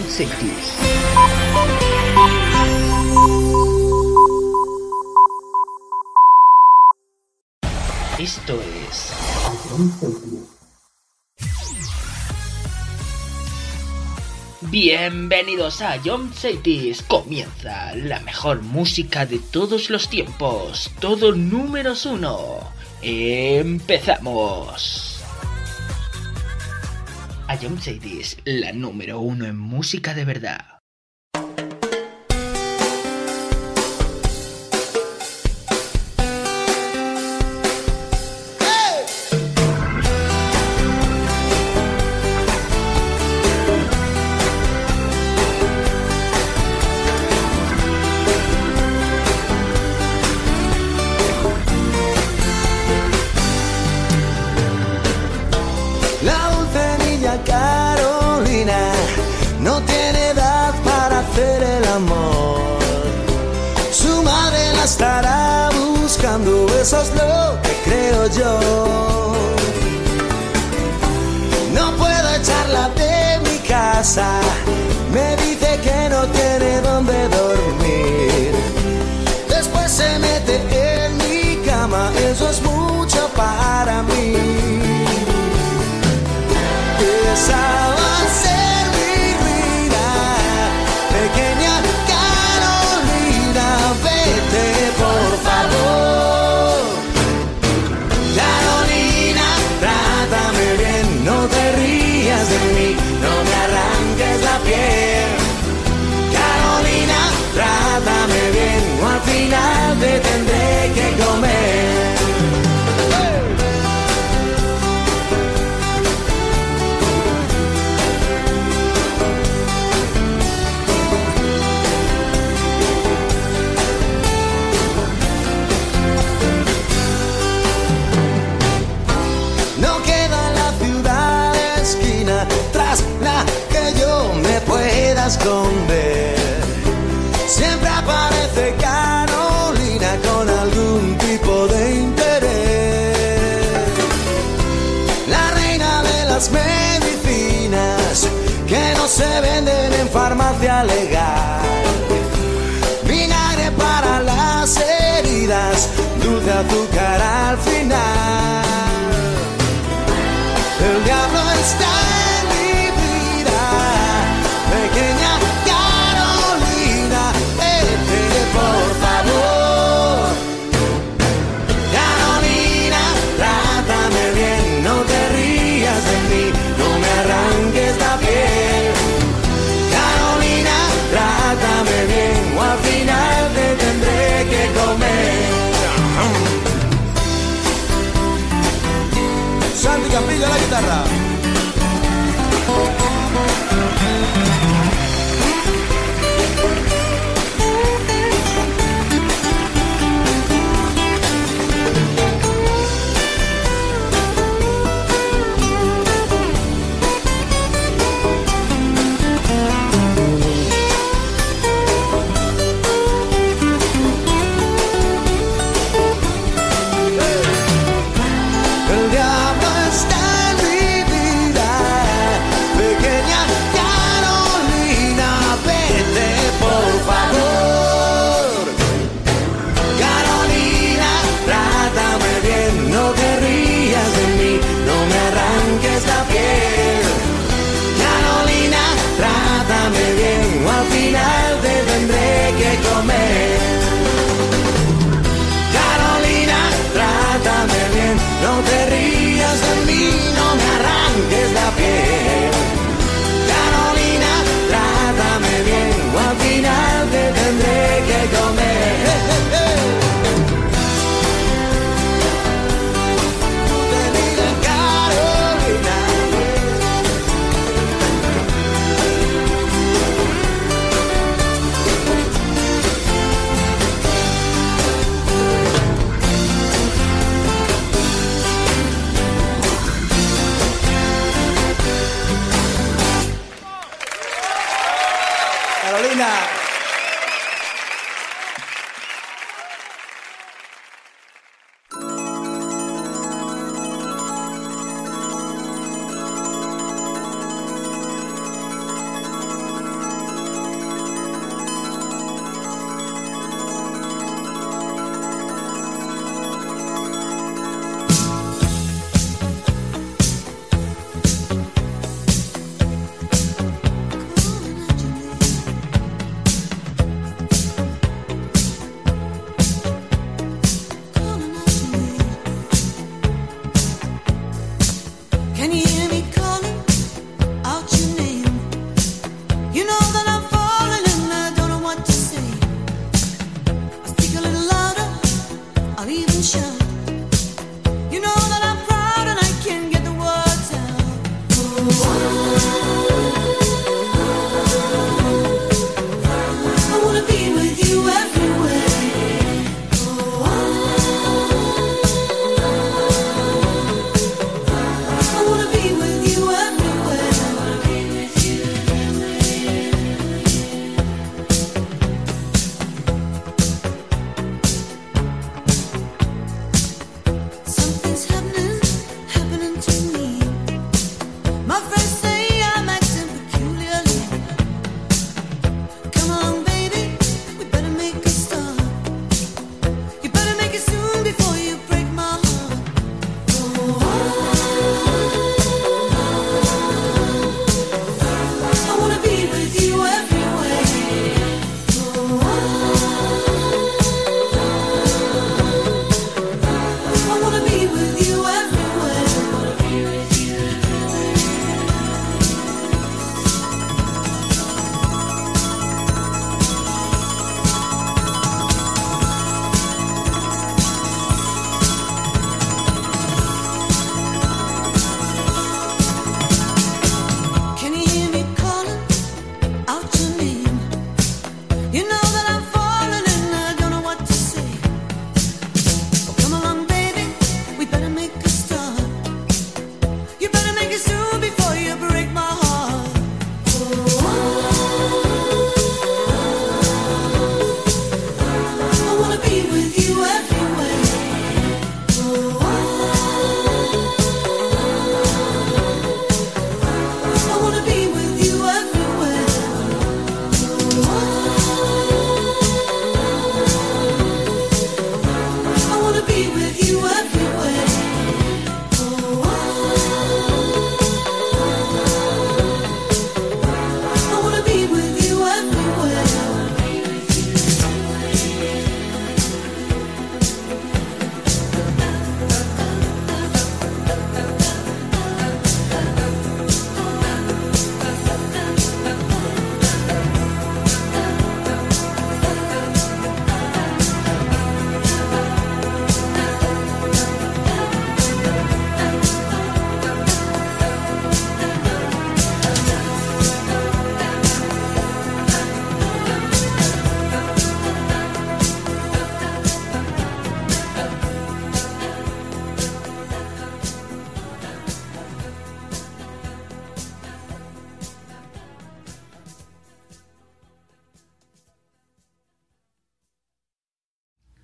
Young Cities. Esto es Young Cities. Bienvenidos a Young Cities. Comienza la mejor música de todos los tiempos. Todo números 1. Empezamos. A Young Cities, la número 1 en música de verdad. No tiene edad para hacer el amor. Su madre la estará buscando, eso es lo que creo yo. No puedo echarla de mi casa, me dice que no tiene dónde dormir. Después se mete en mi cama, eso es mucho para mí. Esa va a ser pequeña Carolina, vete por favor. Carolina, trátame bien, no te rías de mí, no me arranques la piel. Carolina, trátame bien, o al final te tendré que comer. Esconder. Siempre aparece Carolina con algún tipo de interés. La reina de las medicinas que no se venden en farmacia legal. Vinagre para las heridas, dulce azúcar al final. El diablo está en mi vida, pequeña Carolina, vete por favor. Carolina, trátame bien, no te rías de mí, no me arranques la piel. Carolina, trátame bien, o al final te tendré que comer. Santi Campillo a la guitarra. El diablo está en mi vida, pequeña Carolina, vete por favor. Carolina, trátame bien, no te rías de mí, no me arranques la piel. Carolina, trátame bien, o al final te tendré que comer. Carolina, trátame bien, no te rías de mí, no me arranques la piel. Carolina, trátame bien, o al final te tendré que comer. Te digo, Carolina. Carolina.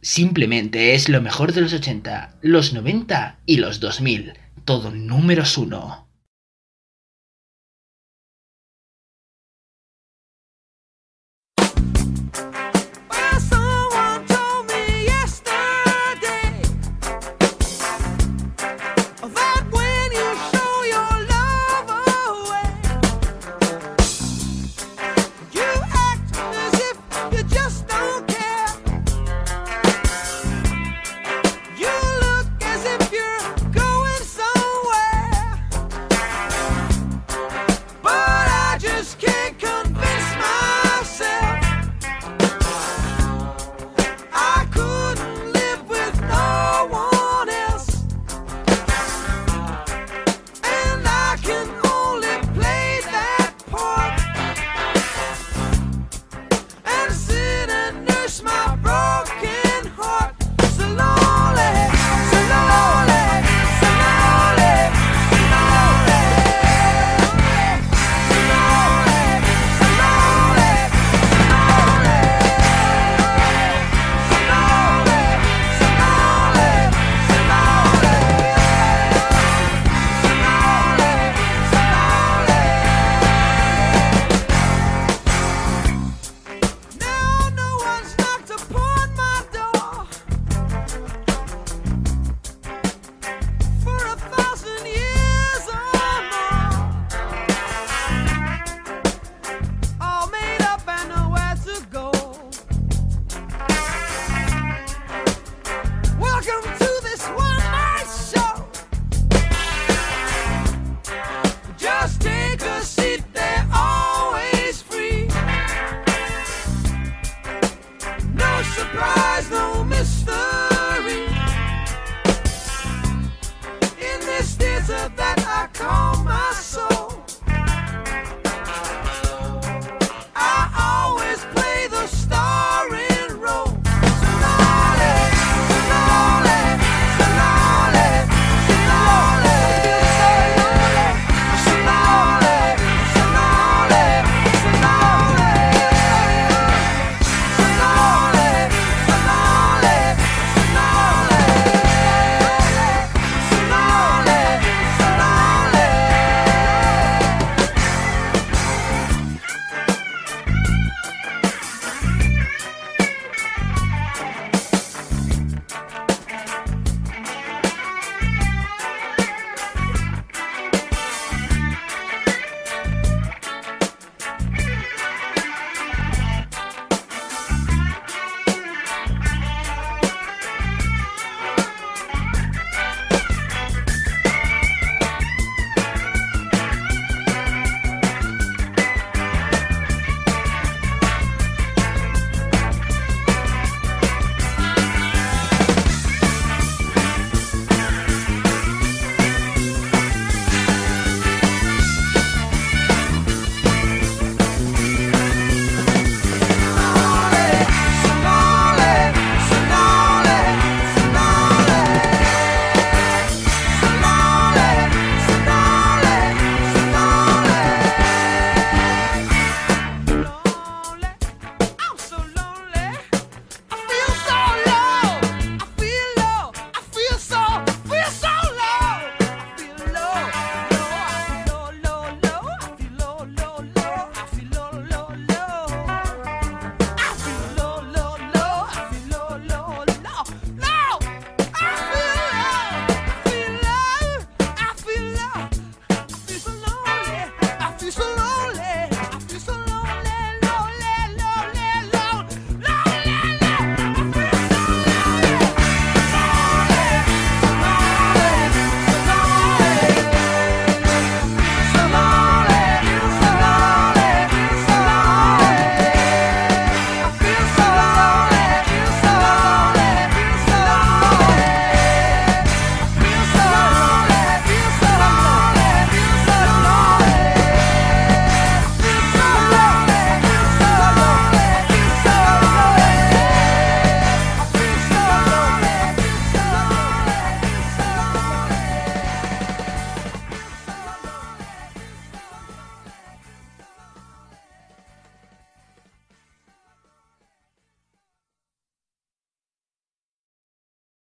Simplemente es lo mejor de los 80, los 90 y los 2000. Todo números 1.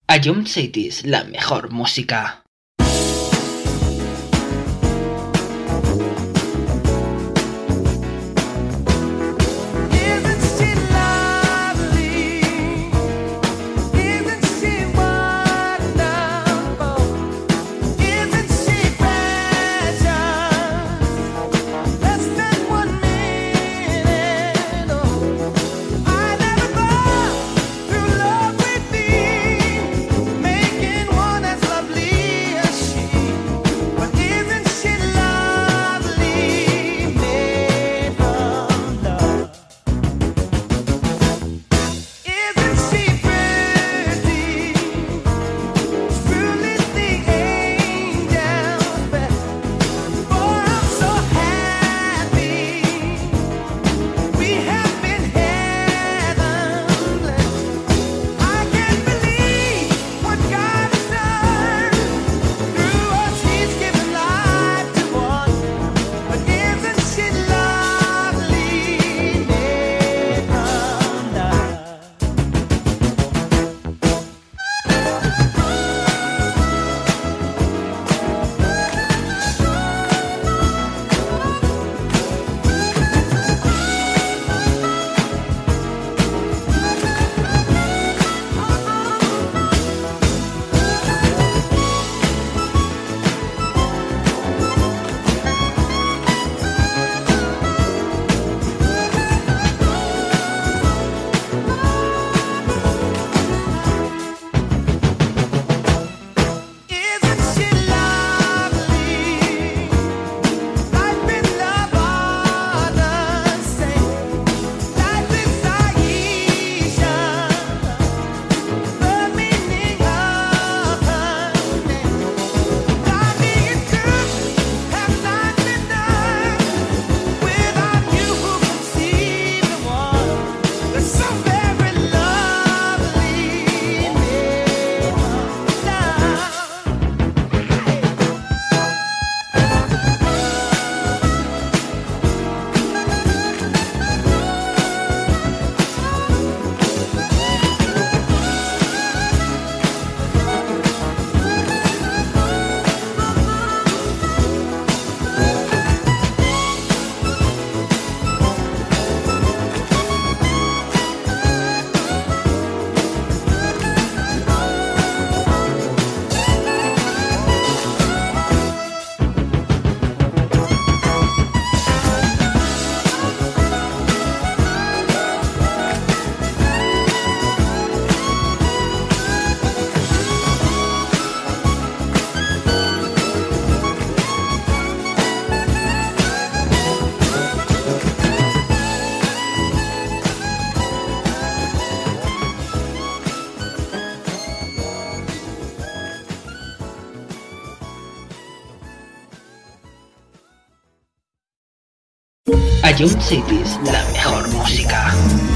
A Jump Cities, la mejor música. A Jump Cities, la mejor música.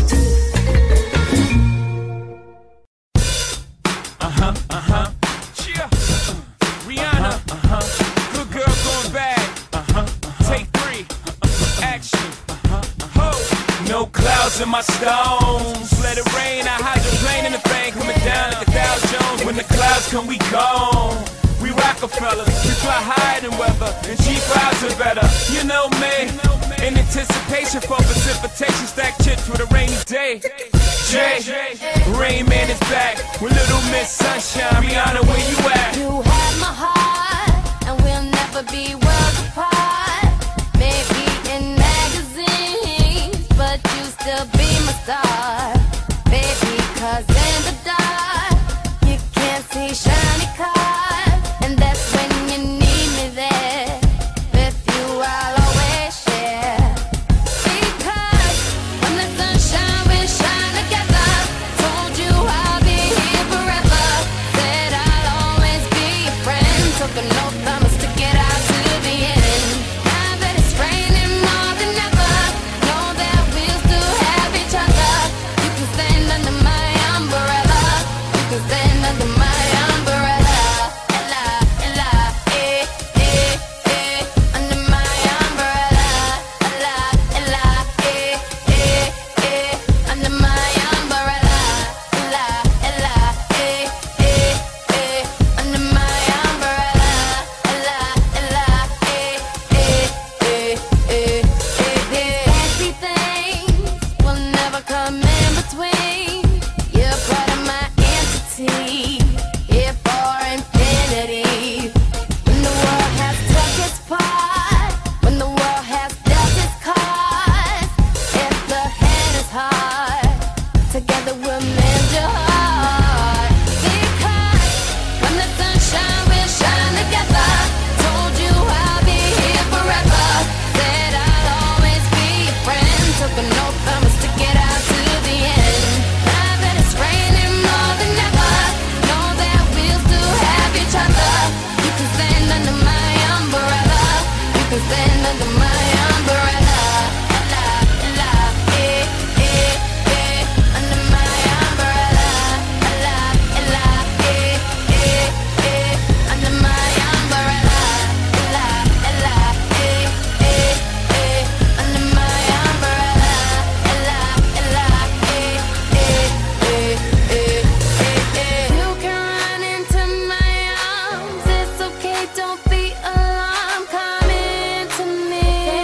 Rihanna, good girl going bad. Take 3, action. No clouds in my stones. Let it rain. I hydroplane in the thing coming down like a Dow Jones. When the clouds come, we gone. We Rockefellers, we fly higher than weather, and cheap clouds are better. You know me. In anticipation for precipitation, stack chips with a rainy day. Jay, Rain Man is back with Little Miss Sunshine. Rihanna, where you at? You have my heart, and we'll never be worlds apart. Maybe in magazines, but you still be my star. Baby, 'cause in the dark, you can't see shiny cars, and that's when you need me there. With you, I'll always share. Because when the sunshine, we shine together. Told you I'll be here forever. Said I'll always be your friend. Took an oath, I'ma stick it out to the end. Now that it's raining more than ever, know that we'll still have can stand under my umbrella. Under my umbrella. Under my umbrella. Under my umbrella. You can run into my arms. It's okay, don't be alarmed. Come into me.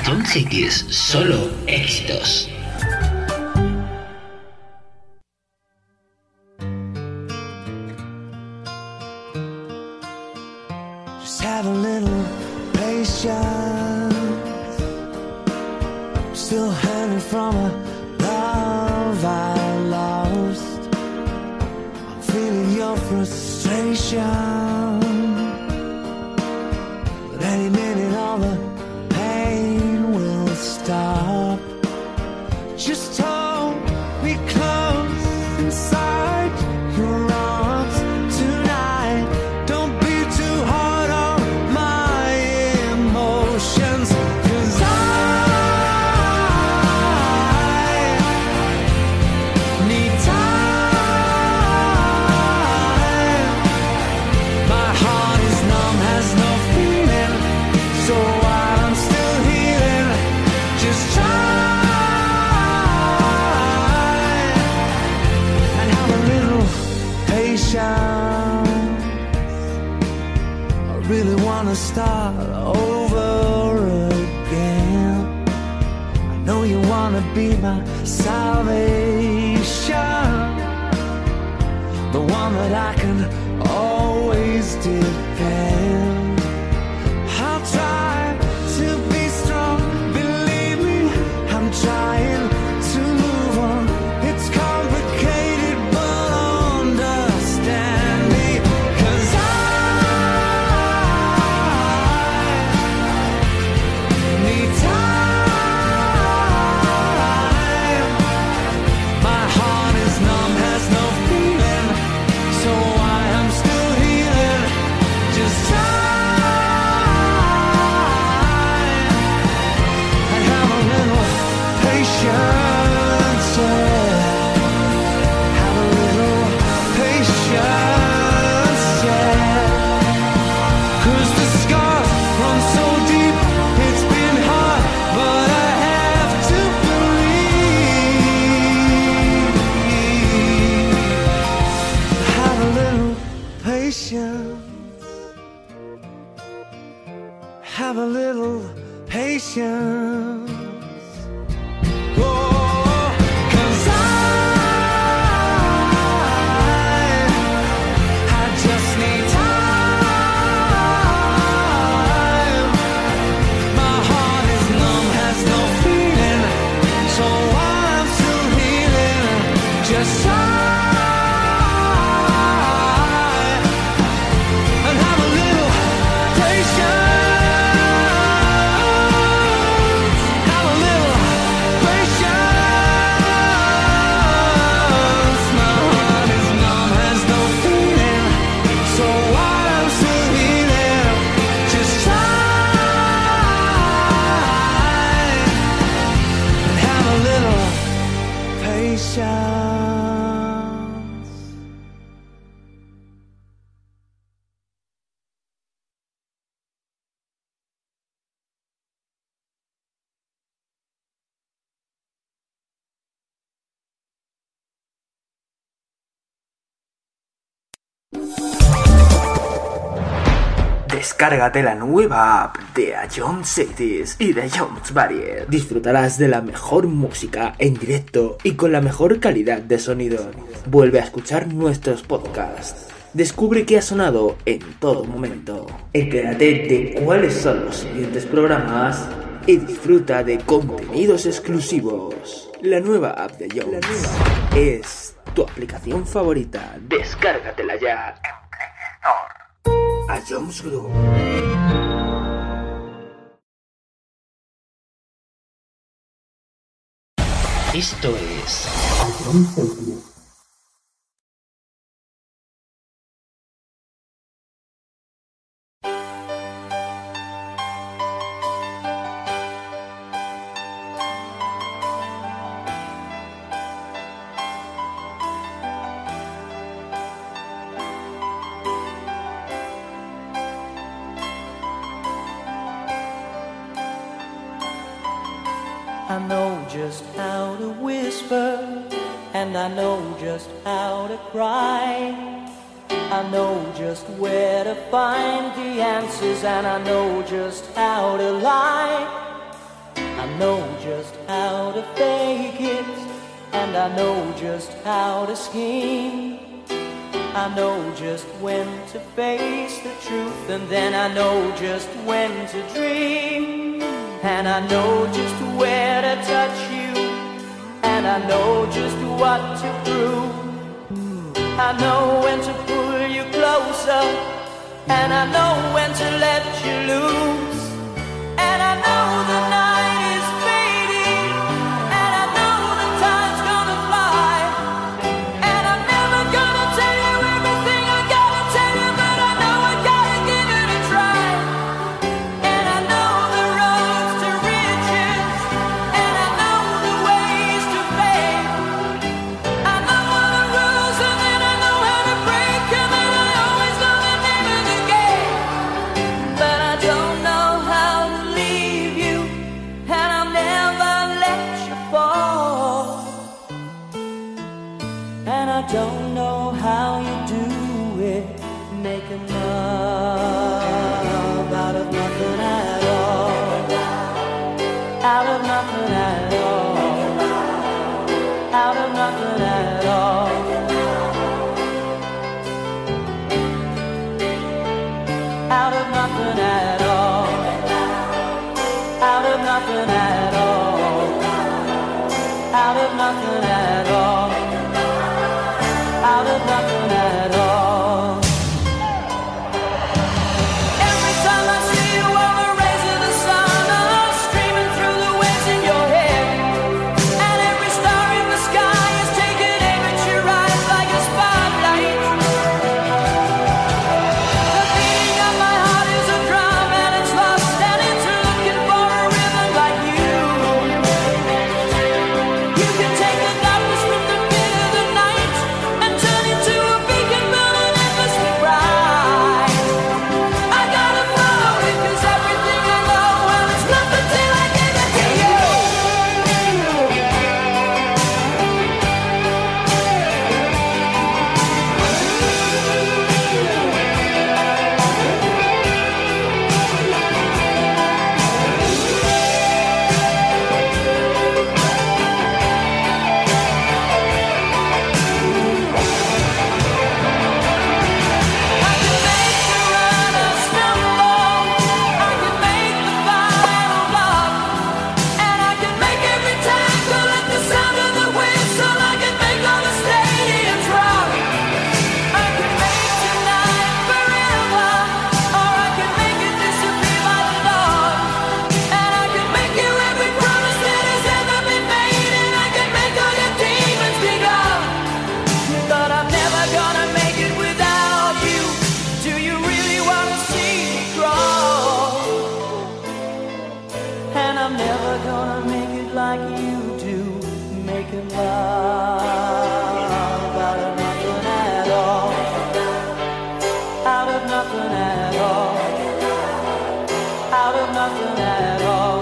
John Cities, solo éxitos. Just have a little patience. I'm still hanging from a love I lost. I'm feeling your frustration, but any minute all the pain will stop. Just hold me close inside your arms tonight. Don't be too hard on my emotions, 'cause I need time. My heart is numb, has no feeling, so while I'm still healing, just try and have a little patience. I really wanna start over again. I know you wanna be my salvation, the one that I can always depend. I'll try to be strong, believe me, I'm trying to move on. It's complicated, but understand me, 'cause I need time. My heart is numb, has no feeling, so I am still healing. Just try and have a little patience, yeah. Have a little patience, yeah. 'Cause the scars run so deep, it's been hard, but I have to believe. Have a little patience. Have a little patience. Oh, 'cause I just need time. My heart is numb, has no feeling, so I'm still healing. Just try and have a little patience. Have a little patience. My heart is numb, has no feeling, so I'm still healing. Just try and have a little patience. Descárgate la nueva app de A John Cities y de John's Barrier. Disfrutarás de la mejor música en directo y con la mejor calidad de sonido. Vuelve a escuchar nuestros podcasts. Descubre qué ha sonado en todo momento. Entérate de cuáles son los siguientes programas y disfruta de contenidos exclusivos. La nueva app de Jones es tu aplicación favorita. Descárgatela ya en Play Store. A Jones Group. Esto es I know just how to whisper, and I know just how to cry. I know just where to find the answers, and I know just how to lie. I know just how to fake it, and I know just how to scheme. I know just when to face the truth, and then I know just when to dream. And I know just where to touch you, and I know just what to prove. I know when to pull you closer, and I know when to let you loose. And I know the night is fading, and I know the time's gonna fly. And I'm never gonna tell you everything I gotta tell you, but I know I gotta give it a try. And I know the roads to riches, and I know the ways to fame. I know all the rules, and then I know how to break, and then I always know the name of the game. But I don't know how to leave you, and I'll never let you fall. And I don't know how you do it, making love out of nothing at all. Out of nothing at all. Out of nothing at all. Out of nothing at all. Out of nothing at all. Out of nothing at all. Out of nothing at all. Every time I see you on the rays of the sun, I'm streaming through the waves in your head. And every star in the sky is taking aim at your eyes like a spotlight. The beating of my heart is a drum, and it's lost, and it's looking for a rhythm like you. You can take the darkness from the pit of the night and turn it to a beacon burning endlessly bright. I gotta follow it, 'cause everything I know, well, it's nothing till I give it to you. I can make the runner stumble, I can make the final block, and I can make every tackle at the sound of the whistle. I can make all the stadiums rock. I can make tonight forever, or I can make it disappear by the dawn. And I can make you every promise that has ever been made, and I can make all your demons be gone. But I'm never gonna make it without you. Do you really wanna see me crawl? And I'm never gonna make it like you do, making love out of nothing at all. Out of nothing at all. Out of nothing at all.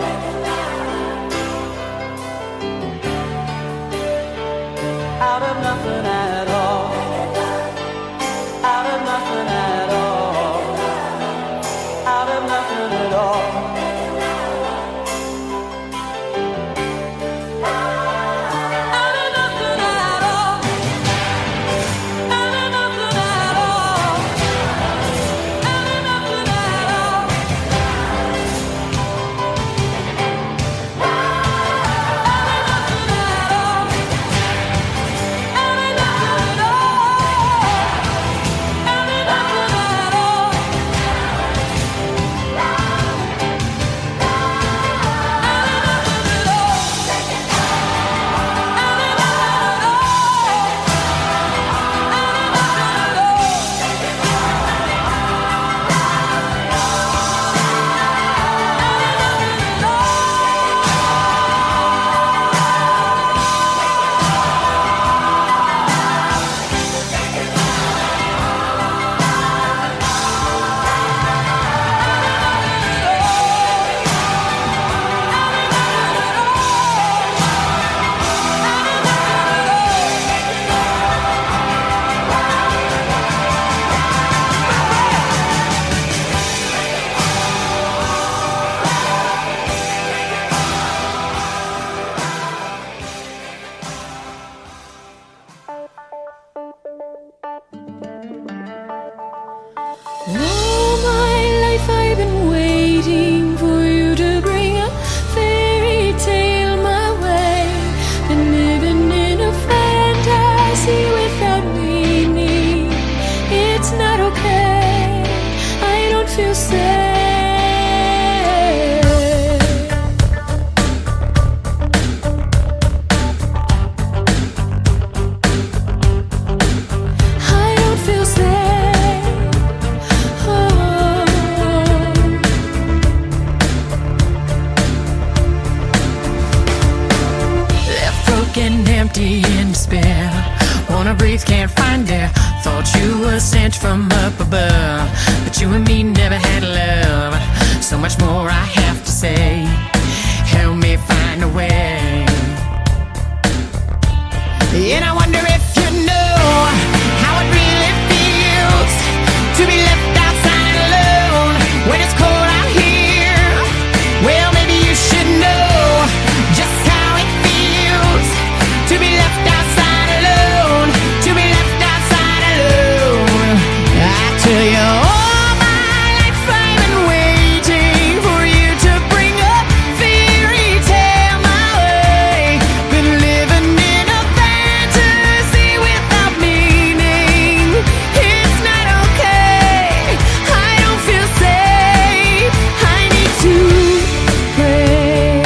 Out of nothing at all. Out of nothing at all. Out of nothing at all. Out of nothing at all. Out of nothing at all. Out of nothing at all. kids can't find it. Thought you were sent from up above, but you and me never had love. So much more I have to say. Help me find a way. And I wonder if you know how it really feels to be left outside alone when it's cold out here. Well, maybe you should know just how it feels to be left outside alone, to be left outside alone. I tell you, all my life I've been waiting for you to bring a fairy tale my way. Been living in a fantasy without meaning. It's not okay, I don't feel safe, I need to pray.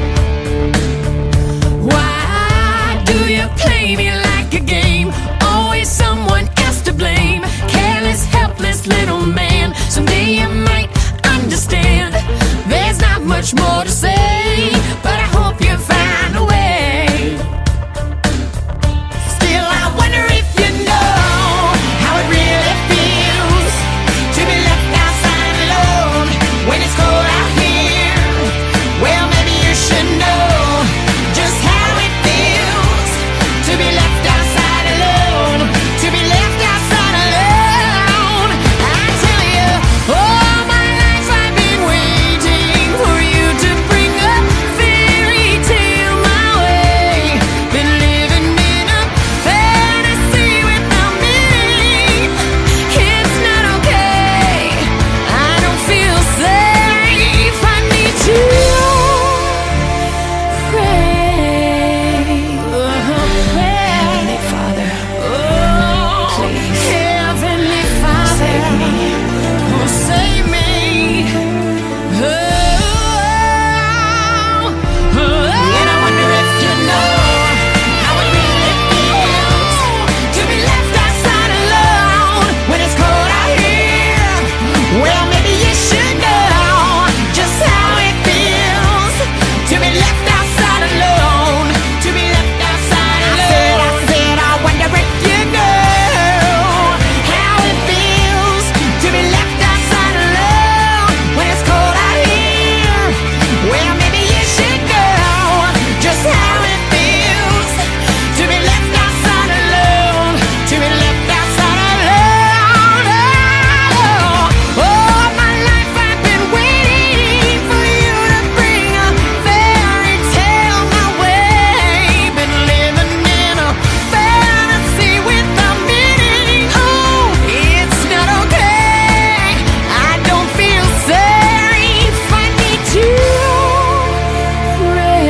Why do you play me like a game? Always someone else to blame. Careless, helpless little man. Someday you might understand. There's not much more to say, but I hope you find a way. Still, I wonder if you know how it really feels to be left outside alone when it's cold out here. Well, maybe you should know just how it feels to be left outside alone, to be left outside alone. I tell you, all my life I've been waiting for you to bring a fairy tale my way. Been living in a fantasy without meaning. It's not okay, I don't feel safe, I need to pray. Heavenly Father, please, Heavenly Father, save me. Oh, save me. And I wonder if you know how it really feels to be left outside alone when it's cold out here. Well, maybe you should know just how it feels to be left outside alone, to be left outside alone. I said, I wonder if you know how it feels to be left outside alone when it's cold out here. Well, maybe you should know just how it feels to be left outside alone, to be left outside alone. All my life I've been waiting for you to bring a fairy tale my way. Been living in a fantasy without meaning. Oh, it's not okay, I don't feel safe, I need to pray.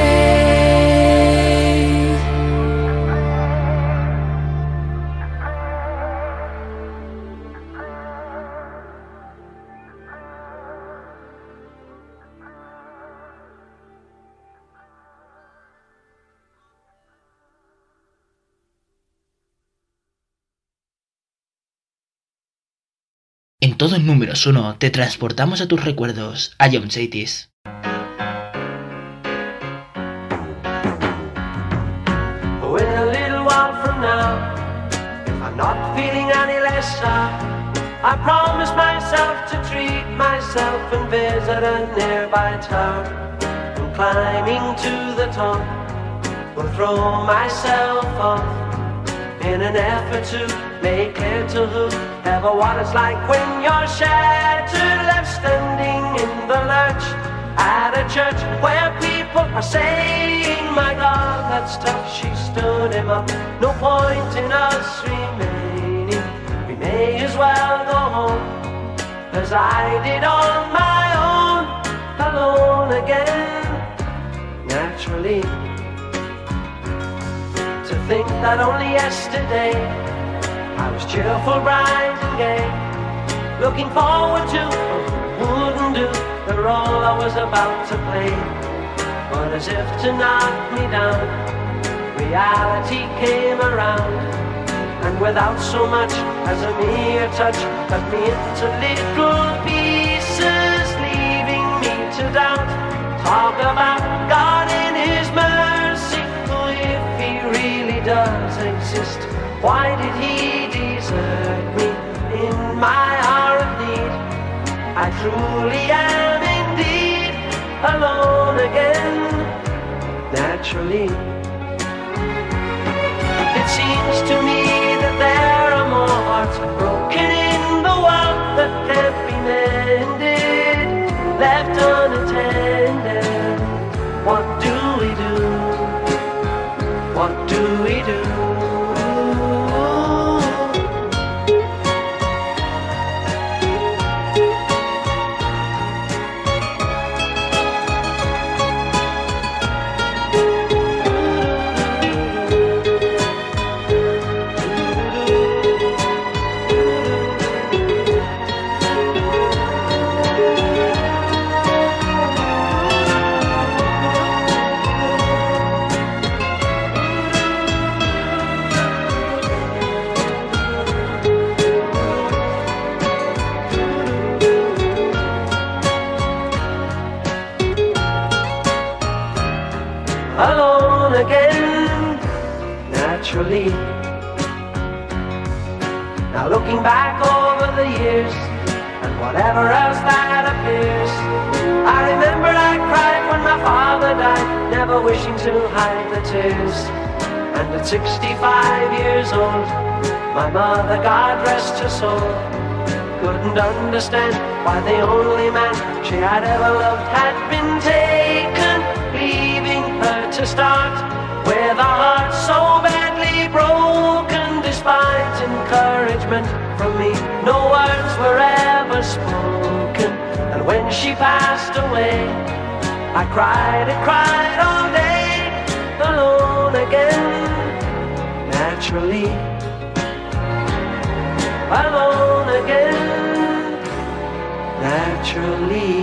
En todos números 1 te transportamos a tus recuerdos, a John Saitis. Oh, in a little while from now, if I'm not feeling any less sad, I promise myself to treat myself and visit a nearby tower. And climbing to the top, will throw myself off in an effort to make clear to whoever what it's like when you're shattered, left standing in the lurch at a church where people are saying, my God, that's tough, she stood him up. No point in us remaining, we may as well go home, as I did on my own, alone again, naturally. To think that only yesterday I was cheerful, bright and gay, looking forward to what wouldn't do the role I was about to play. But as if to knock me down, reality came around, and without so much as a mere touch, cut me into little pieces, leaving me to doubt. Talk about God in His mercy, oh, if He really does exist, Why did he desert me in my hour of need? I truly am indeed alone again, naturally. It seems to me that there are more hearts broken in the world that can't be mended, left unattended. What do we do? What do we do? Alone again, naturally. Now looking back over the years and whatever else that appears, I remember I cried when my father died, never wishing to hide the tears. And at 65 years old, my mother, God rest her soul, couldn't understand why the only man she had ever loved had been taken, leaving her to start with a heart so badly broken. Despite encouragement from me, no words were ever spoken. And when she passed away, I cried and cried all day, alone again, naturally. Alone again, naturally.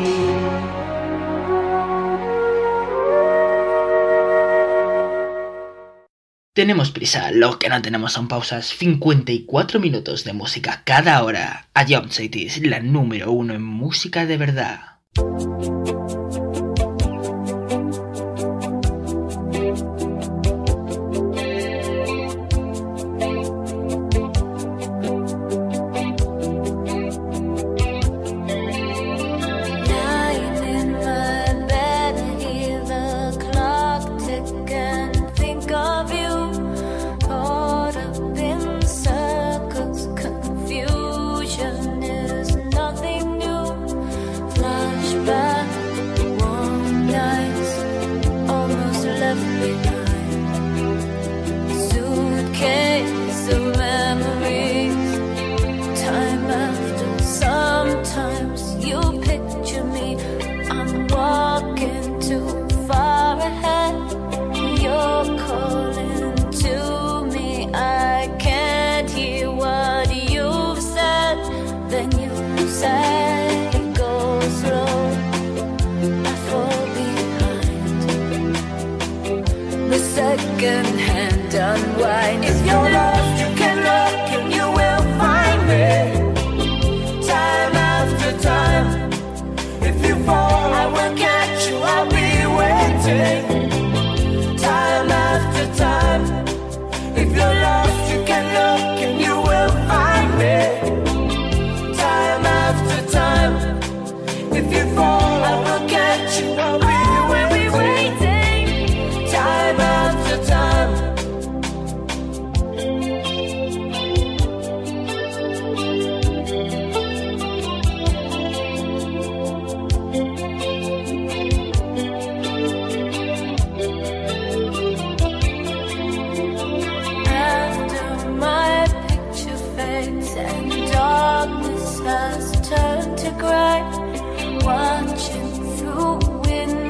Tenemos prisa, lo que no tenemos son pausas. 54 minutos de música cada hora. A Jump Cities, la número 1 en música de verdad. Second-hand unwind. If you're lost, you can look and you will find me. Time after time. If you fall, I will catch you. I'll be waiting. Time after time. If you're lost, you can look and you will find me. Time after time. If you fall, I will catch you. I'll be waiting. Time after time. After my picture fades and darkness has turned to gray, watching through windows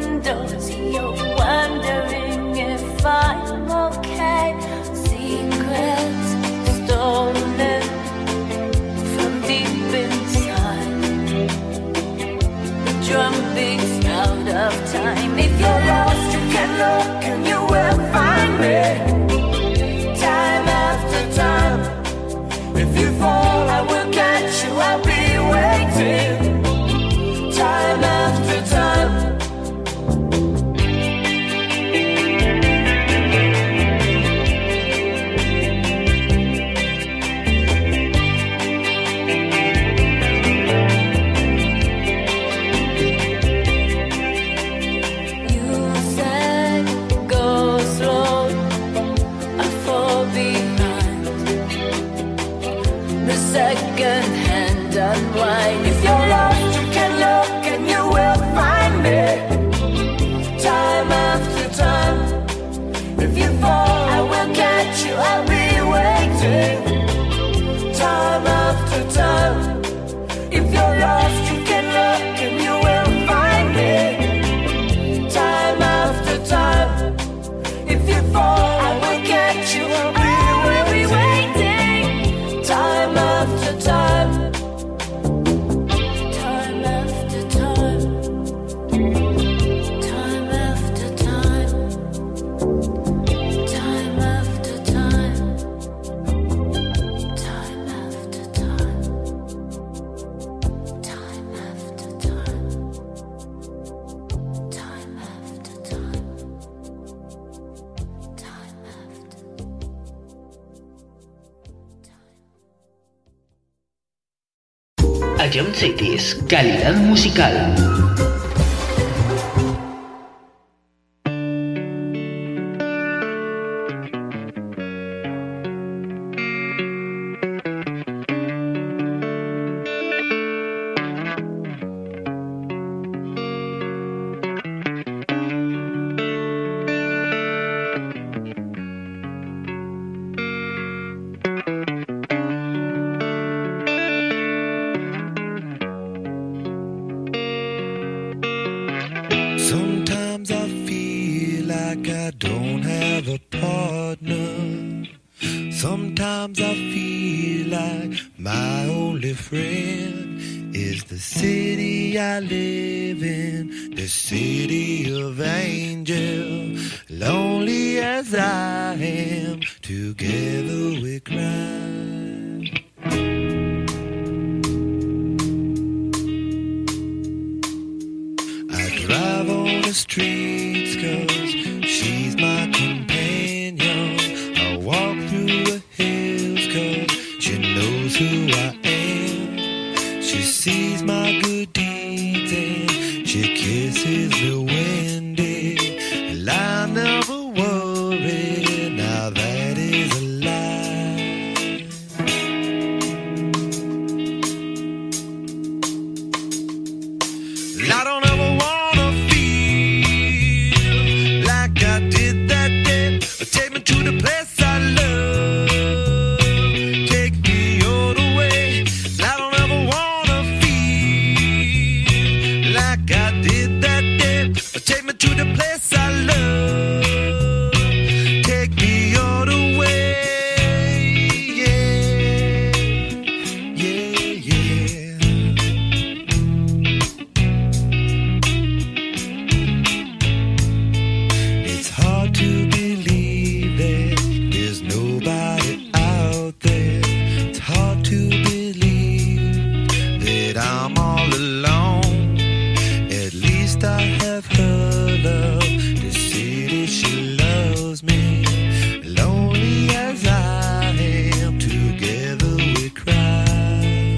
Ion Cities, calidad musical. Sometimes I feel like I don't have a partner. Sometimes I feel like my only friend is the city I live in, the city of angel. Lonely as I am, together we cry. Drive on the streets 'cause she's my companion. I walk through the hills 'cause she knows who I am. She sees my good deeds and she kisses me windy. And I never worry, now that is a lie. I don't ever want to the place I love, take me all the way. I don't ever wanna feel like I did that day. Take me to the place I love, take me all the way. Yeah, yeah, yeah. It's hard to believe there's nobody out there. It's hard to believe that I'm all alone. At least I have her love, the city she loves me. Lonely as I am, together we cry.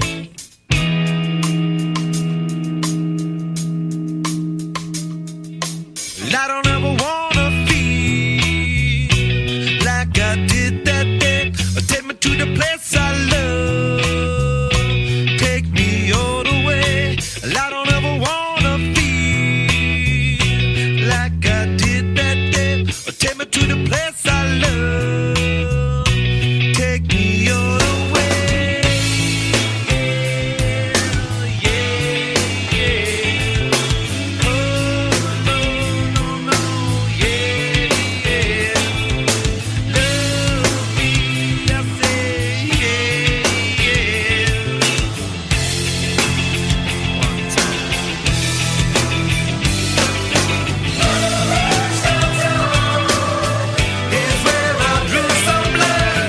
I don't ever wanna feel like I did that day. Take me to the place I love, take me all the way. I don't ever wanna feel like I did that day. Take me to the place I love, take me all the way. Yeah, yeah, yeah. Oh, no, no, no, yeah, yeah. Love me, I say, yeah, yeah. One time. It's where I drew some blood.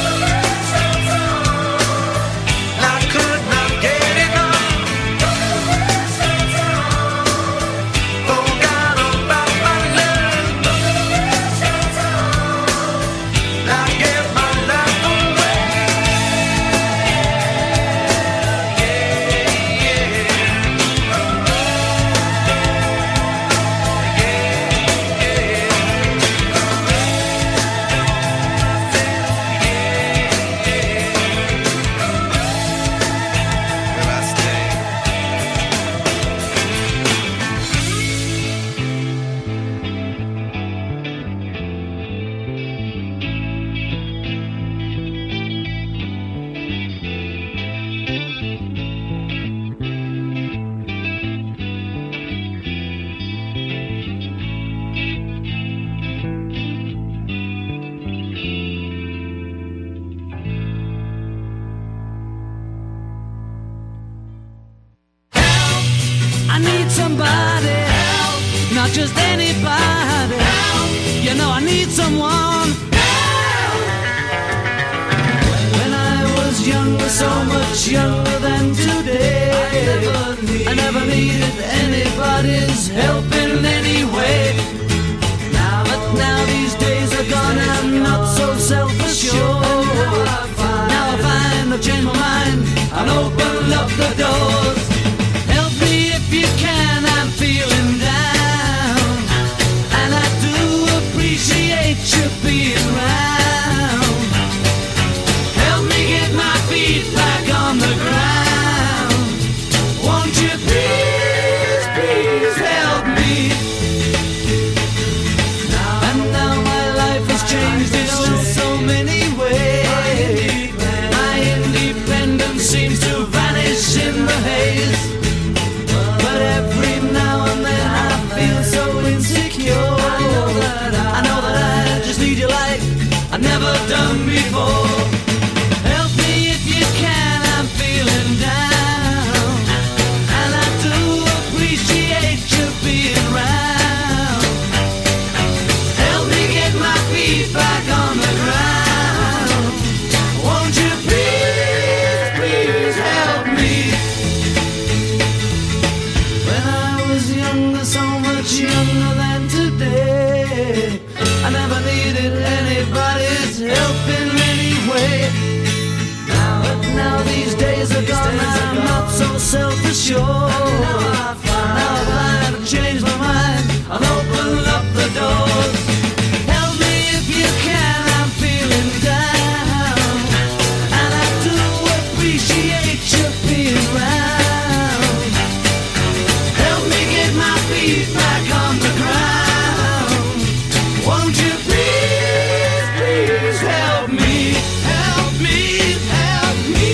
I could not get enough. Forgot about my love. I gave my life away. Will I stay? I need somebody help, not just anybody help. You know I need someone help. When I was younger, so much younger than today, I never needed anybody's help in any way. But now these days are gone, I'm not so self-assured. Now I find I've changed my mind, and open up the doors. Help me if you can, I'm feeling down, and I do appreciate you being around. Help me get my feet back on the ground. Won't you please, please help me? And now my life has changed in so many ways. My independence seems to vanish in the haze. But every now and then I feel so insecure. I know that I just need you like I've never done before. Help me if you can, I'm feeling down, and I do appreciate you being around. Help me get my feet back on the ground. Won't you please, please help me? When I was younger, so much younger than today, I never needed anybody's help in any way. Now these days are gone, I'm not so self-assured. Now I find I've changed my mind, I'll open up the doors. Help me if you can, I'm feeling down, and I do appreciate you being around. Help me get my feet back on the ground. Won't you please, please help me? Help me, help me.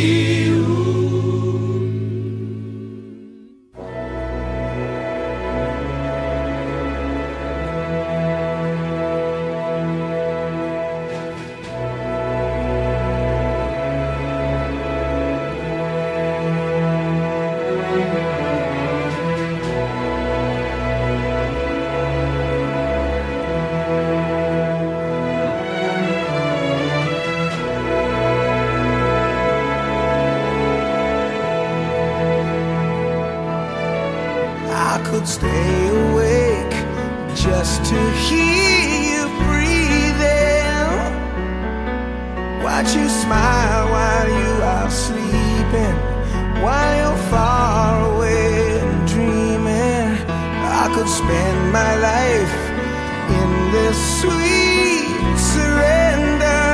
I could stay awake just to hear you breathing, watch you smile while you are sleeping, while you're far away and dreaming. I could spend my life in this sweet surrender.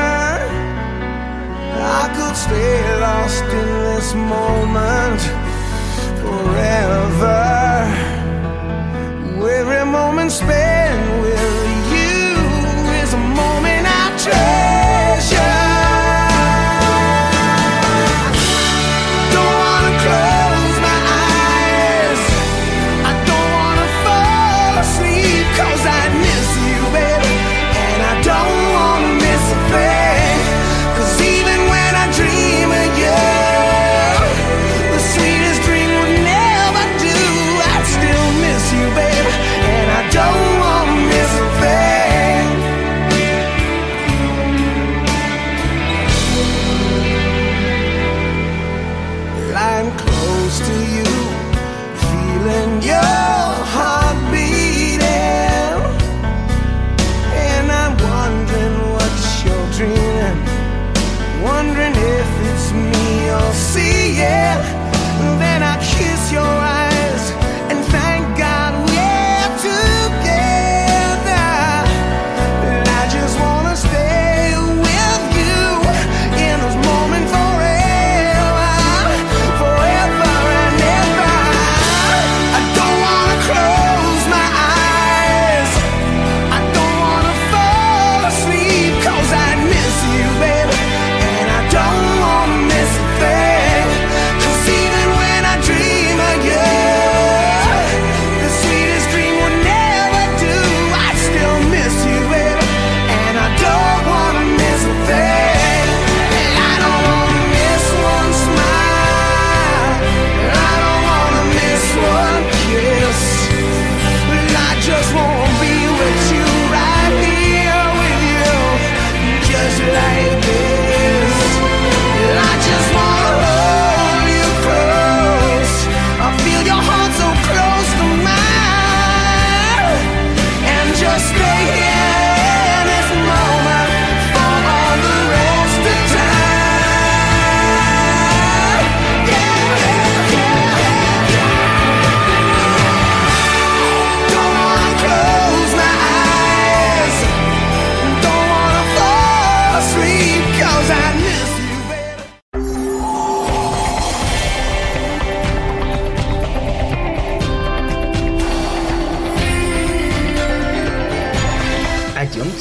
I could stay lost in this moment forever. Every moment spent with you is a moment I treasure. Don't wanna close my eyes, I don't wanna fall asleep, 'cause I miss you, baby, and I don't wanna miss a thing. 'Cause even when I dream of you, the sweetest dream would never do. I'd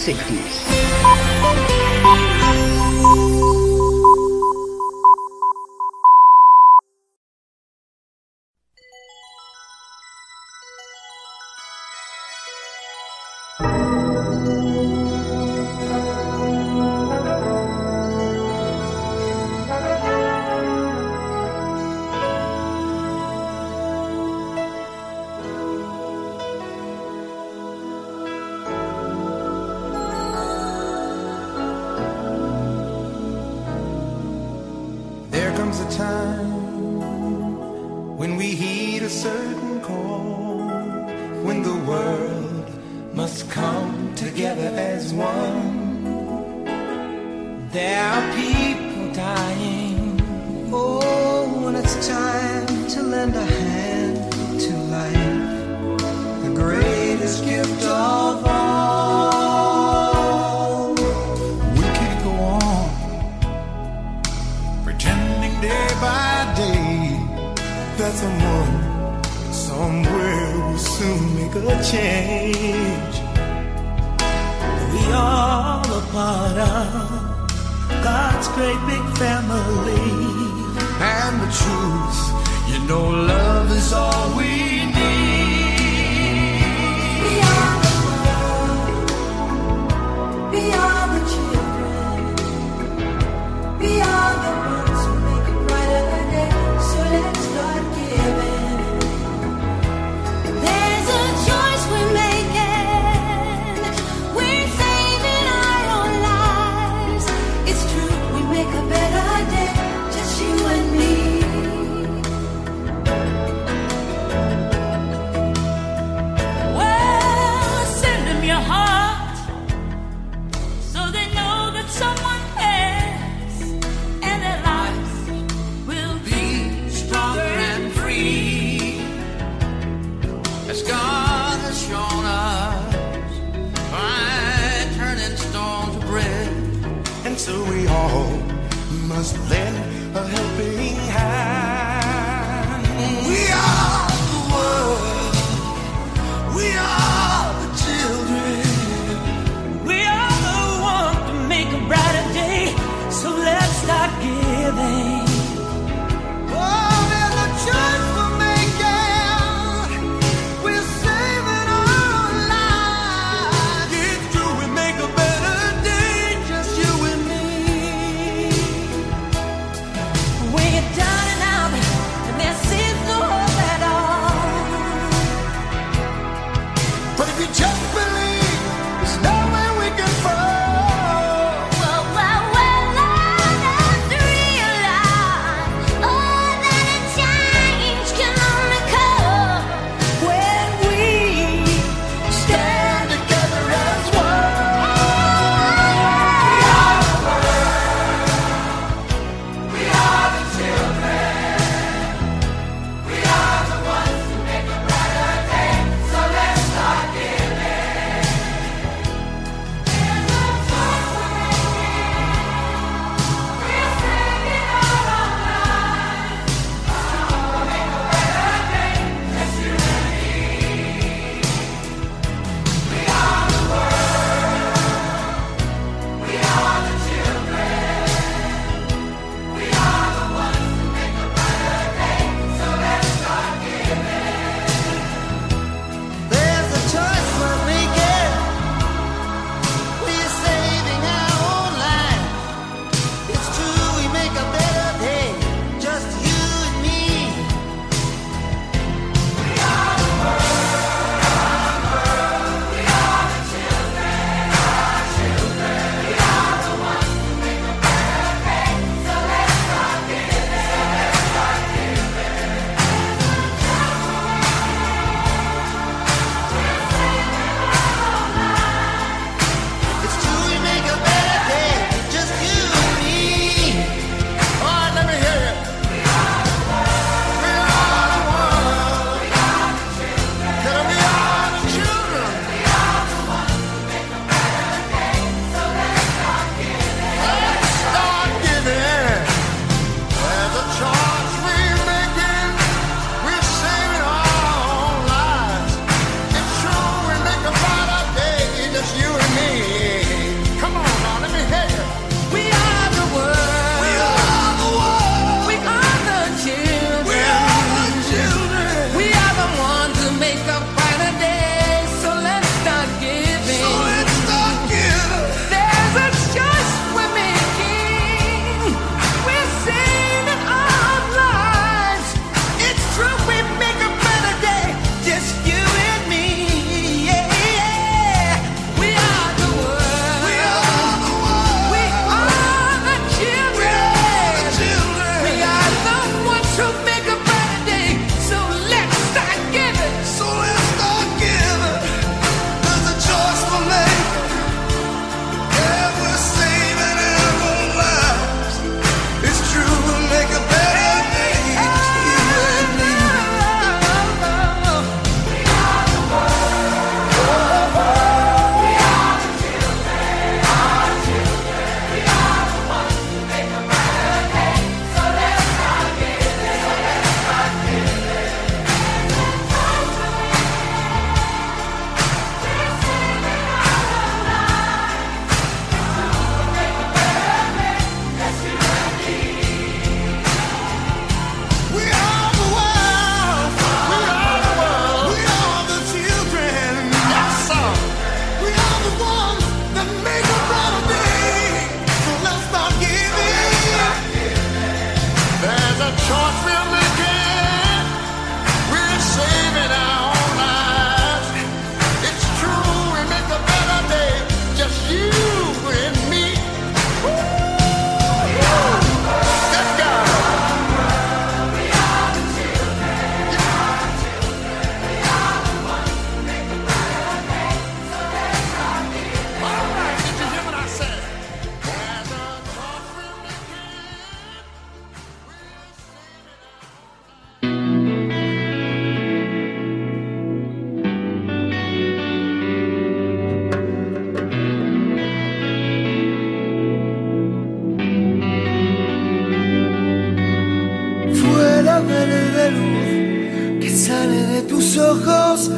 Cities. There comes a time when we heed a certain call, when the world must come together as one. There are people dying. Oh, when it's time to lend a hand to life, the greatest gift of all. We can't go on pretending day by day that someone somewhere will soon make a change. We all a part of God's great big family. And the truth, you know, love is all we need. We are the world. We are the children. We are the ones who make a brighter day. So let's start giving. There's a choice we're making. We're saving our own lives. It's true, we make a better day. Just you and me. Well, send them your heart so they know that someone cares, and their lives will be stronger and free, as God has shown us by turning stone to bread. And so we all must lend a helping hand. We are the world. We are the children. We are the one to make a brighter day, so let's start giving. Oh, there's a choice we're making. We're saving our lives. It's true, we make a better day, just you and me. When you're down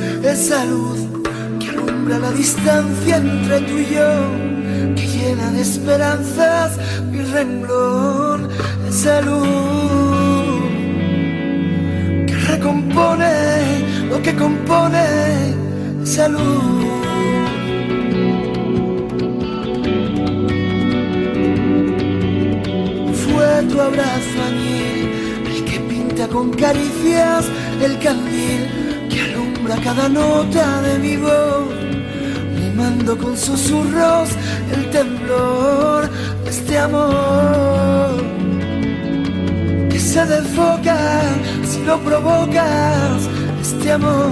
esa luz que alumbra la distancia entre tú y yo, que llena de esperanzas mi renglón, esa luz que recompone lo que compone, esa luz. Fue tu abrazo añil el que pinta con caricias el candil que alumbra cada nota de mi voz, mimando con susurros el temblor de este amor que se desfoca si lo provocas, este amor.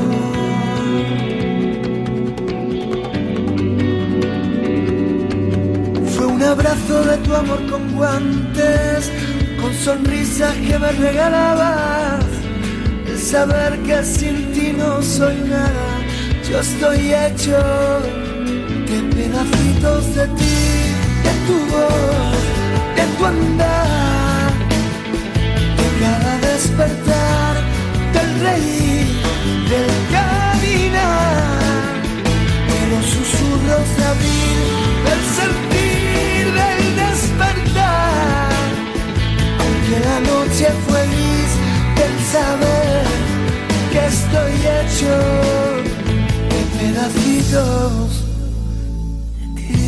Fue un abrazo de tu amor con guantes, con sonrisas que me regalabas, el saber que sin ti no soy nada, yo estoy hecho de pedacitos de ti, de tu voz, de tu andar, de cada despertar, del reír, del caminar, de los susurros de abril, del sentir, del despertar, aunque la noche fue gris, del saber que estoy hecho de pedacitos de ti.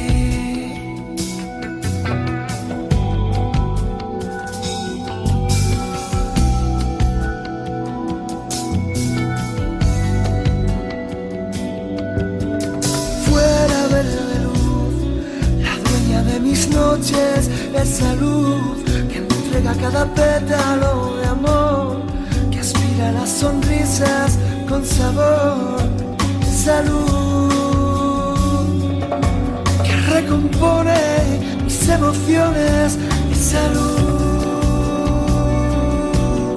Fuera verde luz, la dueña de mis noches, esa luz que me entrega cada pétalo de amor, que aspira a las sonrisas con sabor, esa luz que recompone mis emociones, esa luz.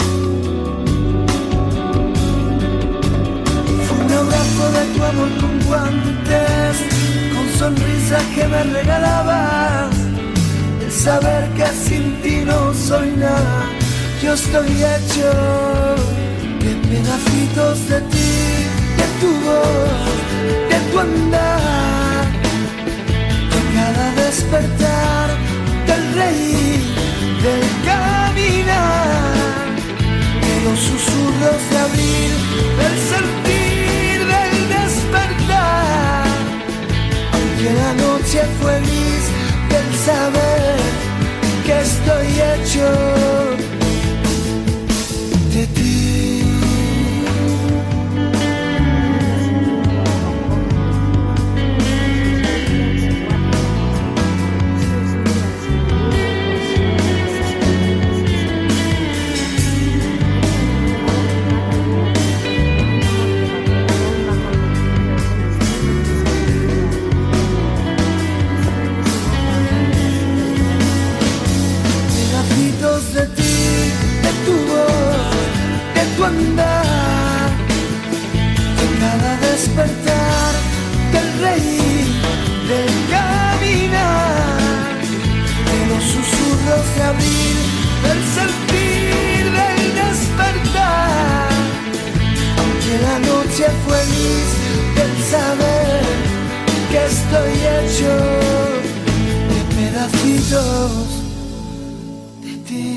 Fue un abrazo de tu amor con guantes, con sonrisas que me regalabas, el saber que sin ti no soy nada, yo estoy hecho de pedacitos de ti, de tu voz, de tu andar, de cada despertar, del reír, del caminar, de los susurros de abril, del sentir, del despertar, aunque la noche fue gris, del saber que estoy hecho de ti. Pedacitos de ti, de tu voz, de tu andar, de cada despertar, del reír, del caminar, de los susurros de abril, del sentir, del despertar, aunque la noche fue gris, del saber que estoy hecho de pedacitos de ti.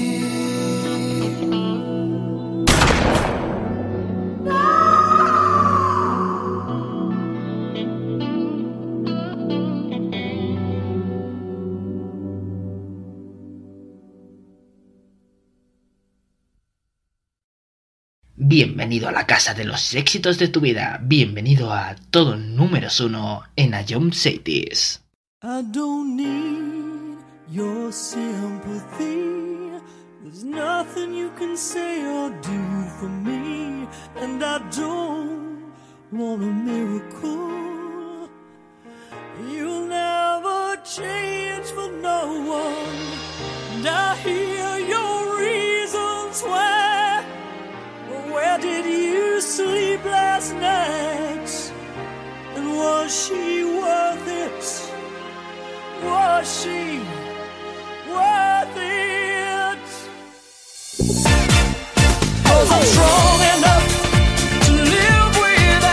Bienvenido a la casa de los éxitos de tu vida. Bienvenido a todo números 1 en Ion Cities. I don't need your sympathy. There's nothing you can say or do for me. And I don't want a miracle. You'll never change for no one. And I hear your reasons why. Where did you sleep last night? And was she worth it? Was she worth it? 'Cause I'm strong enough to live without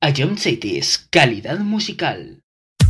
A Jump Cities, calidad musical.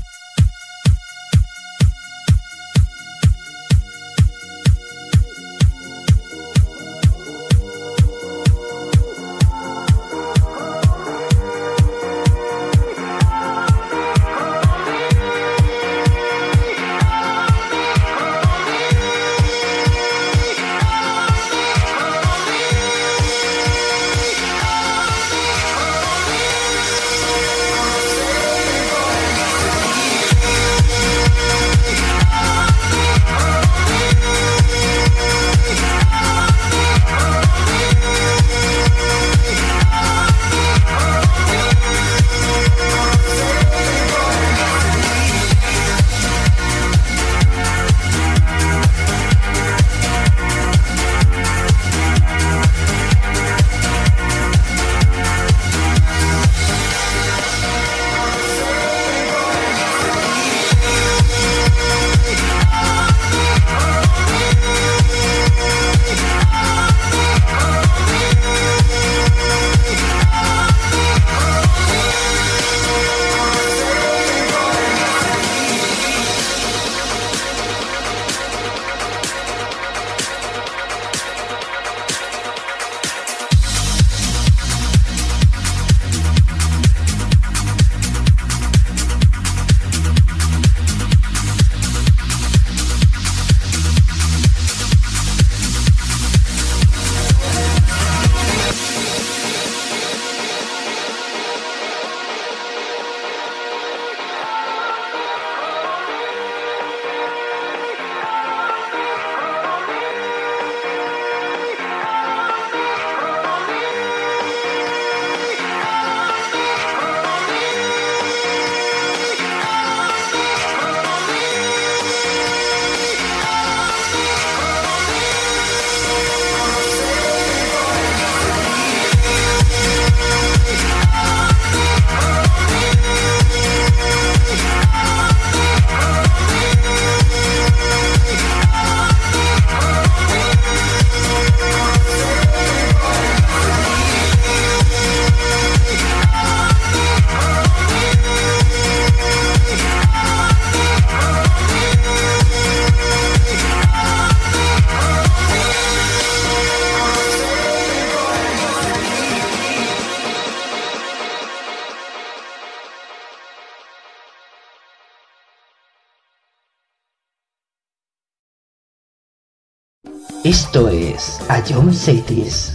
Esto es A Jump Cities.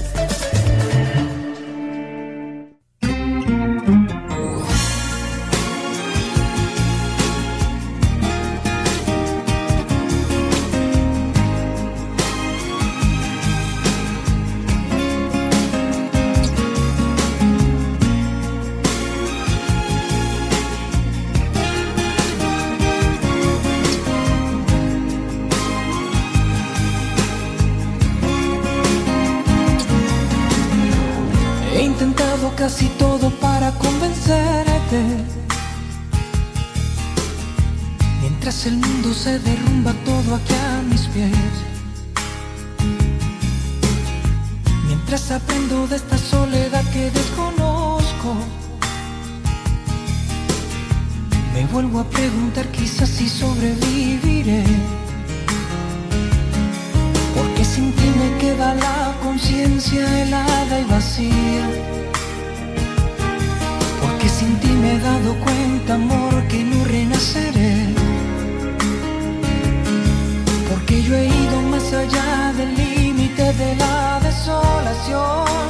He intentado casi todo para convencerte. Mientras el mundo se derrumba todo aquí a mis pies. Mientras aprendo de esta soledad que desconozco. Me vuelvo a preguntar quizás si sobreviviré. Porque sin ti me queda la conciencia helada y vacía. Porque sin ti me he dado cuenta, amor, que no renaceré. Porque yo he ido más allá del límite de la desolación.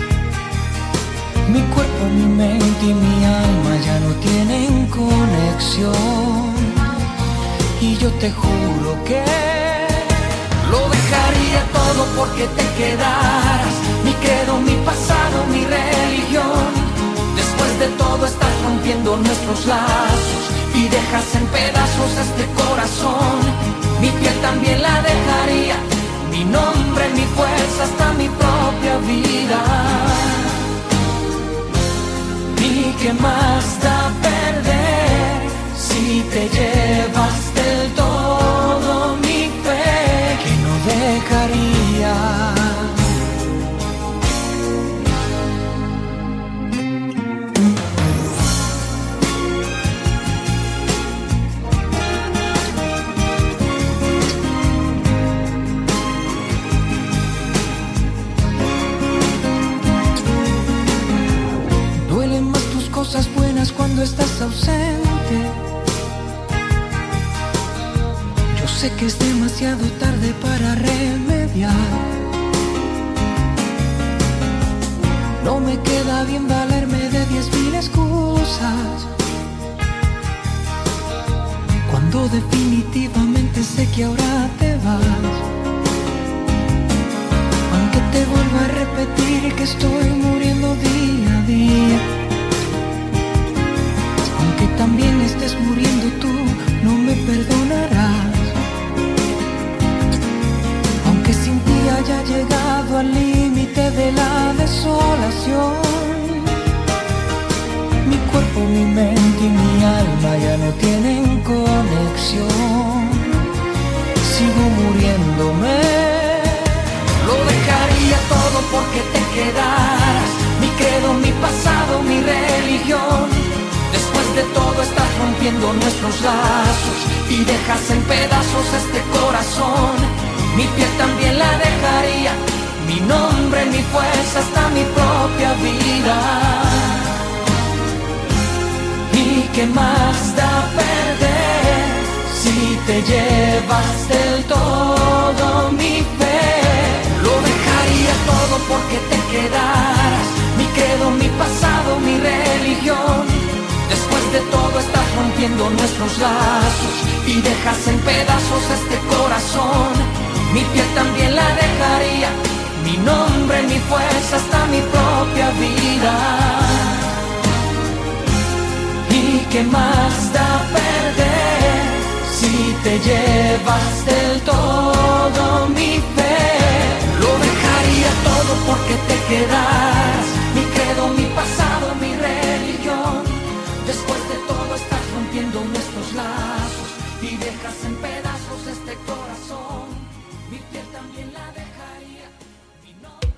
Mi cuerpo, mi mente y mi alma ya no tienen conexión. Y yo te juro que lo dejaría todo porque te quedaras. Mi credo, mi pasado, mi religión. Después de todo estás rompiendo nuestros lazos y dejas en pedazos este corazón. Mi piel también la dejaría, mi nombre, mi fuerza, hasta mi propia vida. ¿Y qué más da perder si te llevas del todo mi fe que no dejaría? que es demasiado tarde para remediar. No me queda bien valerme de 10.000 excusas, cuando definitivamente sé que ahora te vas. Aunque te vuelva a repetir que estoy muriendo día a día, aunque también estés muriendo tú, no me perdonarás. Aunque sin ti haya llegado al límite de la desolación, mi cuerpo, mi mente y mi alma ya no tienen conexión. Sigo muriéndome. Lo dejaría todo porque te quedaras, mi credo, mi pasado, mi religión. Después de todo estás rompiendo nuestros lazos y dejas en pedazos este corazón. Mi piel también la dejaría, mi nombre, mi fuerza, hasta mi propia vida. ¿Y qué más da perder si te llevas del todo mi fe? Lo dejaría todo porque te quedaras, mi credo, mi pasado, mi religión. Después de todo estás rompiendo nuestros lazos y dejas en pedazos este corazón. Mi piel también la dejaría, mi nombre, mi fuerza, hasta mi propia vida. ¿Y qué más da perder si te llevas del todo mi fe? Lo dejaría todo porque te quedaras, mi credo, mi pasado, mi religión. Después de todo estás rompiendo nuestros lazos y dejas en pedazos este corazón. Mi piel también la dejaría, mi nombre.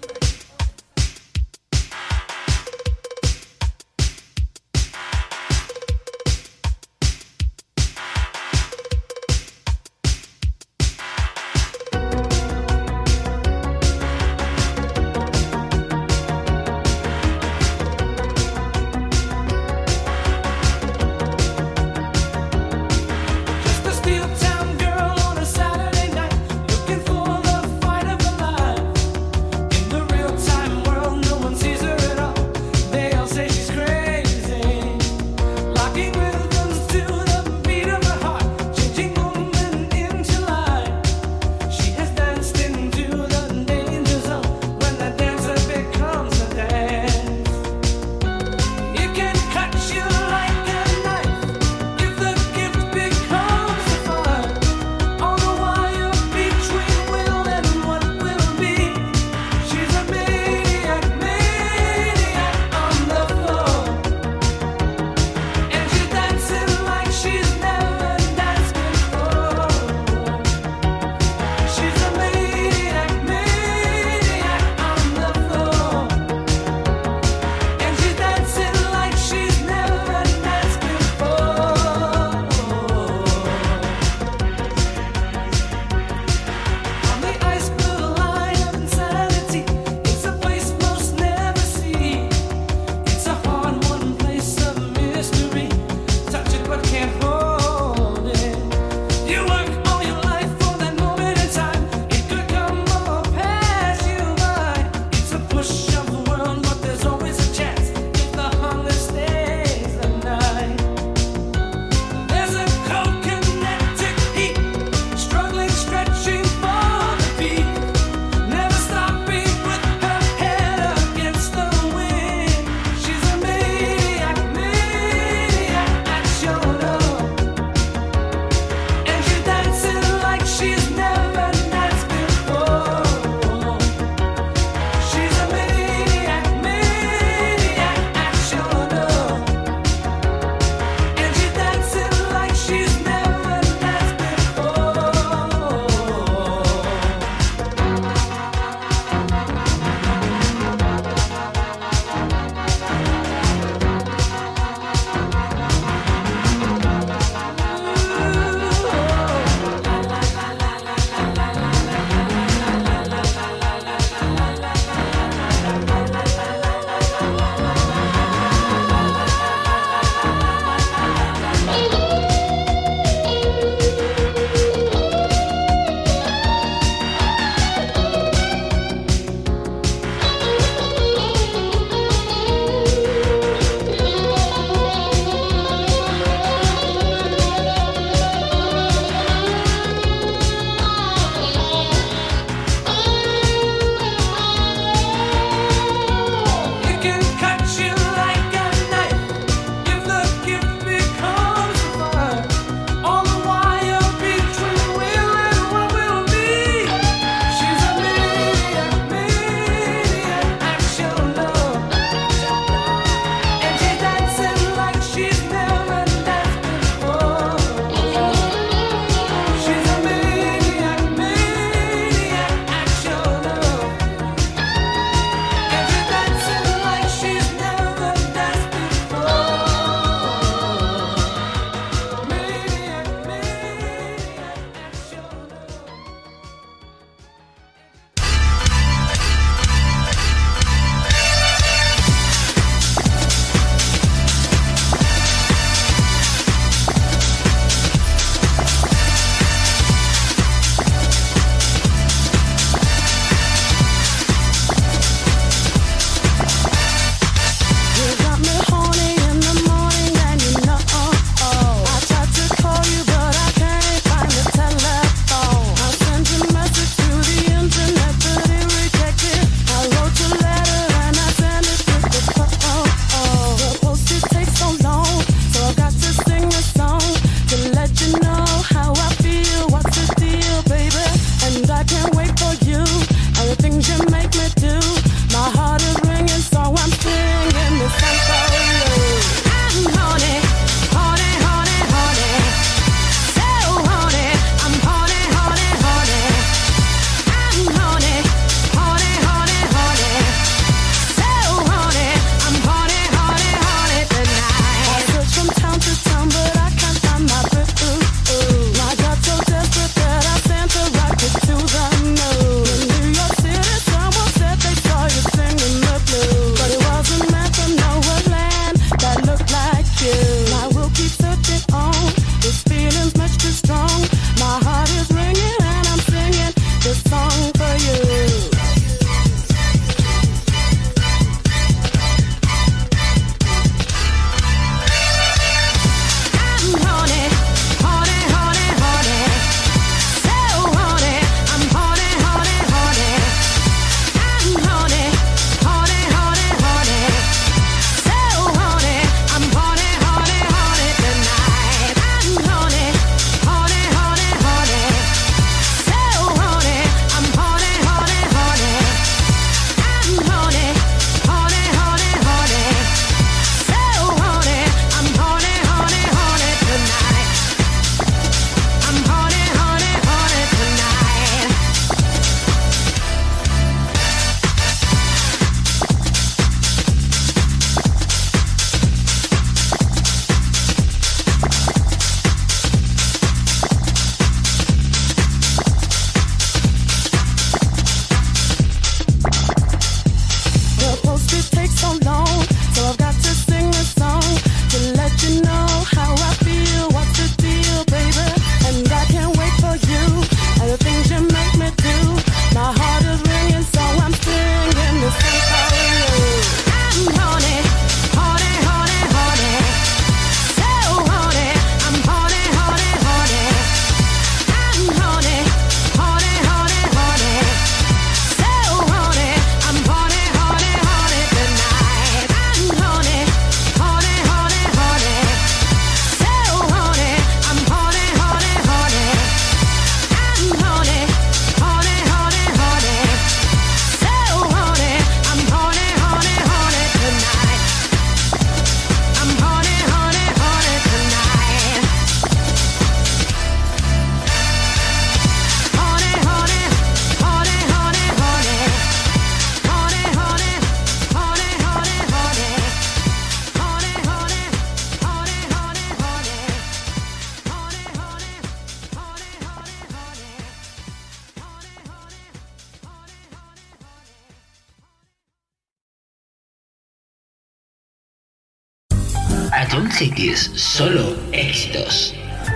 Ion Cities, solo éxitos.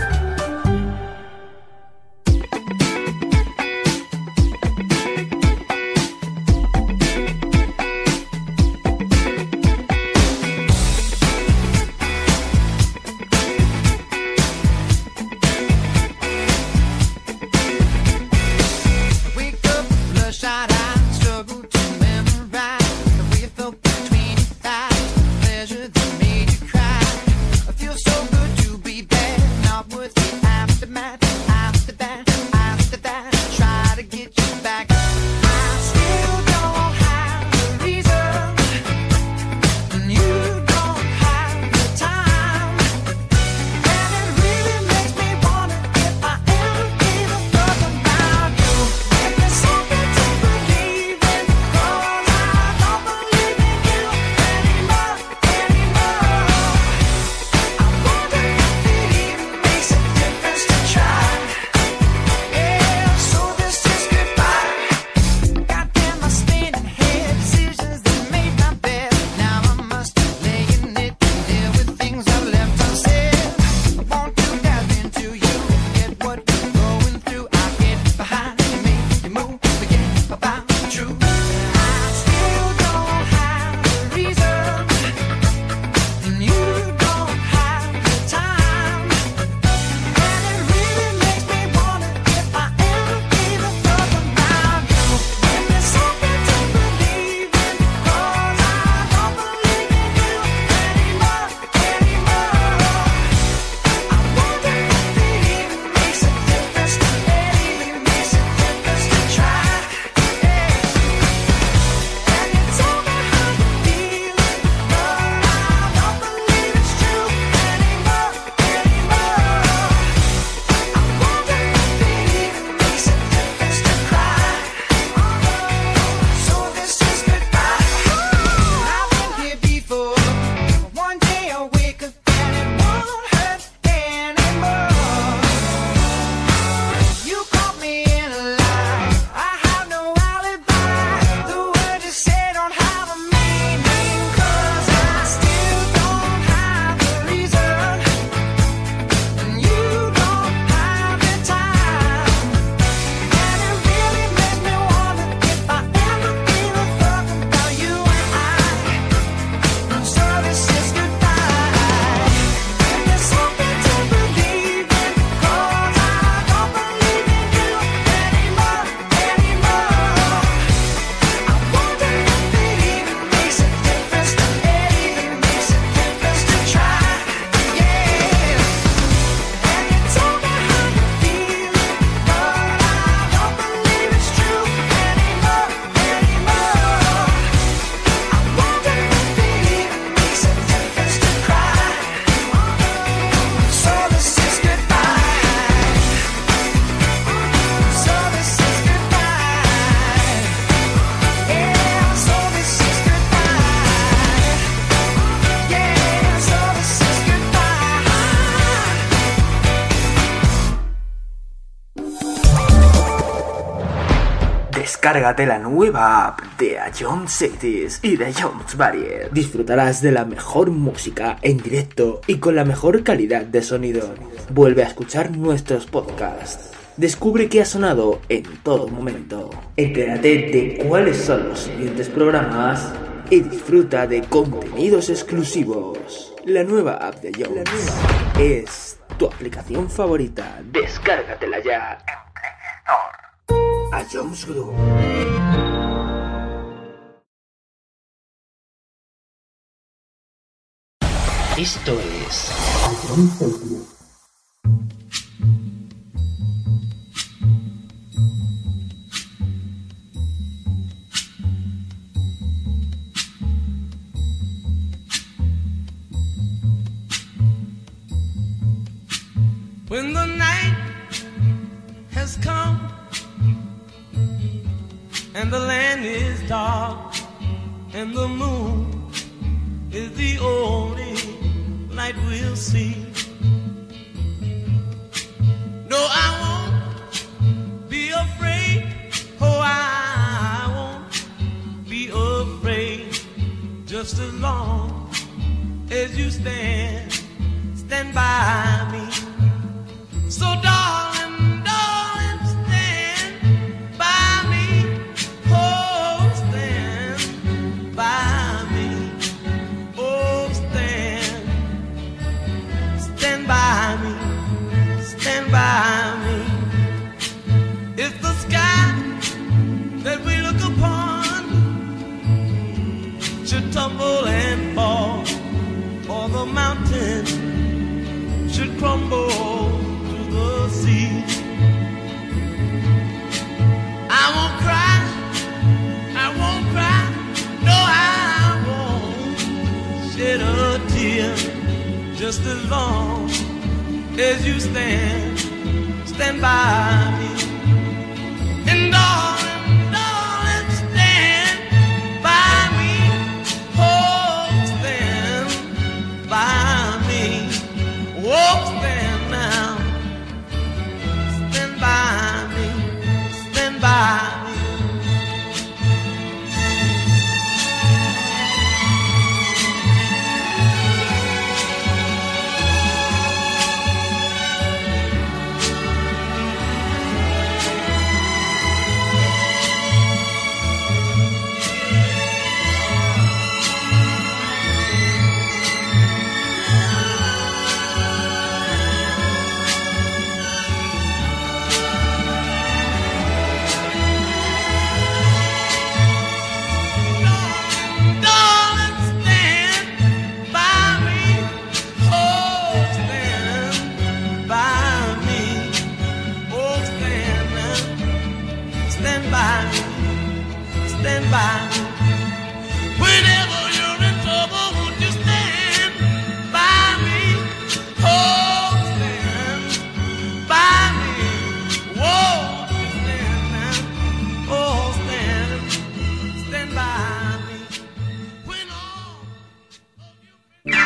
Descárgate la nueva app de Ion Cities y de Ion Barrier. Disfrutarás de la mejor música en directo y con la mejor calidad de sonido. Vuelve a escuchar nuestros podcasts. Descubre qué ha sonado en todo momento. Entérate de cuáles son los siguientes programas y disfruta de contenidos exclusivos. La nueva app de Ion es tu aplicación favorita. Descárgatela ya en Play Store. Ions Group. Esto es Ion Cities. When the night has come and the land is dark and the moon is the only light we'll see. No, I won't be afraid. Oh, I won't be afraid. Just as long as you stand by me. So darling, darling, stand by me. Oh, stand by me. Oh, stand by me. Stand by me. If the sky that we look upon should tumble and fall, or the mountain should crumble to the sea, I won't cry, I won't cry, no, I won't shed a tear, just as long as you stand by me. And darling, darling, stand by me. Oh, stand by me. Oh, stand now. Stand by me. Stand by me. Stand by me. Whenever you're in trouble, won't you stand by me? Oh, stand by me. Whoa, stand now. Oh, stand by me. When all of you...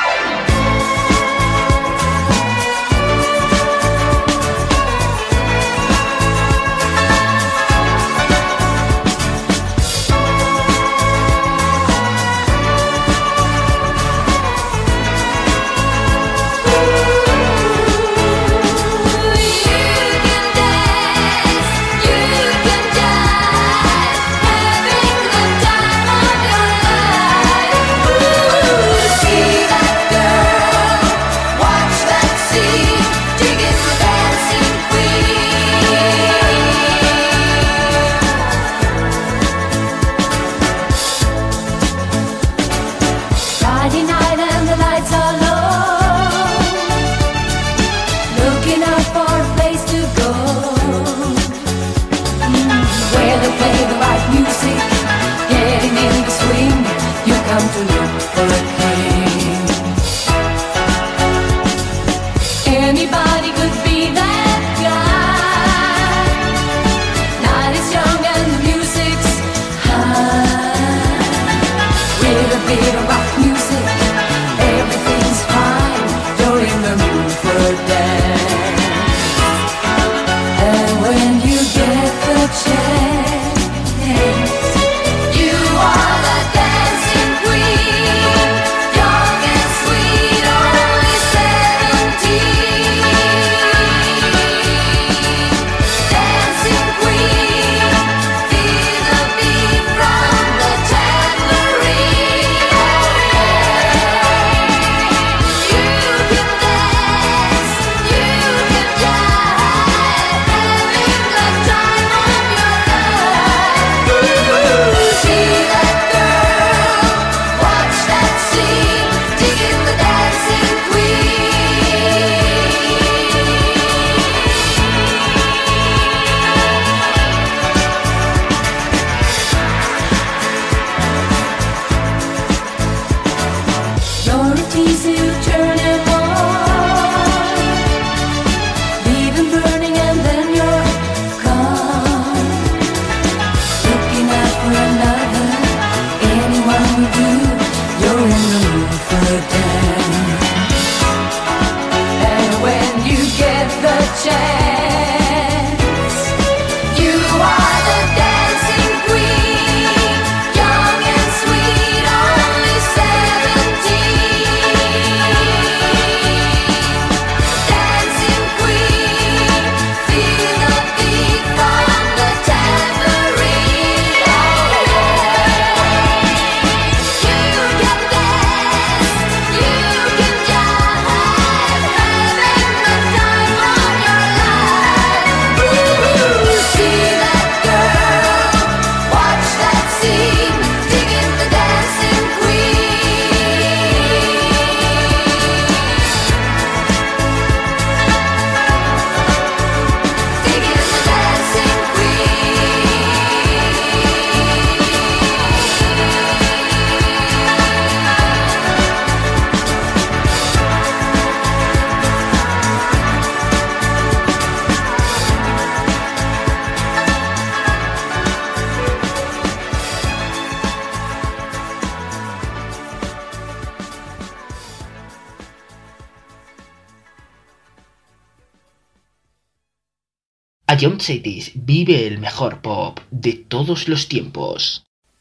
Ion Cities vive el mejor pop de todos los tiempos.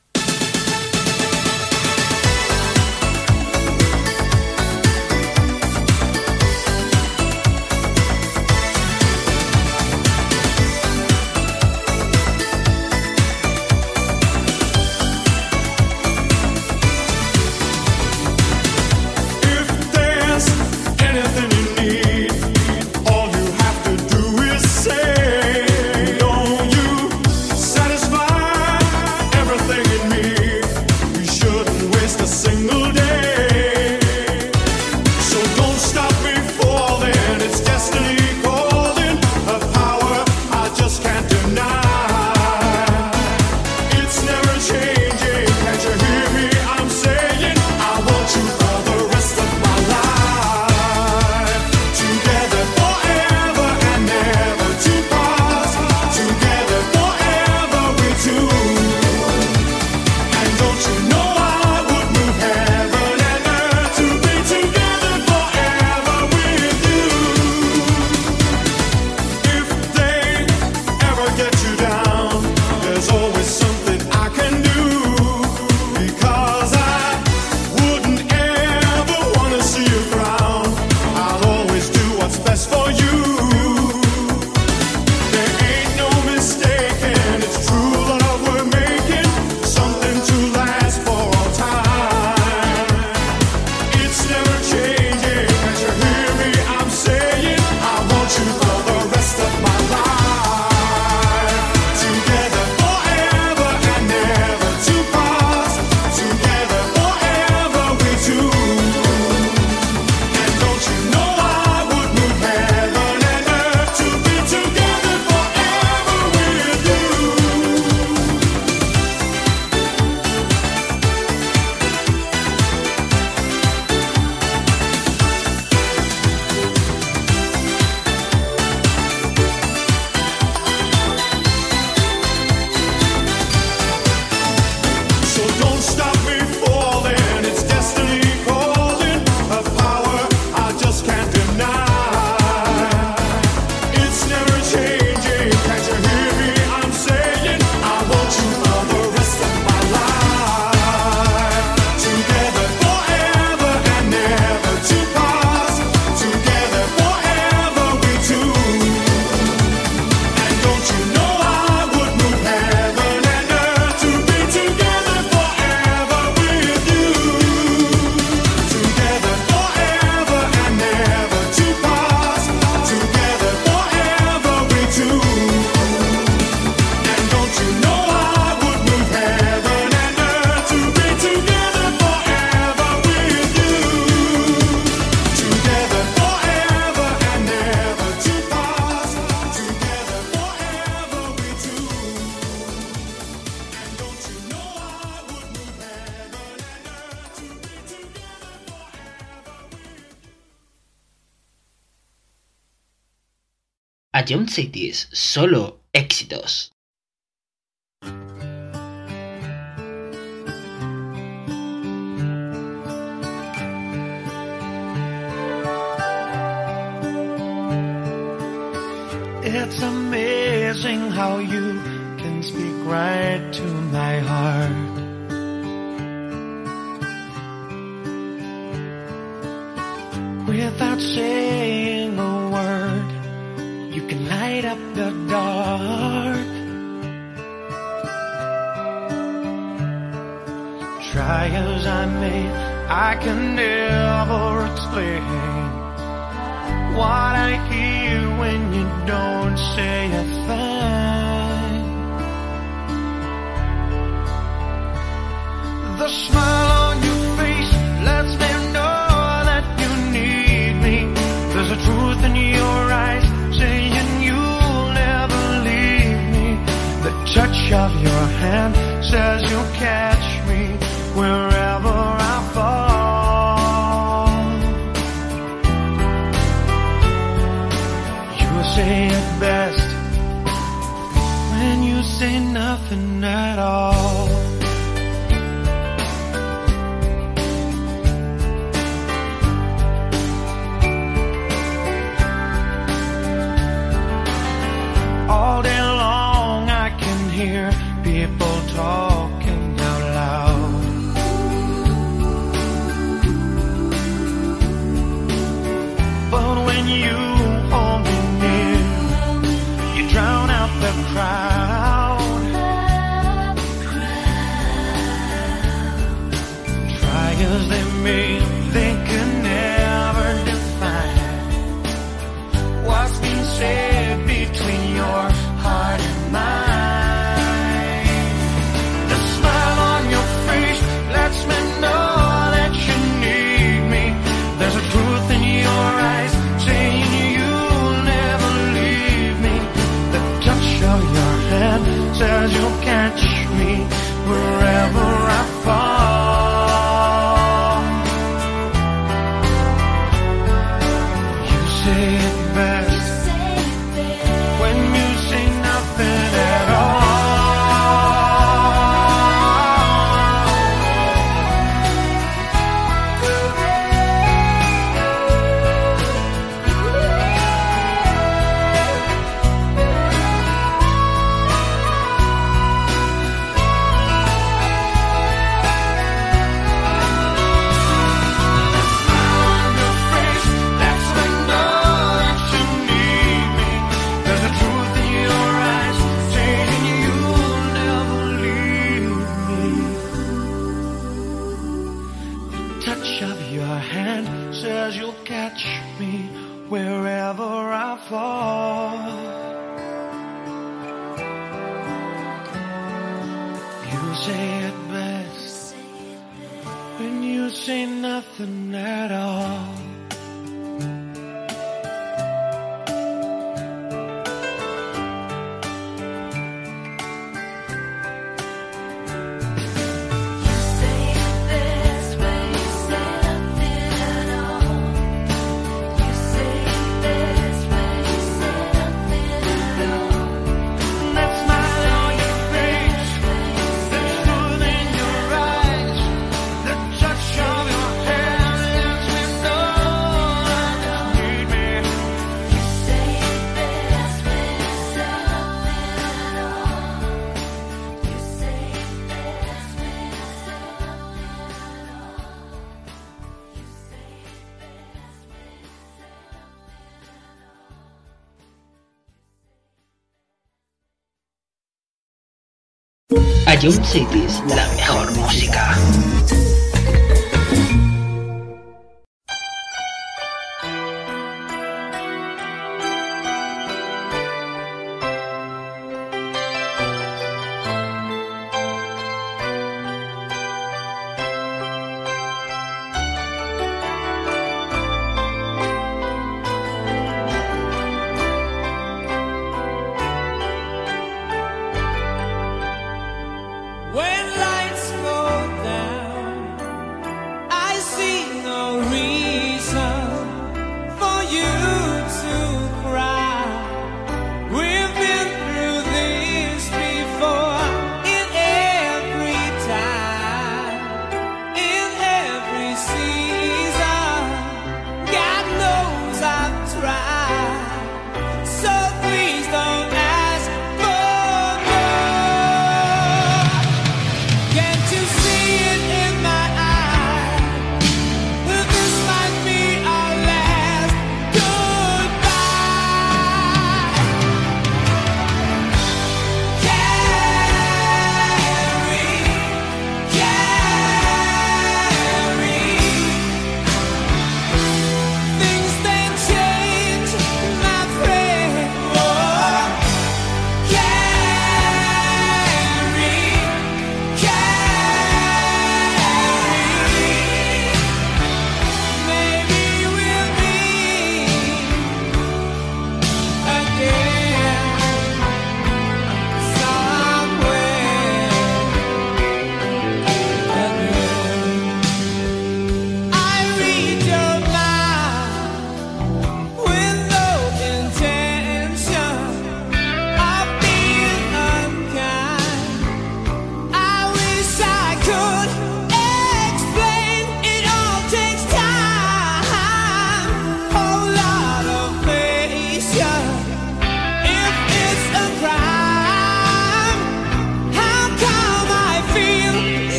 Ion Cities, solo éxitos. It's amazing how you can speak right to my heart. Without saying a word, you can light up the dark. Try as I may, I can never explain what I hear when you don't say a thing. The smile on your face lets me know that you need me. There's a truth in your eyes saying you'll never leave me. The touch of your hand says you'll catch me wherever I fall. You say it best when you say nothing at all. when you hold me near. You drown out the crowd. Try as they may, they can never define what's been said between your heart and mine. The smile on your face lets me know that you need me. There's a truth in your eyes saying you'll never leave me. The touch of your hand says you'll catch me wherever I fall. You say it best when you say nothing at all. Touch of your hand says you'll catch me wherever I fall. You say it best when you say nothing at all. Ion Cities, la mejor música. When lights go down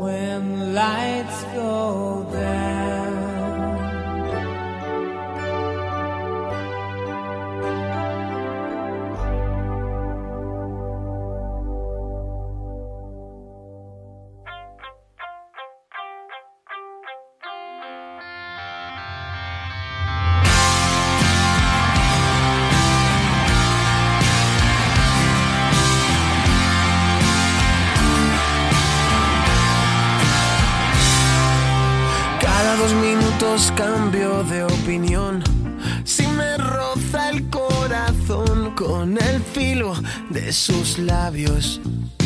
when lights go down. Cada 2 minutos cambio de opinión. Si me roza el corazón con el filo de sus labios.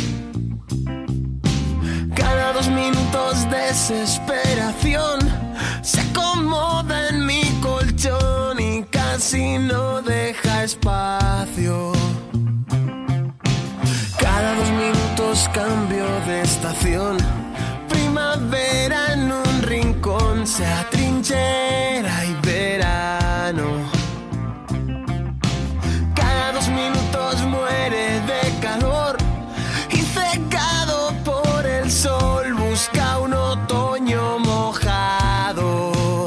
Cada 2 minutos desesperación se acomoda en mi colchón y casi no deja espacio. Cada 2 minutos cambio de estación. Primavera en un rincón, sea trinchera y verano. Cada 2 minutos muere de calor y cegado por el sol busca un otoño mojado.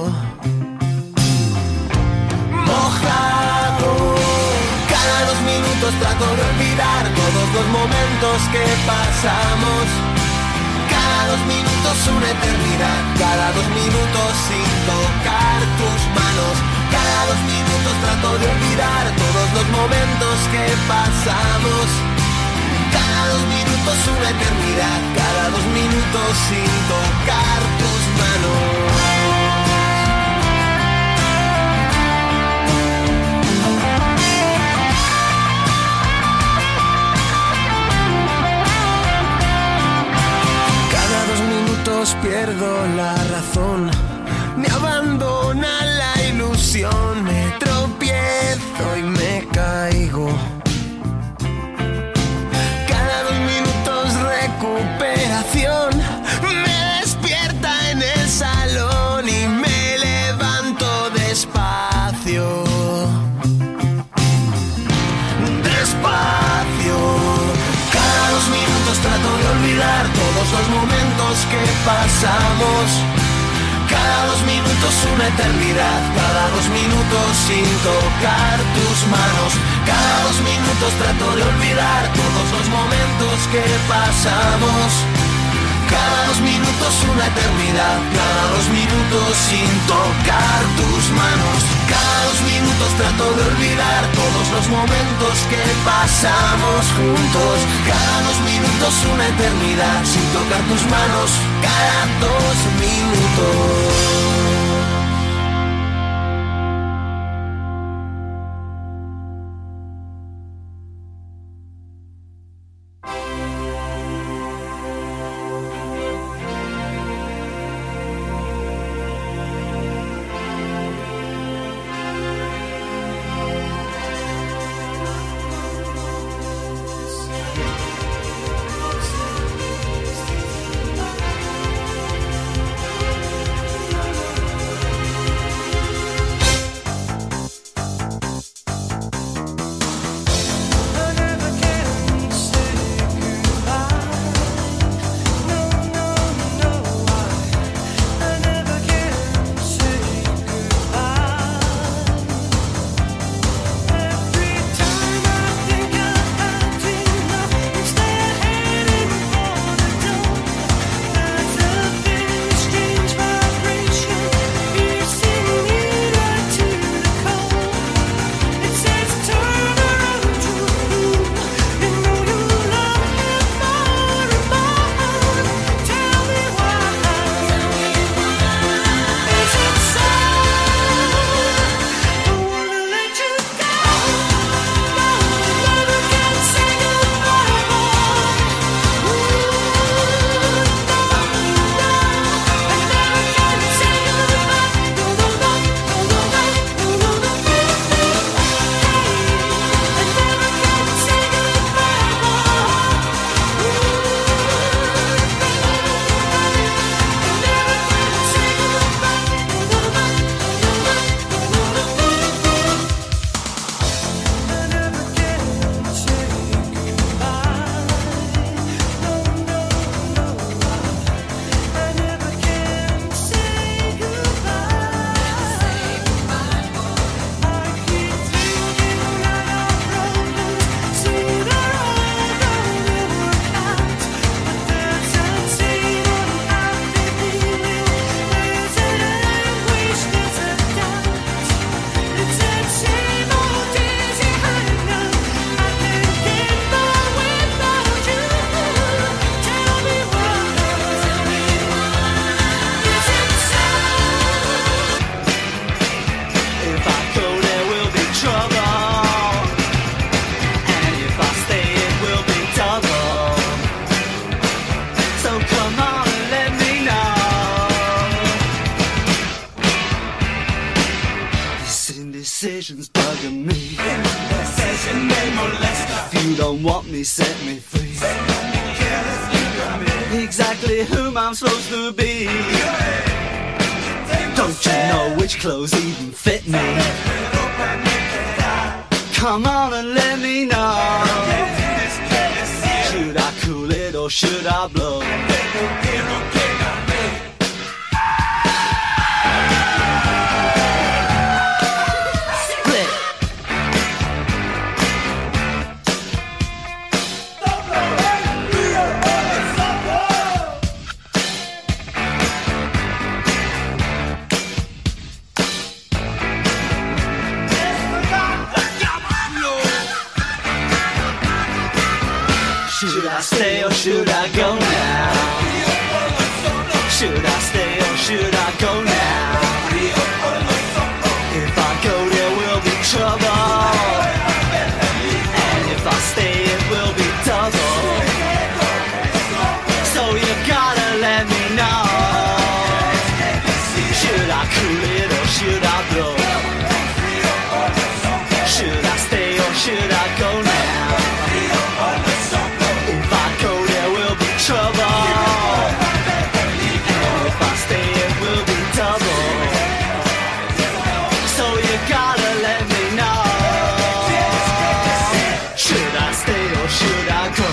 Mojado. Cada 2 minutos trato de olvidar todos los momentos que pasamos. Cada 2 minutos una eternidad, cada 2 minutos sin tocar tus manos. Cada 2 minutos trato de olvidar todos los momentos que pasamos. Cada 2 minutos una eternidad, cada 2 minutos sin tocar tus manos. Pierdo la razón, me abandona la ilusión, me tropiezo y me caigo. Cada 2 minutos recuperación, me despierta en el salón y me levanto despacio. Despacio. Cada 2 minutos trato de olvidar todos los momentos que pasamos. Cada 2 minutos una eternidad, cada 2 minutos sin tocar tus manos. Cada 2 minutos trato de olvidar todos los momentos que pasamos. Cada 2 minutos una eternidad, cada 2 minutos sin tocar tus manos. Cada 2 minutos trato de olvidar todos los momentos que pasamos juntos. Cada 2 minutos una eternidad sin tocar tus manos. Cada 2 minutos. indecision's bugging me. Indecision may molest her. If you don't want me, set me free. Exactly whom I'm supposed to be. Don't you know which clothes even fit me? Come on and let me know. Should I cool it or should I blow? Should I stay or should I go now? Should I stay or should I go now? If I go there will be trouble, and if I stay it will be double. So you gotta let me know. Should I cool it or should I blow? Should I stay or should I go now? Trouble. And if I stay, it will be double. So you gotta let me know. Should I stay or should I go?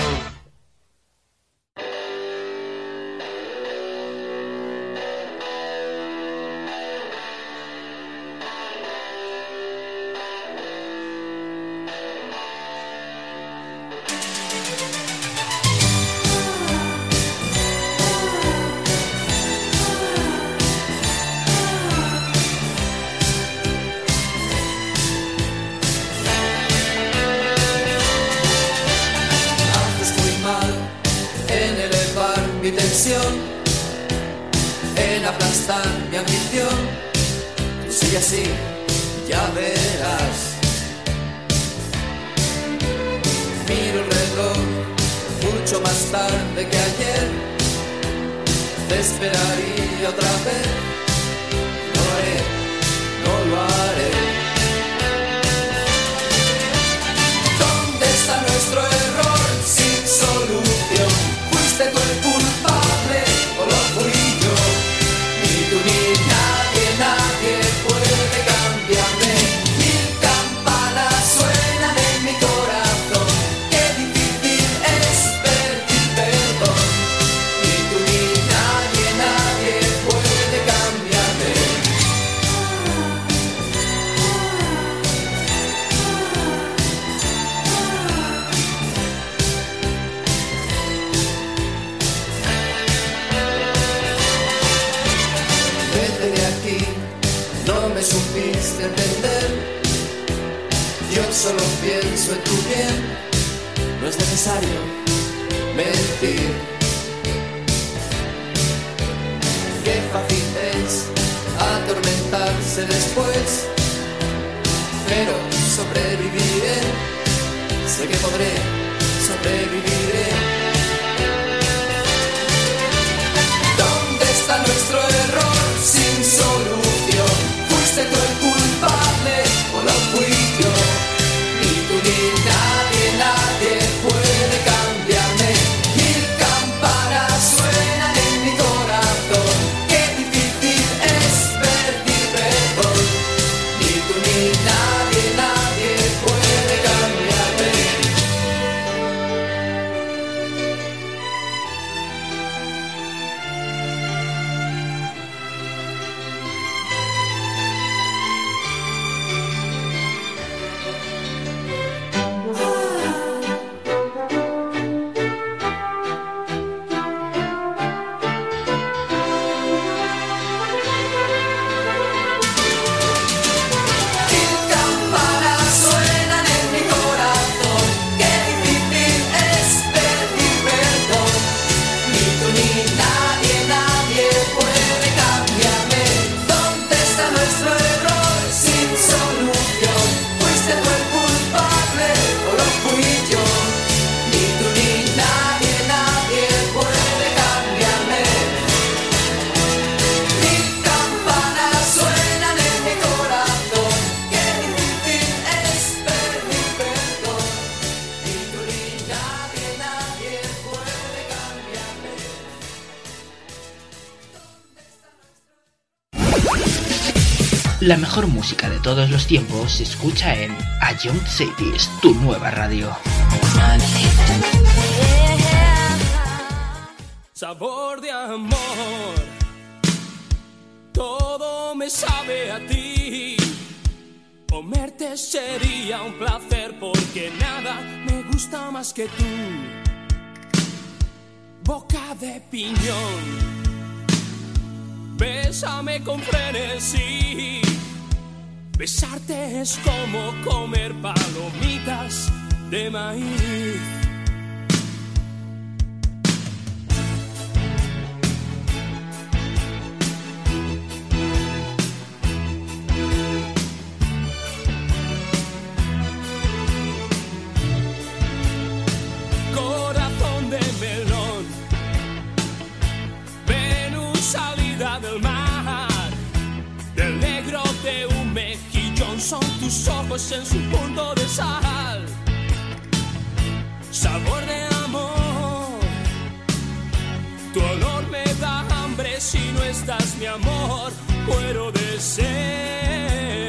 Mi tensión en aplastar mi ambición. Tú sigue así, ya verás. Miro el reloj mucho más tarde que ayer. Te esperaría otra vez. No lo haré, no lo haré. ¿Dónde está nuestro error sin solución? ¿Fuiste tú el culpable o lo fui yo? Ni tú ni nadie, nadie puede cambiarme. Mil campanas suenan en mi corazón. Qué difícil es pedir perdón. Ni tú ni nadie, nadie puede cambiarme. Vete de aquí, no me supiste entender. Yo solo pienso en tu bien. No es necesario mentir. Qué fácil es atormentarse después, pero sobreviviré. Sé que podré, sobreviviré. ¿Dónde está nuestro error sin solución? ¿Fuiste tú el culpable o lo fui yo? Ni tú ni nadie, nadie puede cambiarme. Mil campanas suenan en mi corazón. Qué difícil es pedir perdón. Ni tú ni nadie, nadie puede cambiarme. La mejor música de todos los tiempos se escucha en Ion Cities, tu nueva radio. Sabor de amor, todo me sabe a ti. Comerte sería un placer porque nada me gusta más que tú. Boca de piñón, bésame con frenesí. Besarte es como comer palomitas de maíz. Corazón de melón, Venus salida del mar, del negro de un mejillón son tus ojos en su punto de sal. Sabor de amor, tu olor me da hambre si no estás, mi amor, muero de sed.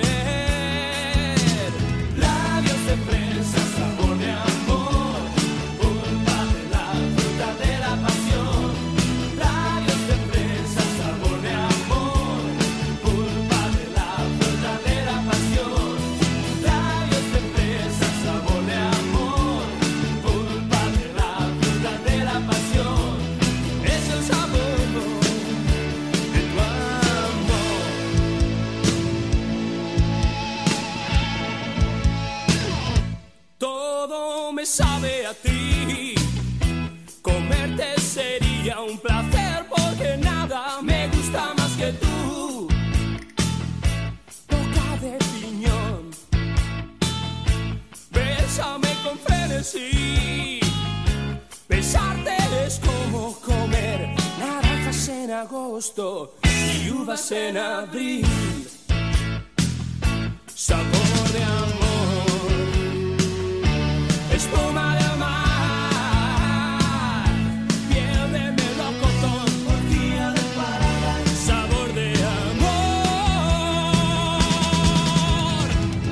Labios de fresa, sabor de amor, pulpa de la fruta de la pasión. Labios de fresa, sabor de amor, pulpa de la fruta de la pasión. Labios de fresa, sabor de amor, pulpa de la fruta de la pasión. Es el sabor de tu amor. Todo me sabe a ti. Comerte sería un placer porque nada me gusta más que tú. Boca de piñón, bésame con frenesí. Besarte es como comer naranjas en agosto y uvas en abril. Sabor de amor, espuma del mar, piel de melocotón, orgía de paradise. Sabor de amor.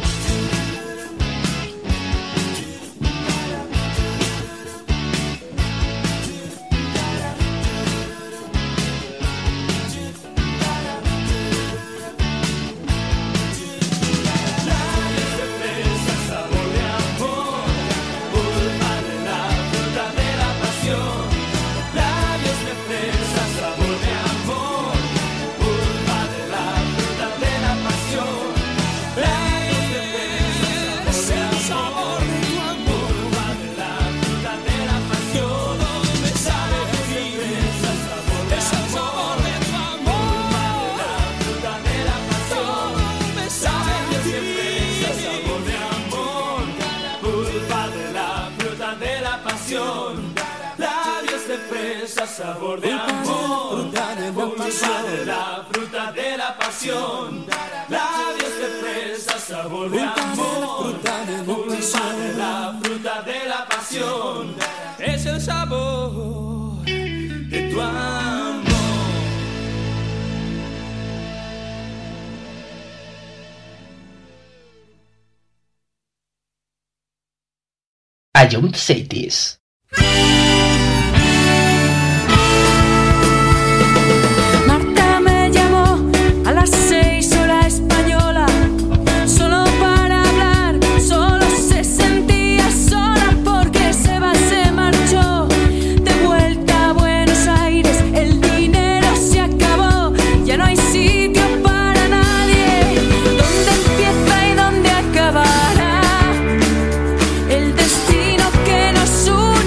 Labios de fresa, sabor de amor, pulpa de la fruta de la pasión. Labios de fresa, sabor de amor, pulpa de la fruta de la pasión. Labios de fresa, sabor de amor, pulpa de la fruta de la pasión. Todo me sabe a ti, es el sabor de tu amor, pulpa de la fruta de la pasión. Todo me sabe a ti, sabor de amor, pulpa de la fruta de la pasión. Labios de fresa, sabor de amor, pulpa de la fruta de la pasión. Labios de fresa, sabor de amor, pulpa de la fruta de la pasión. Es el sabor de tu amor. Ion Cities. Marta me llamó a las 6 hora española, solo para hablar, solo se sentía sola porque Seba se marchó de vuelta a Buenos Aires, el dinero se acabó, ya no hay sitio para nadie, ¿dónde empieza y dónde acabará el destino que nos une?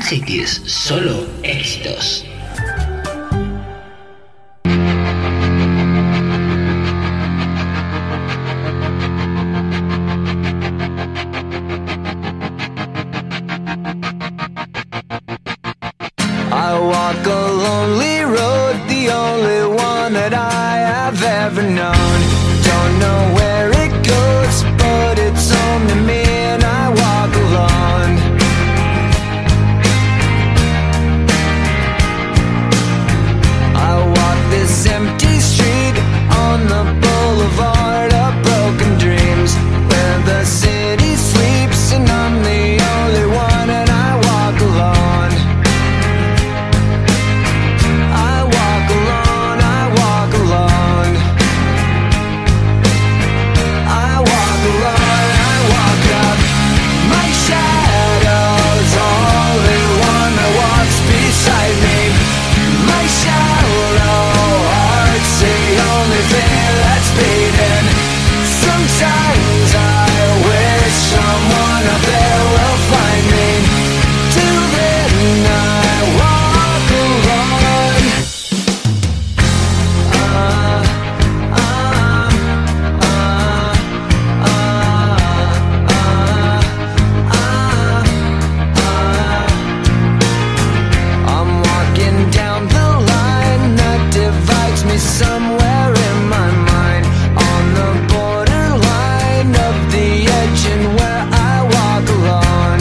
Cities, solo éxitos. I walk a lonely road, the only one that I have ever known. Don't know where it goes, but it's home to me and I walk alone. I walk this empty street on the boulevard of broken dreams, where the city sleeps and I'm the only one and I walk alone. Sometimes I wish someone up there will find me. Till then I walk alone. I'm walking down the line that divides me somewhere in my mind, on the borderline of the edge and where I walk alone.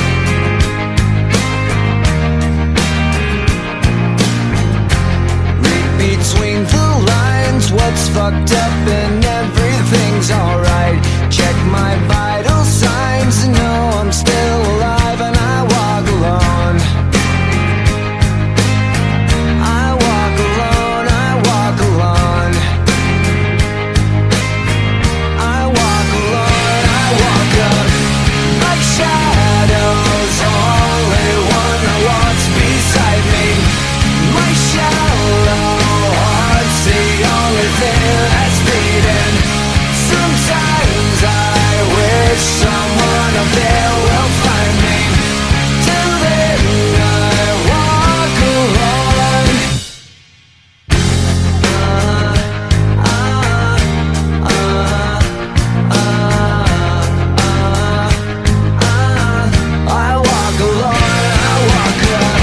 Read between the lines what's fucked up and everything's alright. Check my vital signs and know I'm still alive and I walk alone. I walk alone, I walk alone. I walk alone, I walk up. My shadow's only one that walks beside me. My shallow heart's the only thing that's beating. Sometimes I wish someone up there will find me. Till then I walk alone. I walk alone, I walk up.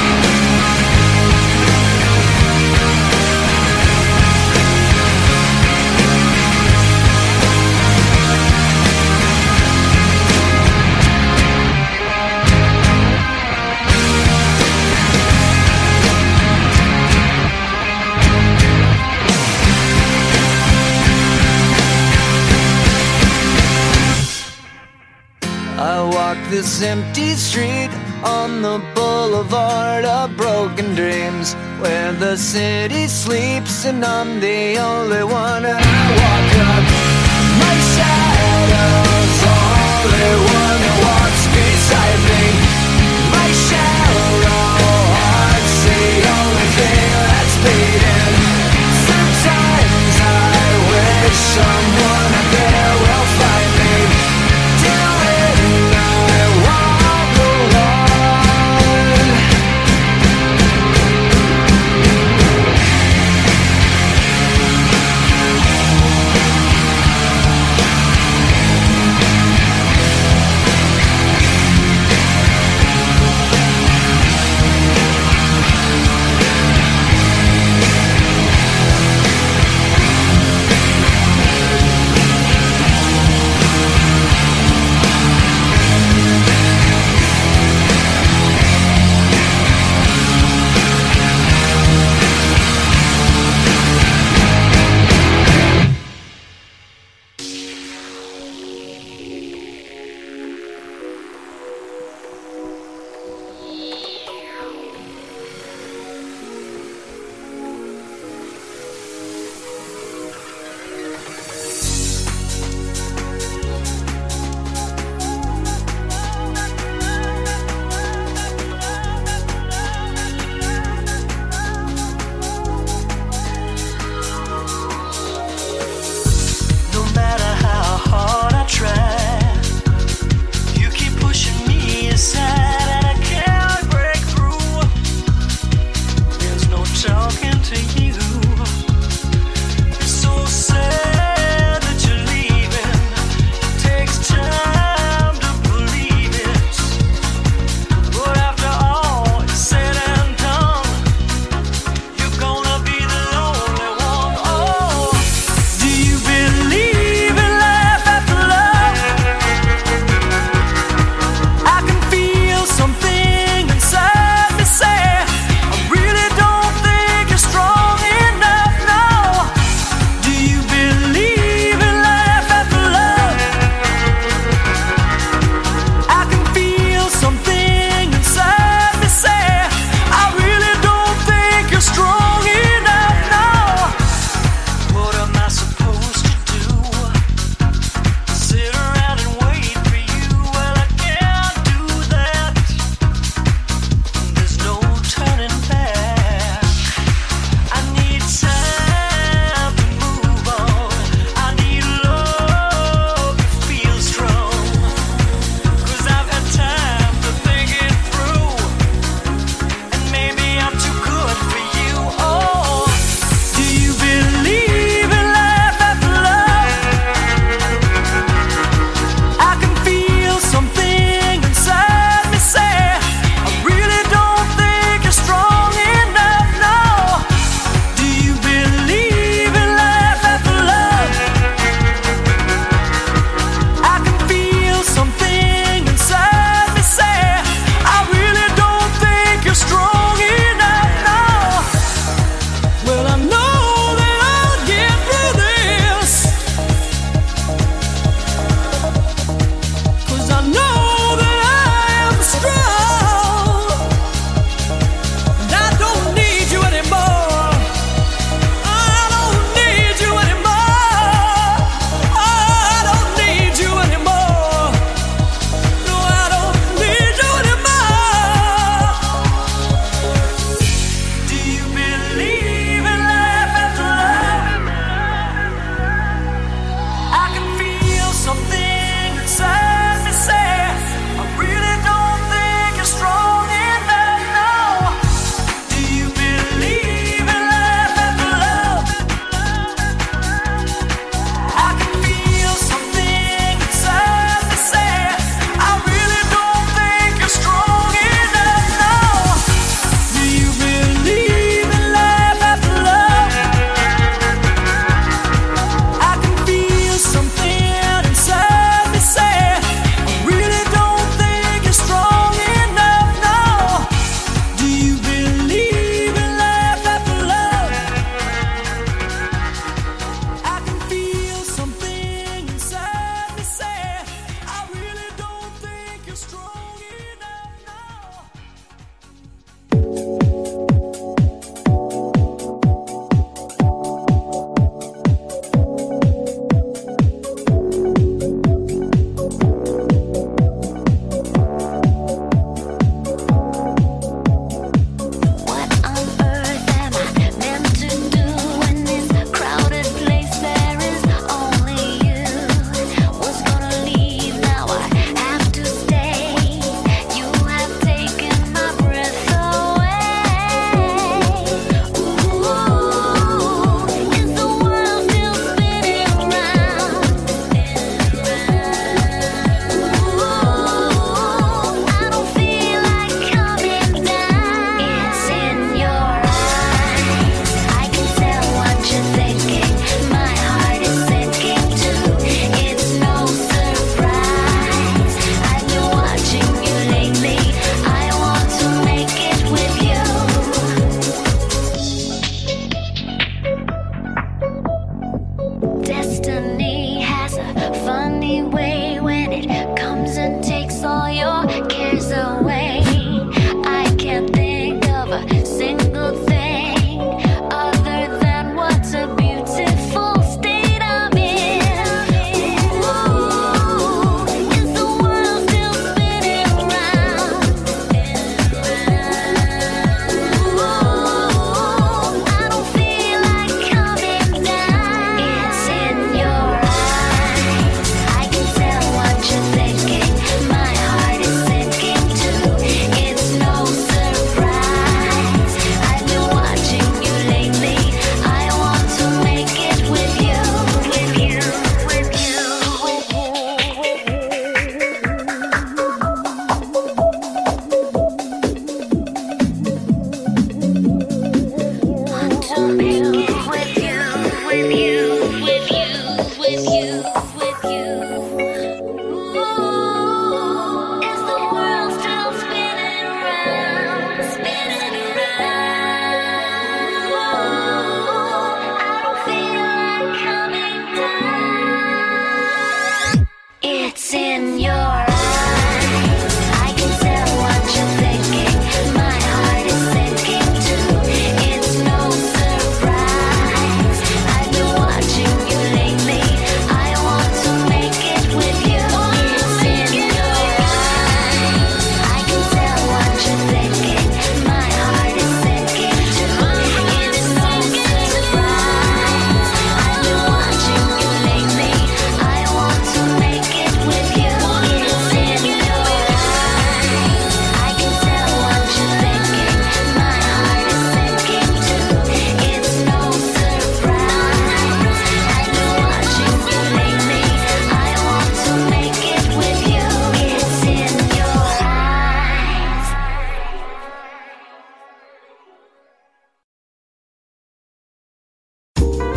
I walk this empty street on the boulevard of broken dreams, where the city sleeps and I'm the only one and I walk up. My shadow's only one that walks beside me. My shallow heart's the only thing that's beating. Sometimes I wish someone up there will find me. Till then I walk alone.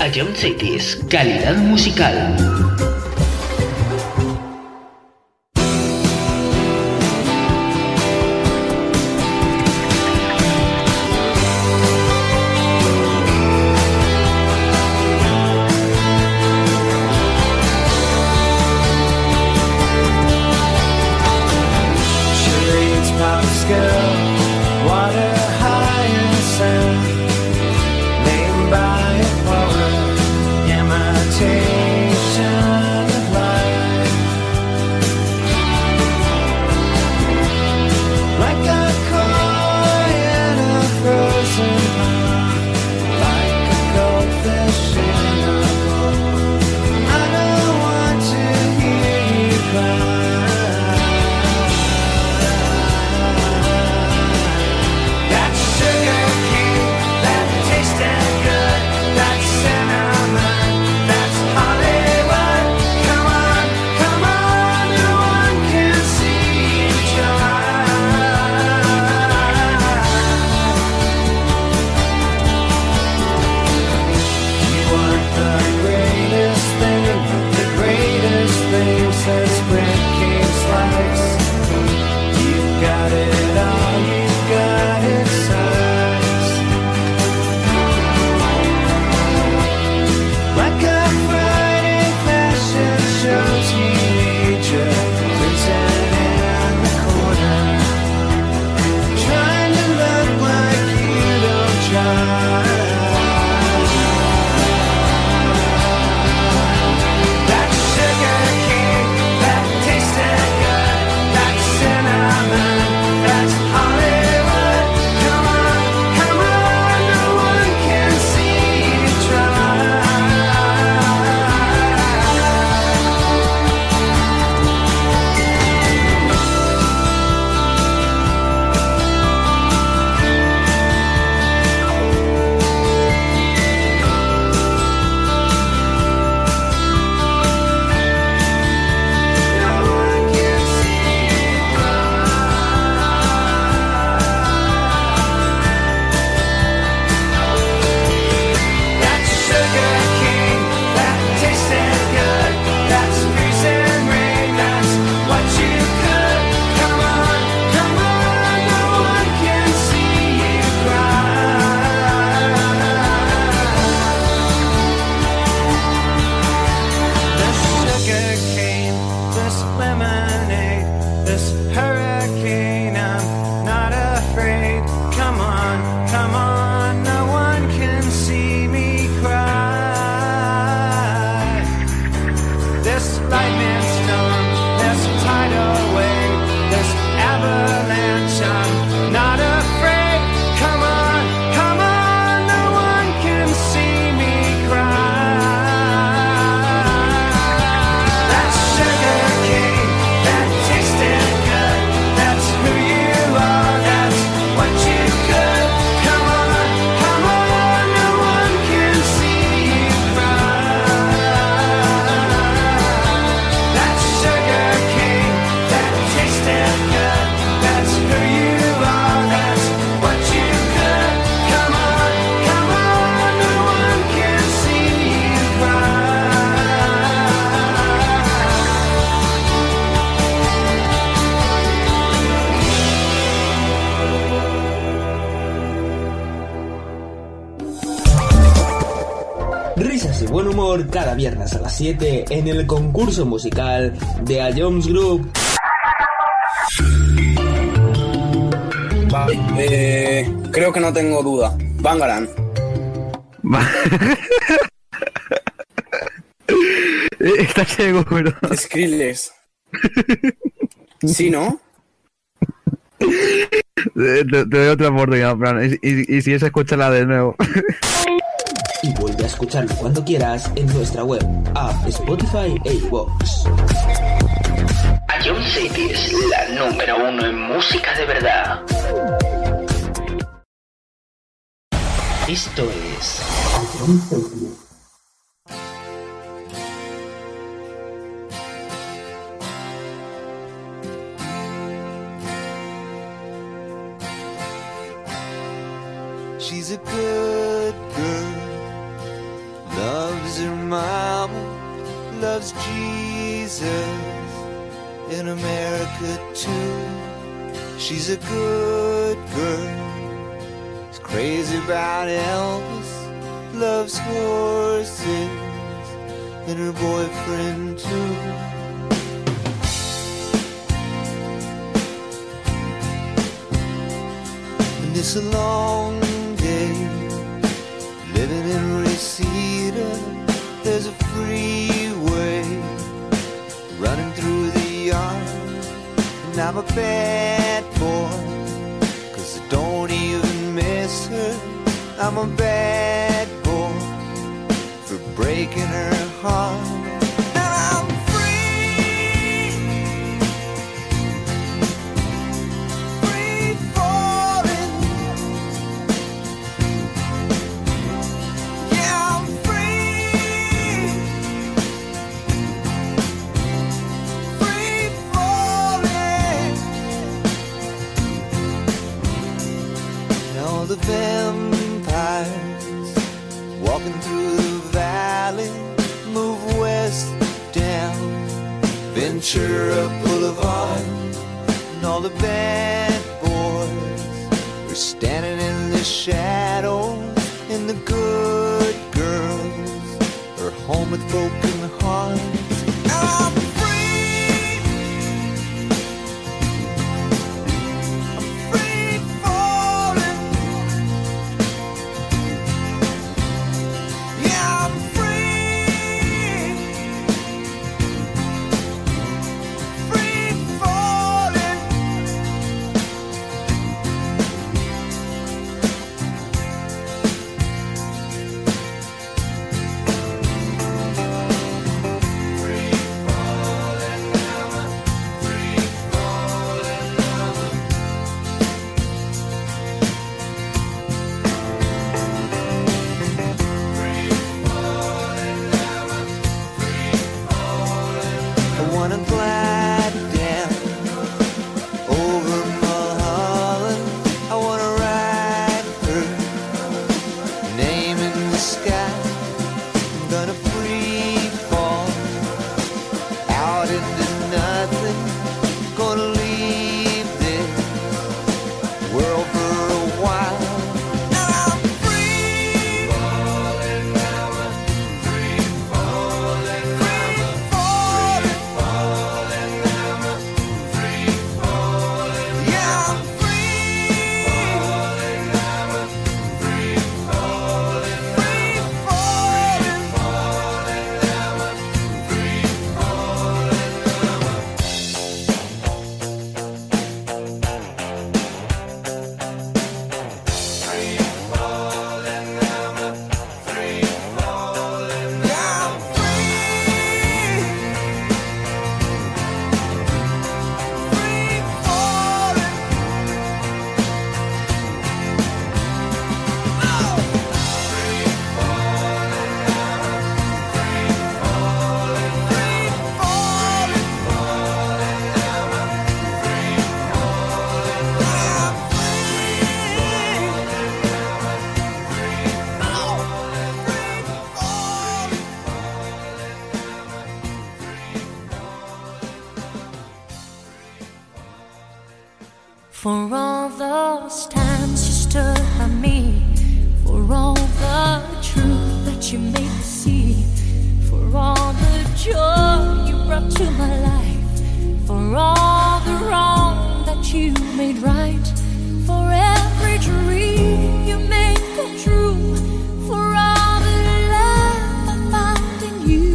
Ion Cities, calidad musical. Risas y buen humor cada viernes a las 7 en el concurso musical de A Jones Group. Creo que no tengo duda. Bangarang. ¿Estás seguro? Skrillex. ¿Sí, no? Te doy otra oportunidad, Fran. Y si es, escúchala de nuevo. Y vuelve a escucharlo cuando quieras en nuestra web, app, Spotify e iVoox. Ion Cities, la número 1 en música de verdad. Esto es Ion Cities. She's a good girl, says her mama loves Jesus in America too. She's a good girl, is crazy about Elvis, loves horses and her boyfriend too. And it's a long day living in Reseda. There's a freeway running through the yard, and I'm a bad boy, 'cause I don't even miss her. I'm a bad boy for breaking her heart. And I'm free, free falling. Yeah, I'm free, free falling. Now the vampires walking through the valley move west down Ventura Boulevard, and all the bad boys are standing in the shadows, and the good girls are home with broken hearts. I'm free, I'm free falling. Yeah, I'm free, free falling. I wanna glide down over Mulholland. I wanna write her name in the sky. I'm gonna free fall out into nothing. Gonna leave this world for a while. And I'm free falling, free falling, free falling, free falling. Yeah, I'm free falling, free falling, free For all those times you stood by me, for all the truth that you made me see, for all the joy you brought to my life, for all the wrong that you made right, for every dream you made come true, for all the love I found in you,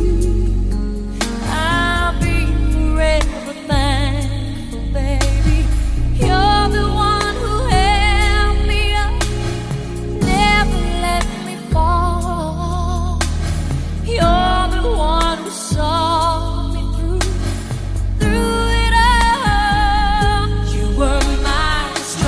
I'll be forever thankful, baby. You're the one who held me up, never let me fall. You're the one who saw me through it all. You were my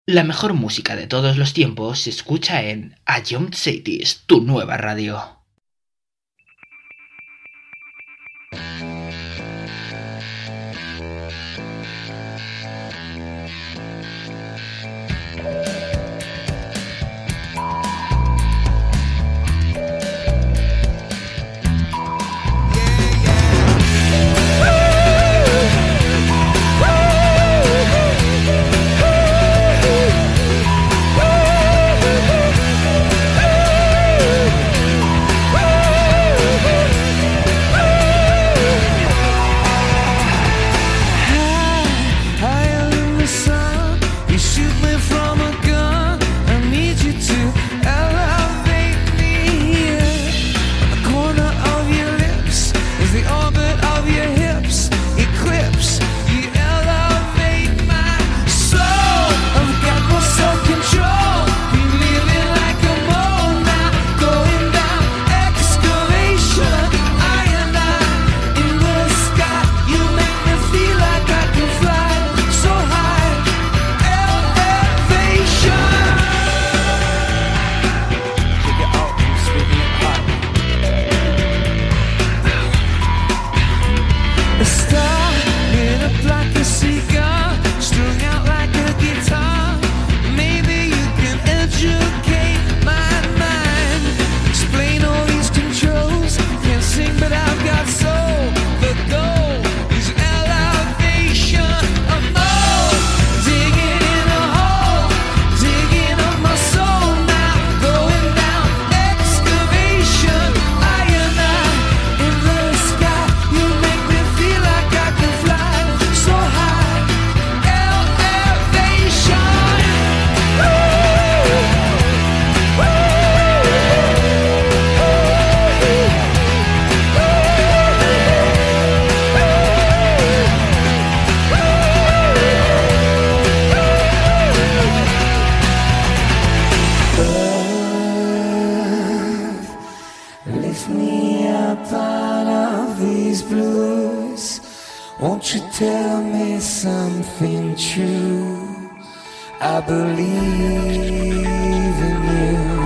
La mejor música de todos los tiempos se escucha en A Young Cities, tu nueva radio. Won't you tell me something true? I believe in you.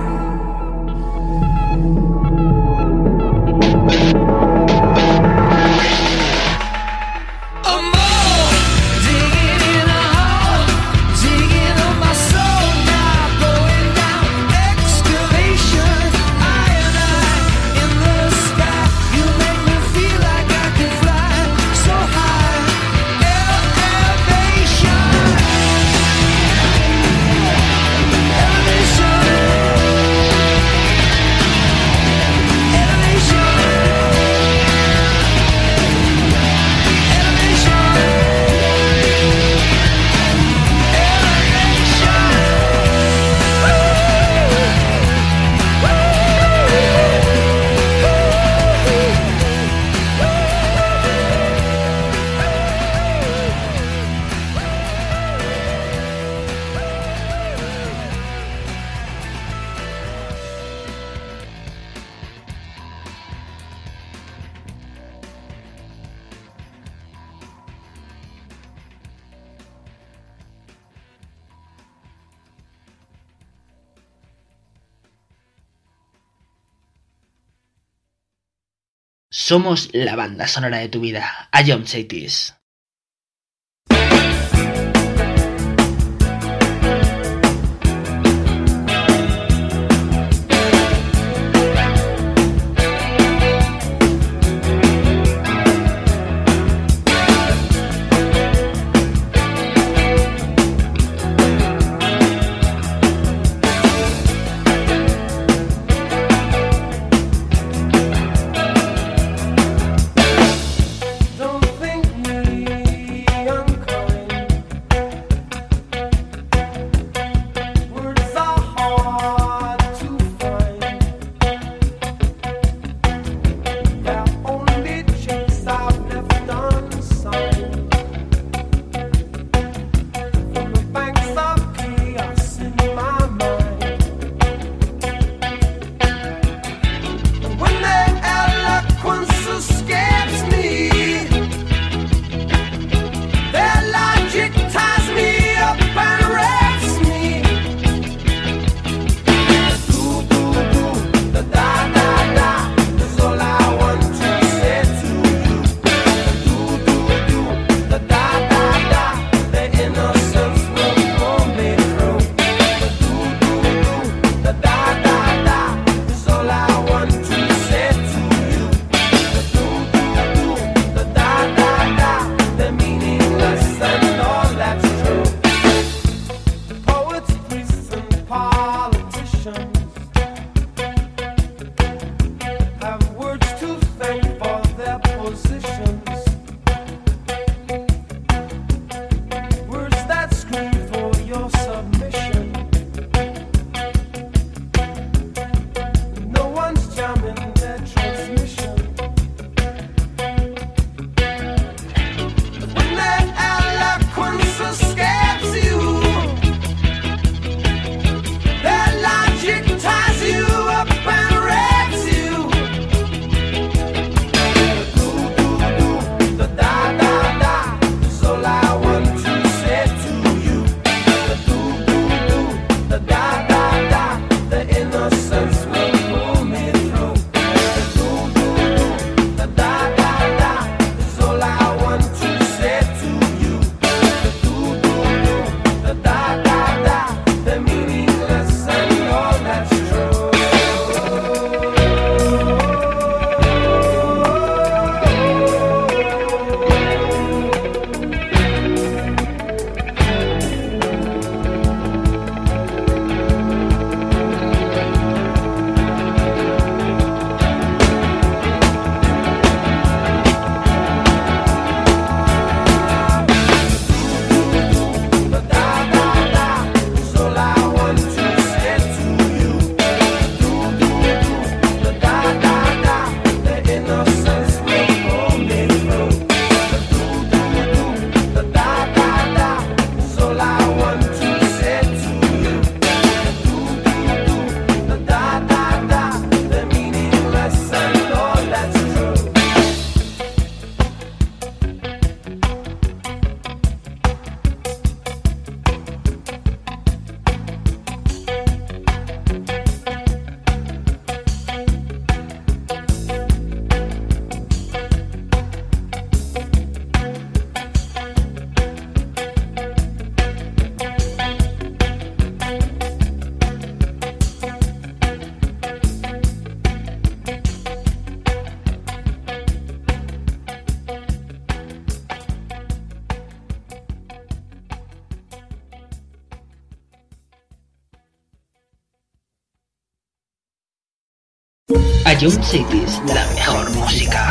Somos la banda sonora de tu vida. A Young Cities. Don't think you ties you up and wrecks you. The da da da is all I want to say to you. The da da da, the innocence will pull me through. The da da da is all I want to say to you. The da da da, the meaningless and all that's true. Ion Cities, la mejor música.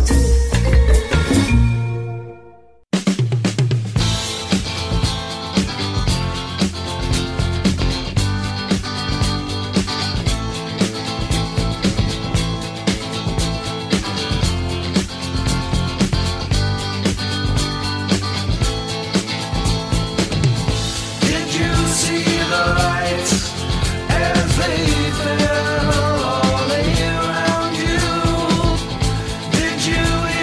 Did you see the lights as they fell all around you? Did you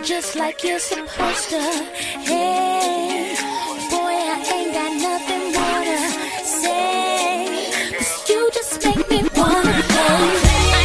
just like you're supposed to. Hey, boy, I ain't got nothing more to say, 'cause you just make me wanna play.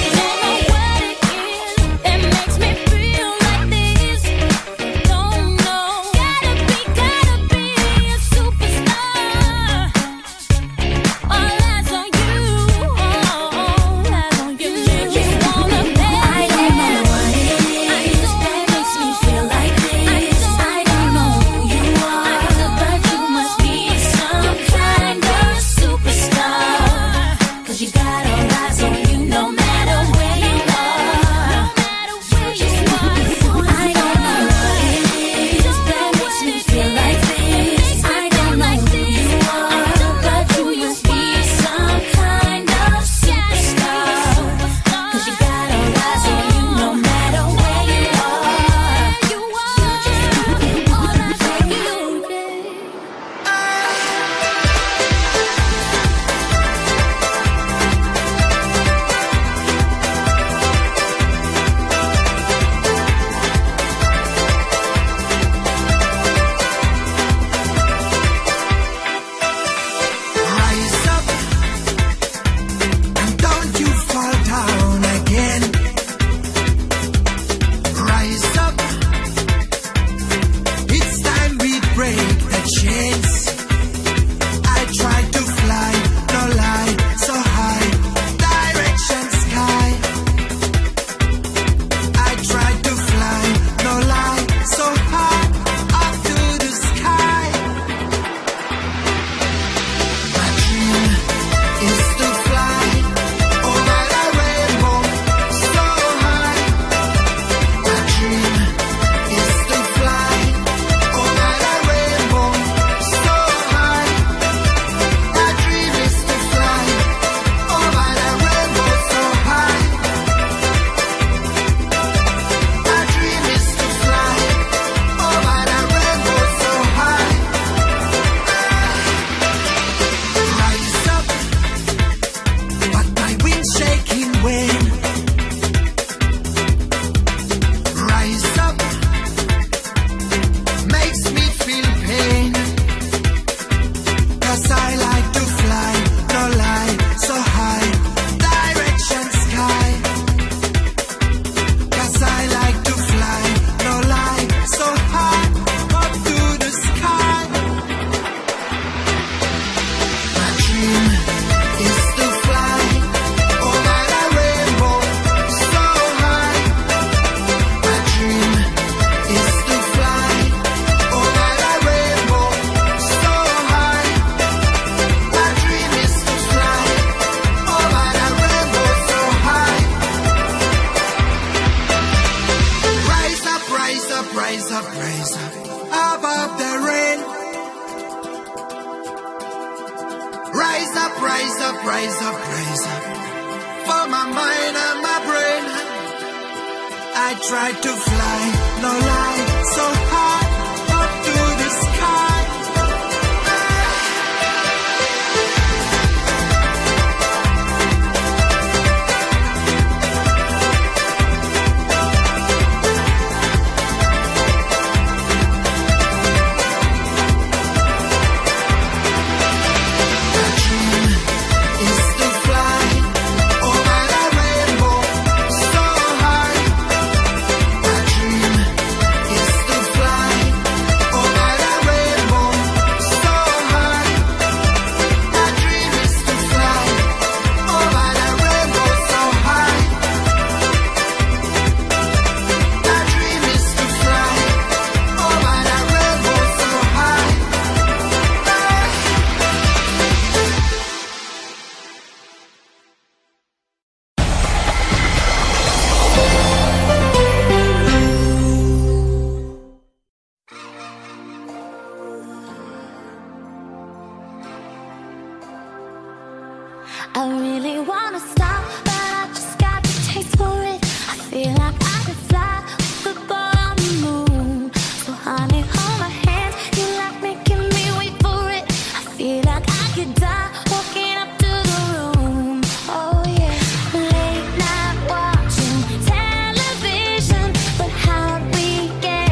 I really wanna stop, but I just got the taste for it. I feel like I could fly with the ball on the moon. So honey, hold my hand, you like making me wait for it. I feel like I could die walking up to the room. Oh yeah, late night watching television, but how'd we get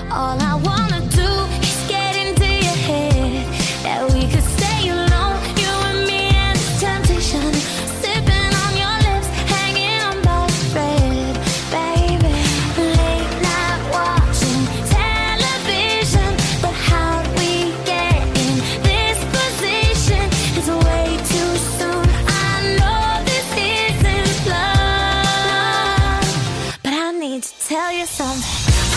All I wanna do is get into your head. That we could stay alone, you and me and the temptation. Sipping on your lips, hanging on by a thread, baby. Late night watching television, but how do we get in this position? It's way too soon. I know this isn't love, but I need to tell you something.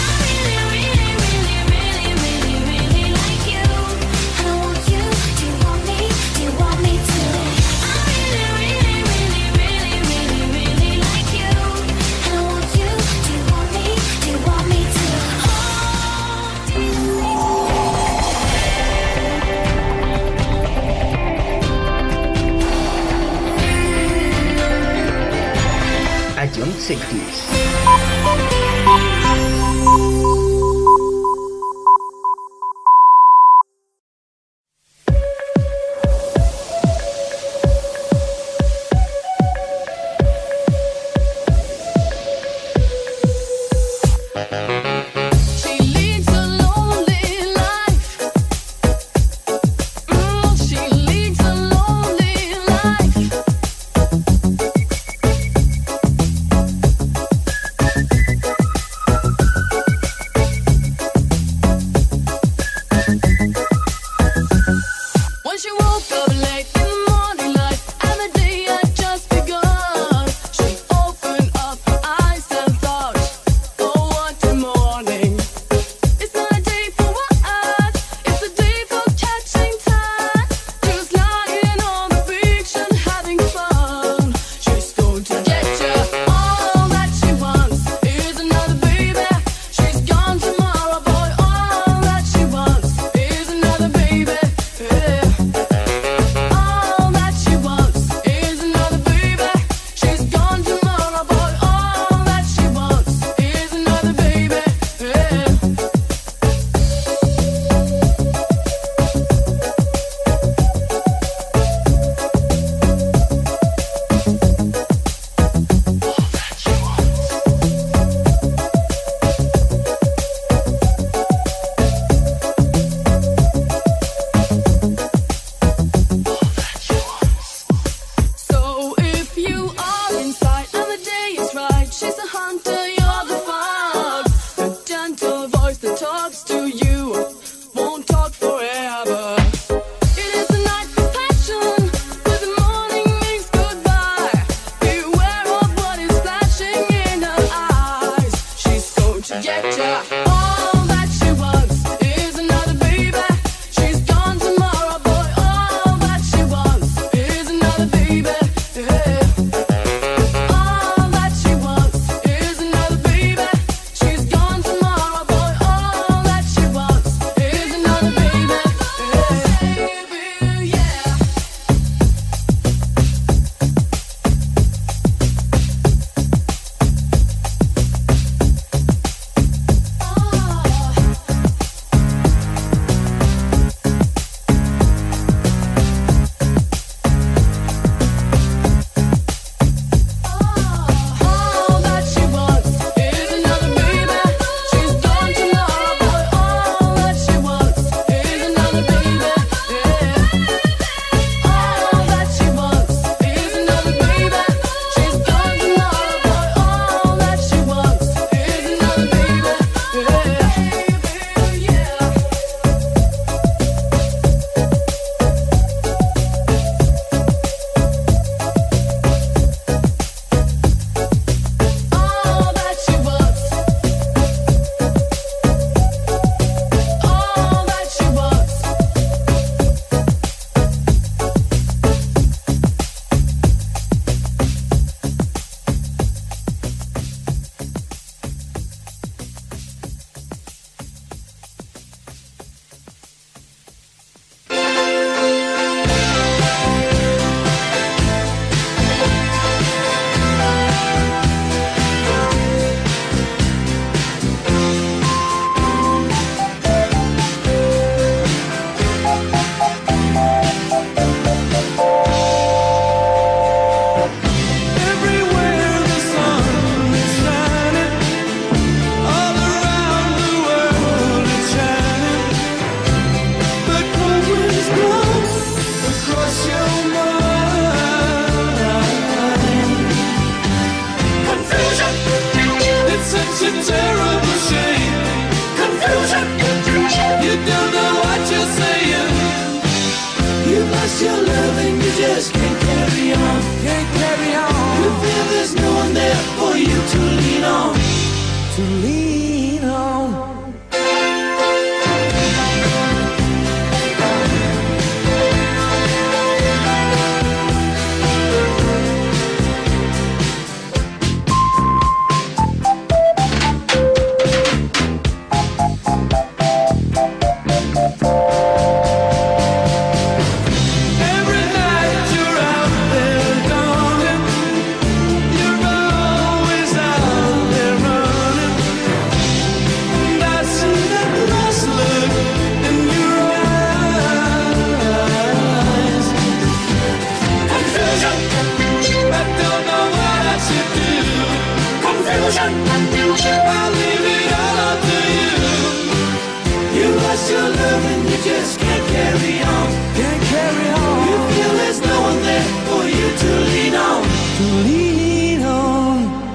Ion Cities. She leads a lonely life. She leads a lonely life. When she woke up late in the morning light, and the day had just begun, she opened up her eyes and thought, oh, what a morning. It's not a day for what? It's a day for catching time. Just lying on the beach and having fun. She's going to get you. All that she wants is another baby. She's gone tomorrow, boy. All that she wants is another baby. Yeah. All that she wants is another baby. She's gone tomorrow, boy. All that she wants is another baby. Yeah. So if you are inside and the day is right, she's the hunter, you're the fox. The gentle voice that talks to you won't talk forever. It is the night for passion, but the morning means goodbye. Beware of what is flashing in her eyes. She's going to get ya. All that she wants is another baby. She's gone tomorrow, boy. All that she wants is another baby. Yeah. All that she wants is another baby. She's gone tomorrow, boy. All that she wants is another baby. Yeah. Yeah. to lean on. Every night you're out there darling, you're always out there running, and I see that lost look in your eyes. Confusion, I don't know what I should do. Confusion, I'll leave it all up to you. You lost your love and you just can't carry on. Can't carry on. You feel there's no one there for you to lean on. To lean on.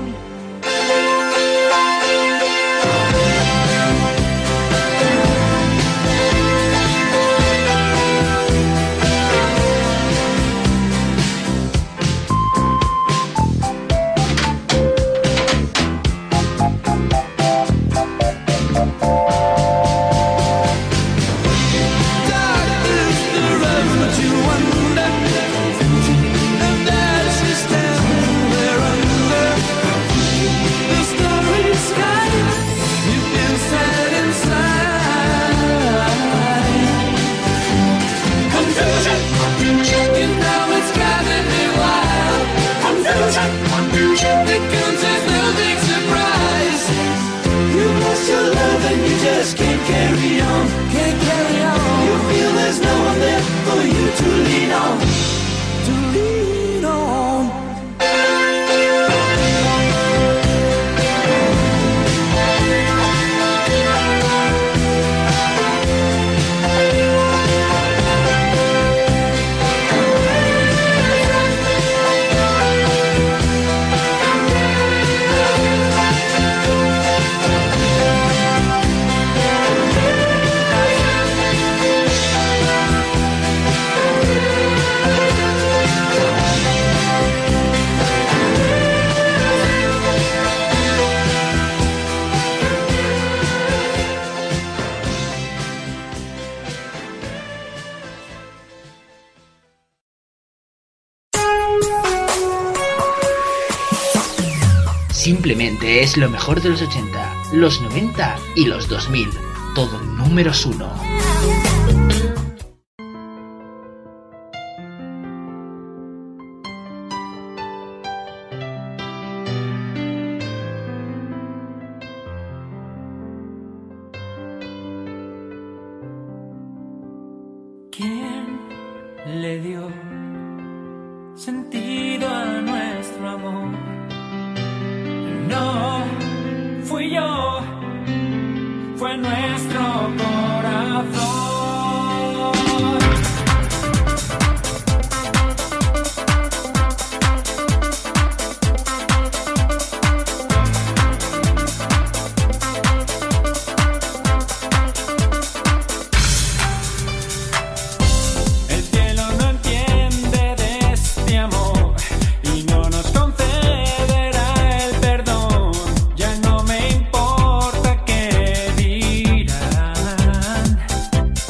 Dark is the road that you wander, and as you stand there under the starry sky, you feel sad inside. Confusion, you know it's driving me wild. Confusion, it comes as no big surprise. You lost your love and you just can't carry on. Can't carry on. You feel there's no one there for you to lean on. To lean on. Simplemente es lo mejor de los 80, los 90 y los 2000. Todo números 1. ¿Quién le dio sentido a nuestro amor? No fui yo, fue nuestro corazón. El cielo no entiende de este amor y no nos concederá el perdón. Ya no me importa qué dirán.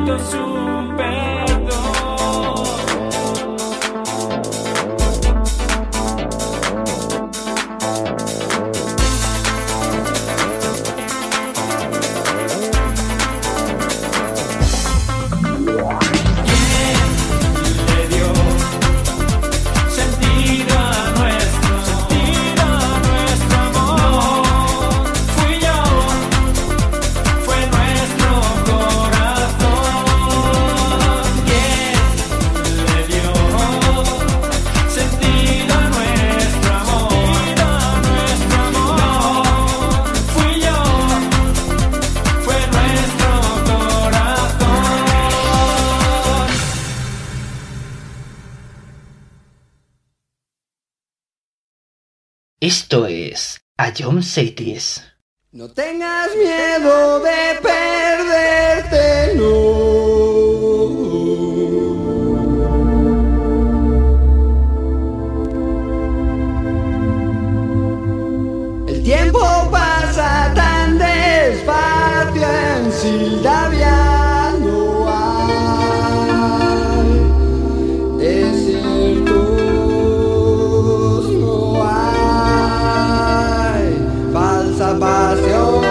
necesito su perdón. Esto es Ion Cities. No tengas miedo de perderte, no. El tiempo pasa tan despacio en Sildavia, no hay desiertos, no hay falsa pasión.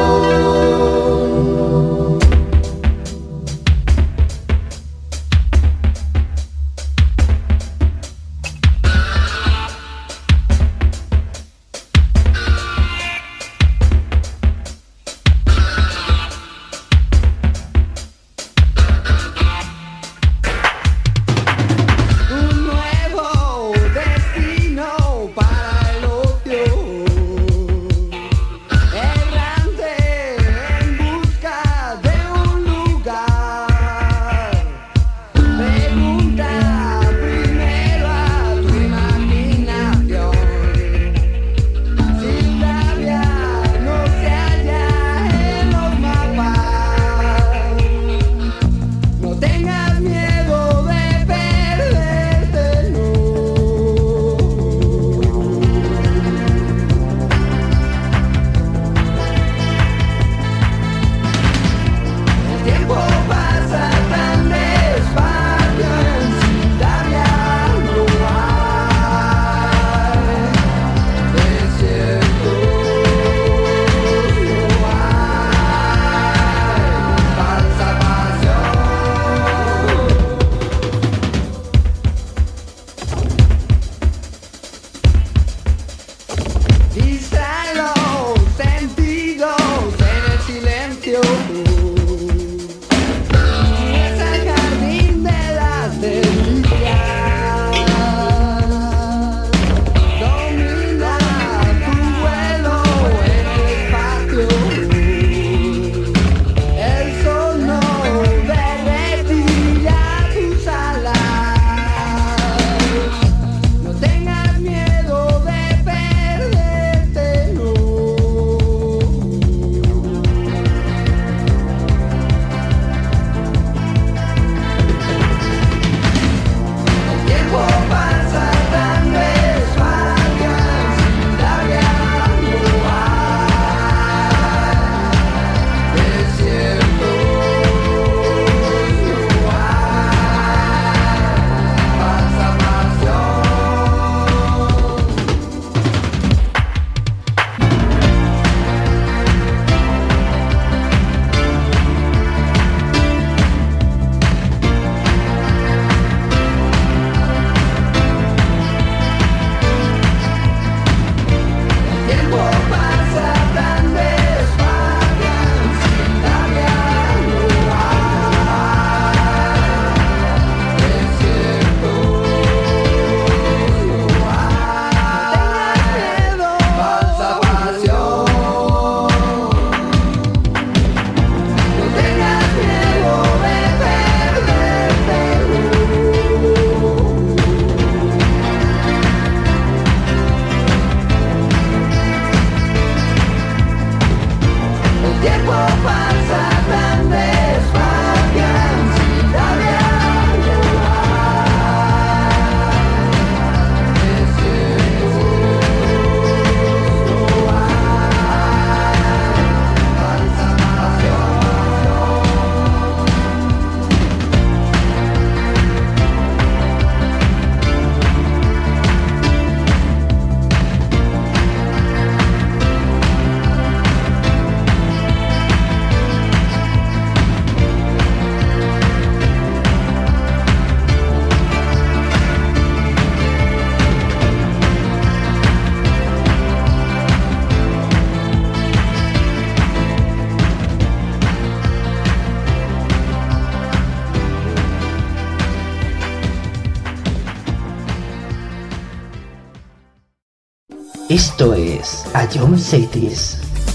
Esto es Ion Cities.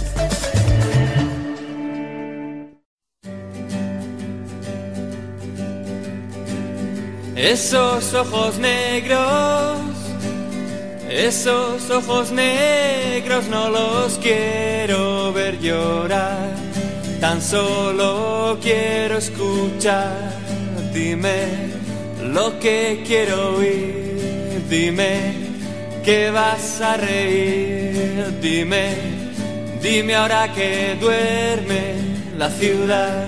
Esos ojos negros no los quiero ver llorar, tan solo quiero escuchar. Dime lo que quiero oír, dime que vas a reír, dime ahora que duerme la ciudad.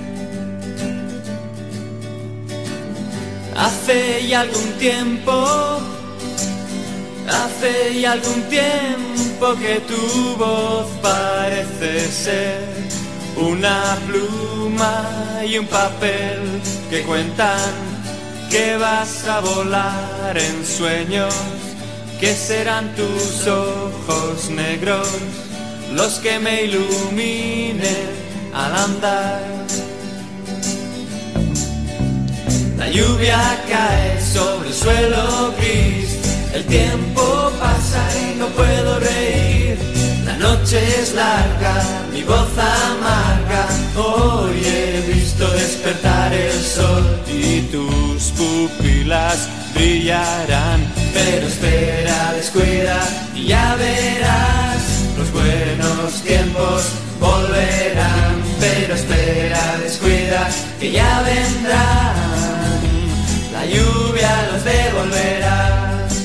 Hace ya algún tiempo que tu voz parece ser una pluma y un papel que cuentan que vas a volar en sueños, que serán tus ojos negros los que me iluminen al andar. La lluvia cae sobre el suelo gris, el tiempo pasa y no puedo reír. La noche es larga, mi voz amarga, hoy he visto despertar el sol y tus pupilas brillarán. Pero espera, descuida y ya verás, los buenos tiempos volverán. Pero espera, descuida que ya vendrán, la lluvia los devolverá.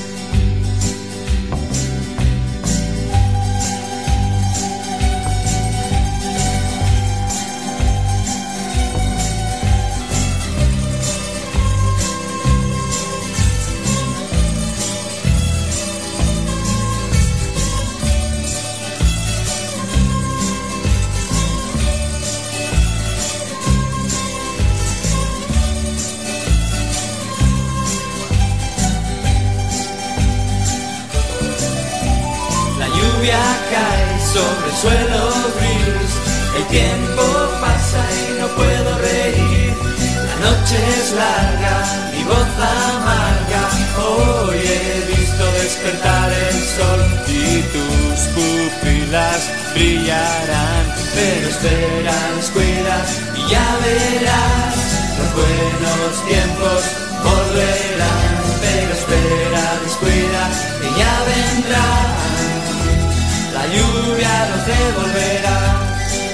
Cae sobre el suelo gris, el tiempo pasa y no puedo reír. La noche es larga, mi voz amarga, hoy he visto despertar el sol y tus pupilas brillarán. Pero espera, descuida y ya verás, los buenos tiempos volverán. Pero espera, descuida que ya vendrán, la lluvia los devolverá.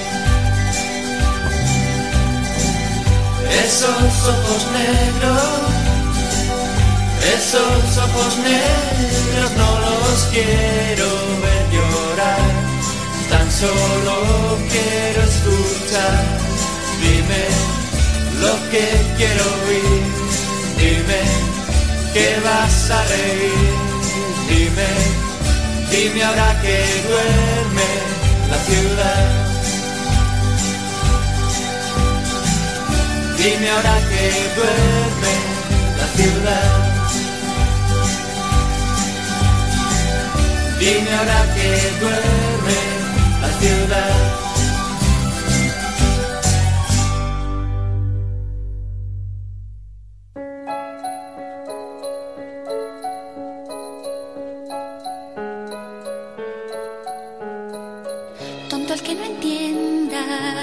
Esos ojos negros no los quiero ver llorar, tan solo quiero escuchar. Dime lo que quiero oír, dime que vas a reír, dime ahora que duerme la ciudad. Dime ahora que duerme la ciudad. Dime ahora que duerme la ciudad. Tonto el que no entienda,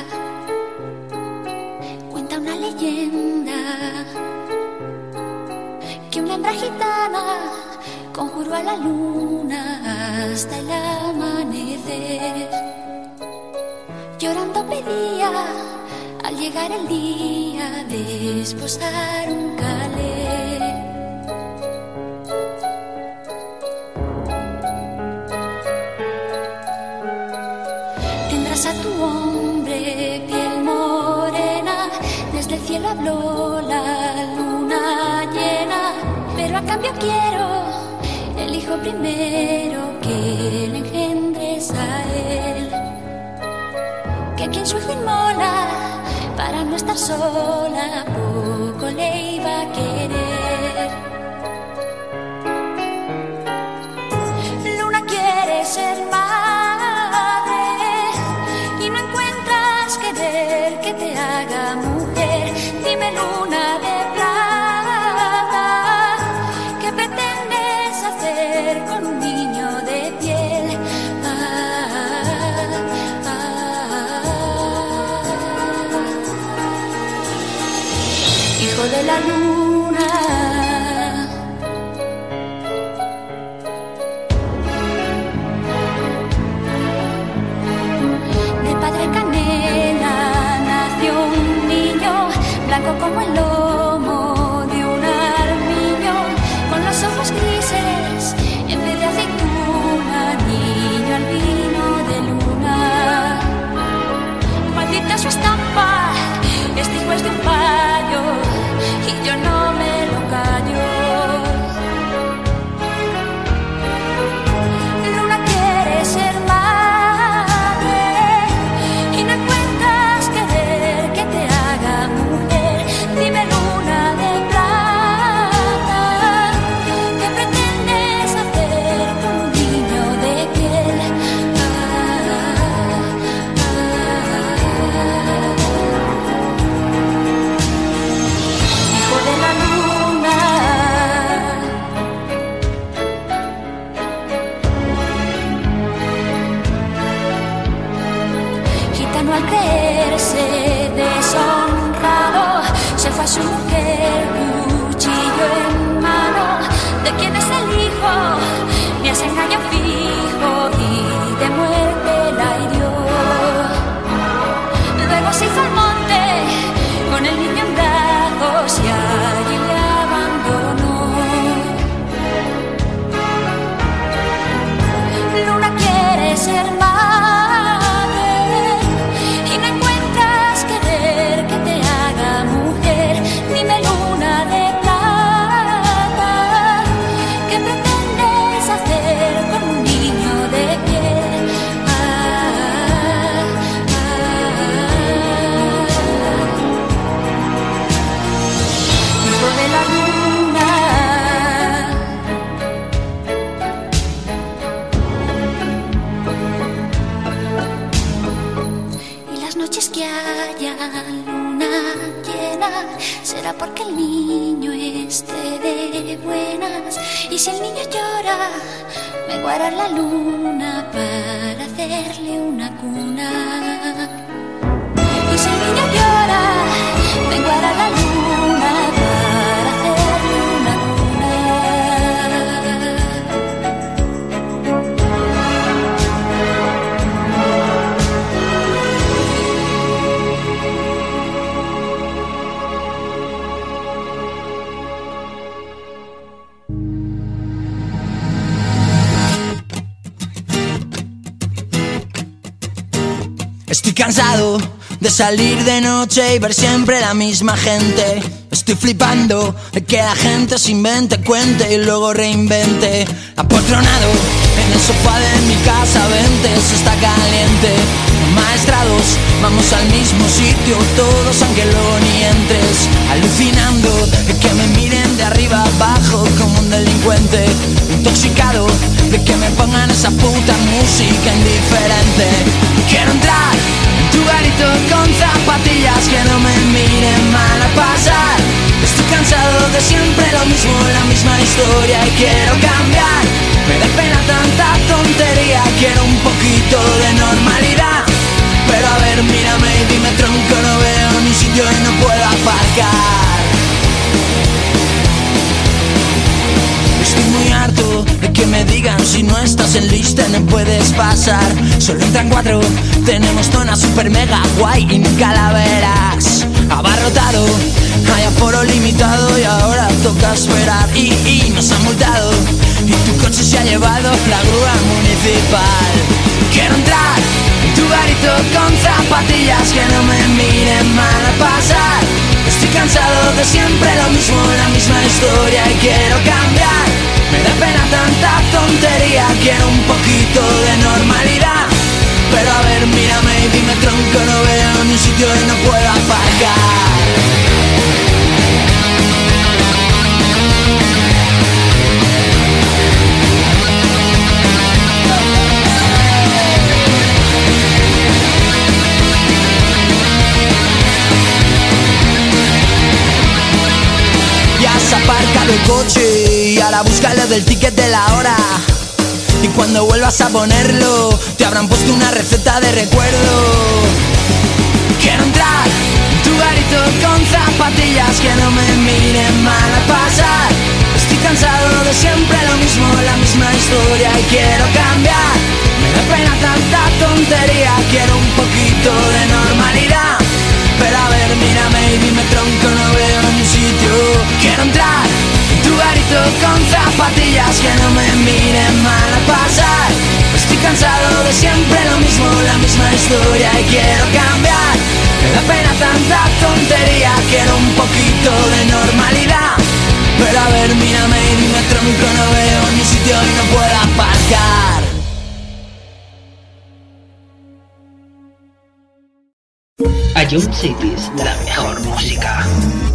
cuenta una leyenda que una hembra gitana conjuró a la luna hasta el amanecer. Llorando pedía al llegar el día de esposar un calé. Tendrás a tu hombre piel morena, desde el cielo habló la luna llena, pero a cambio quiero el hijo primero que le engendres a él, que quien su hijo inmola para no estar sola poco le iba a querer. Luna quiere ser madre y no encuentras querer que te haga mujer. Dime, luna de plata, ¿qué pretendes hacer con un niño de piel? hijo de la luna. De padre canela nació un niño, blanco como el lomo de un armiño, con los ojos grises en vez de aceituna, niño albino de luna. Maldita su estampa, este hijo es de un payo y yo no me lo callo. Luna quiere ser madre y no encuentras querer que te haga mujer. Dime, luna de plata, ¿qué pretendes hacer con un niño de piel? Hijo de la luna. Gitano al creerse deshonrado, se fue a su mujer, cuchillo en mano. ¿De quién es el hijo? Me hace engaño fijo y de muerte la hirió. Luego se hizo al monte con el niño en brazos y allí le abandonó. Luna quiere ser madre y no encuentras querer que te haga mujer. Dime, luna de plata, ¿qué pretendes hacer con un niño de piel? Hijo de la luna. Y las noches que haya luna llena será porque el niño esté de buenas. Y si el niño llora, me guarda la luna para hacerle una cuna. Y si el niño llora, me guarda la luna para hacerle una cuna. Estoy cansado de salir de noche y ver siempre la misma gente. Estoy flipando de que la gente se invente, cuente y luego reinvente. Apotronado en el sofá de mi casa, vente, se está caliente. Maestrados, vamos al mismo sitio todos aunque luego ni entres. Alucinando de que me miren de arriba abajo como un delincuente. Intoxicado de que me pongan esa puta música indiferente. Quiero entrar en tu garito con zapatillas que no me miren mal a pasar. Estoy cansado de siempre lo mismo, la misma historia y quiero cambiar. Me da pena tanta tontería, quiero un poquito de normalidad. Pero a ver, mírame y dime tronco, no veo ni sitio y no puedo aparcar. Estoy muy harto de que me digan si no estás en lista no puedes pasar. Solo entran 4, tenemos zona super mega guay y nunca la verás. Abarrotado, hay aforo limitado y ahora toca esperar. Y nos han multado y tu coche se ha llevado la grúa municipal. Quiero entrar en tu garito con zapatillas que no me miren mal a pasar. Estoy cansado de siempre lo mismo, la misma historia y quiero cambiar. Me da pena tanta tontería, quiero un poquito de normalidad. Pero a ver, mírame y dime tronco, no veo ni sitio y no puedo aparcar. Aparca el coche y ahora búscalo del ticket de la hora. Y cuando vuelvas a ponerlo, te habrán puesto una receta de recuerdo. Quiero entrar en tu garito con zapatillas que no me miren mal a pasar. Estoy cansado de siempre lo mismo, la misma historia y quiero cambiar. Me da pena tanta tontería, quiero un poquito de normalidad. Pero a ver, mírame y dime tronco, no veo ni sitio. Quiero entrar en tu garito con zapatillas, que no me miren mal a pasar. Estoy cansado de siempre lo mismo, la misma historia y quiero cambiar. Me da pena tanta tontería, quiero un poquito de normalidad. Pero a ver, mírame y dime tronco, no veo ni sitio y no puedo aparcar. Ion Cities, la mejor música.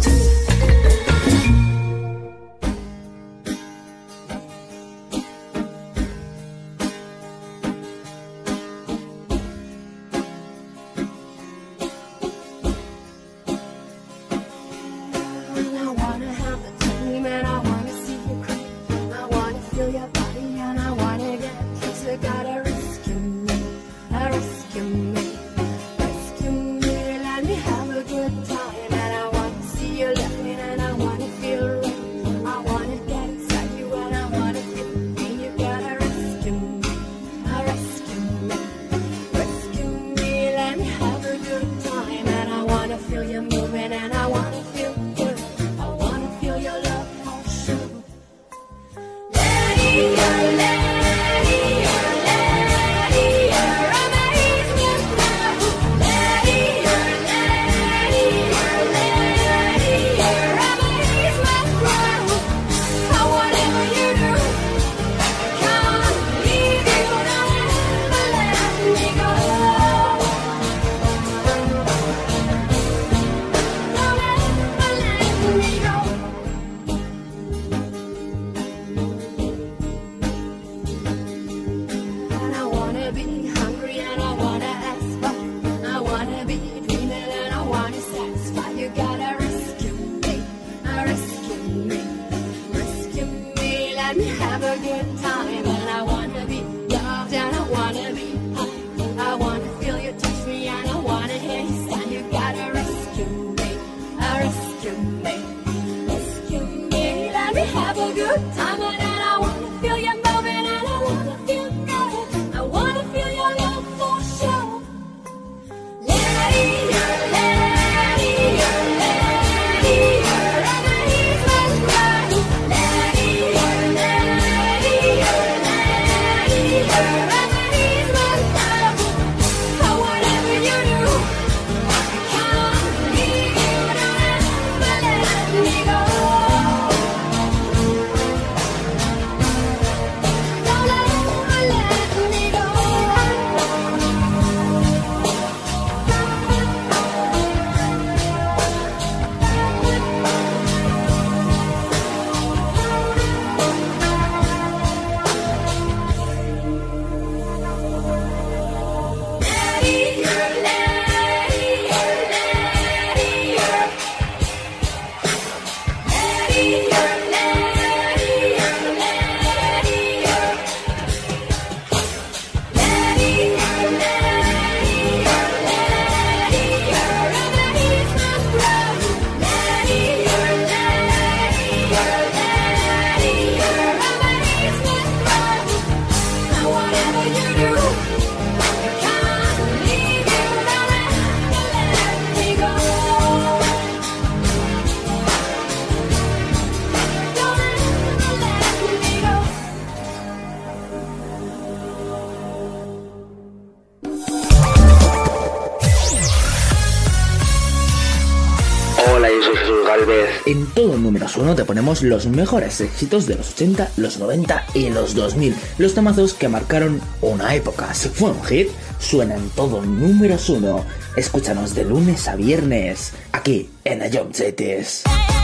En todo números 1 te ponemos los mejores éxitos de los 80, los 90 y los 2000. Los temazos que marcaron una época. Si fue un hit, suena en todo números 1. Escúchanos de lunes a viernes, aquí en Ion Cities.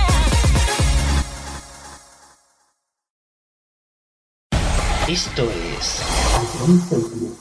Esto es Ion Cities.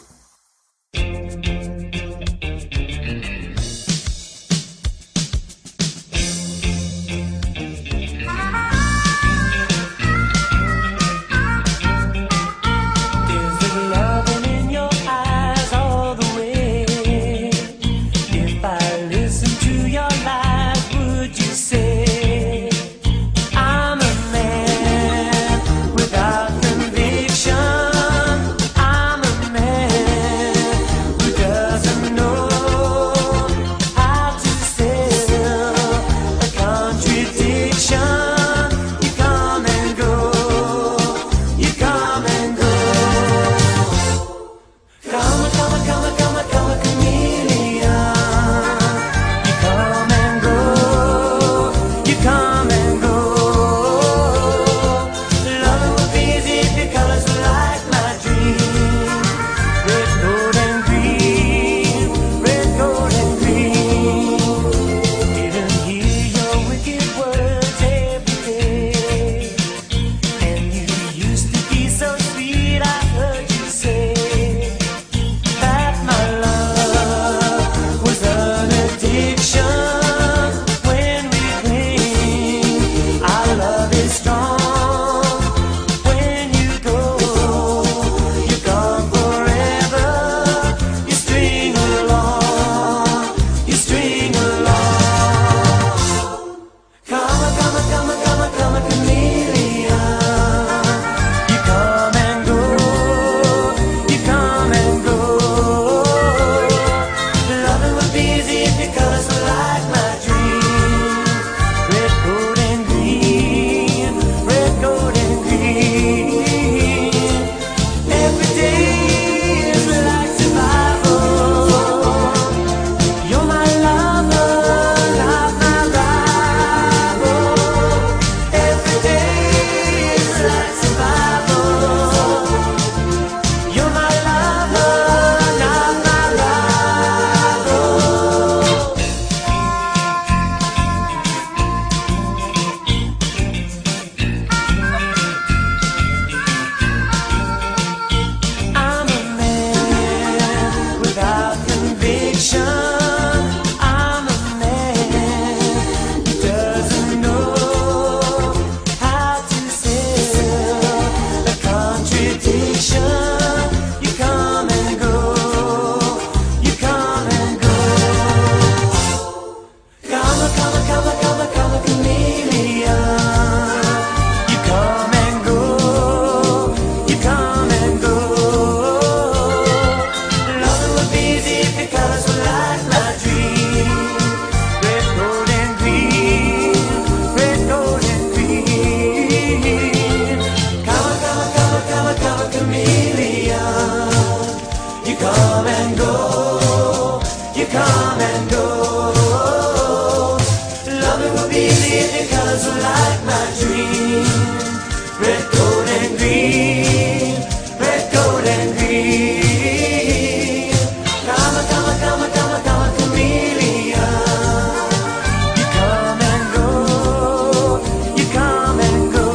be the colors like my dream. Red, gold, and green. Red, gold, and green. Come, come, come, come, come, chameleon. You come and go. You come and go.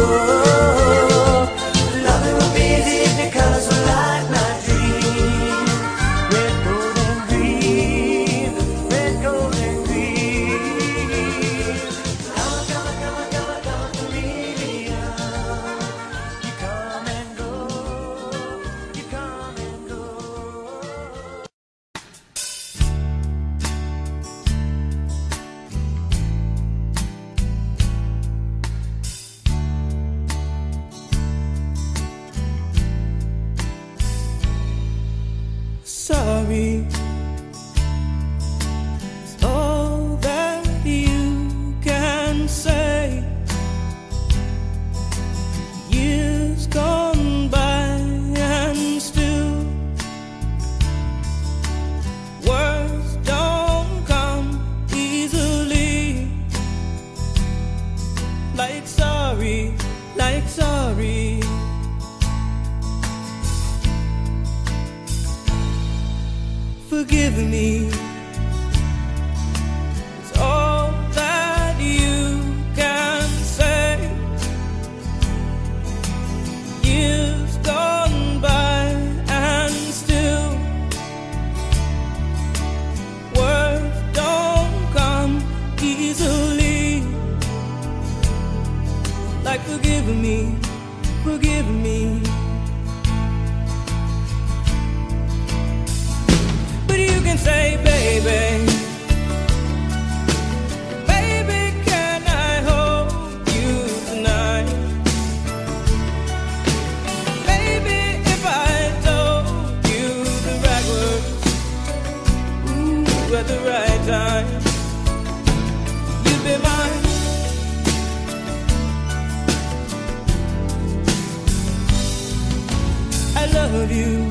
Loving will be the colors like my dream. Red, gold, and green. Red, gold, and green. Come, come, come, come, come, chameleon. You come and go. You come and go. Sorry, it's all that you can say. Years gone by and still words don't come easily. Like sorry, like sorry. Forgive me. It's all that you can say. Years gone by and still words don't come easily. Like forgive me, forgive me. But you can say, baby, baby, can I hold you tonight? Baby, if I told you the right words, ooh, at the right time, you'd be mine. I love you.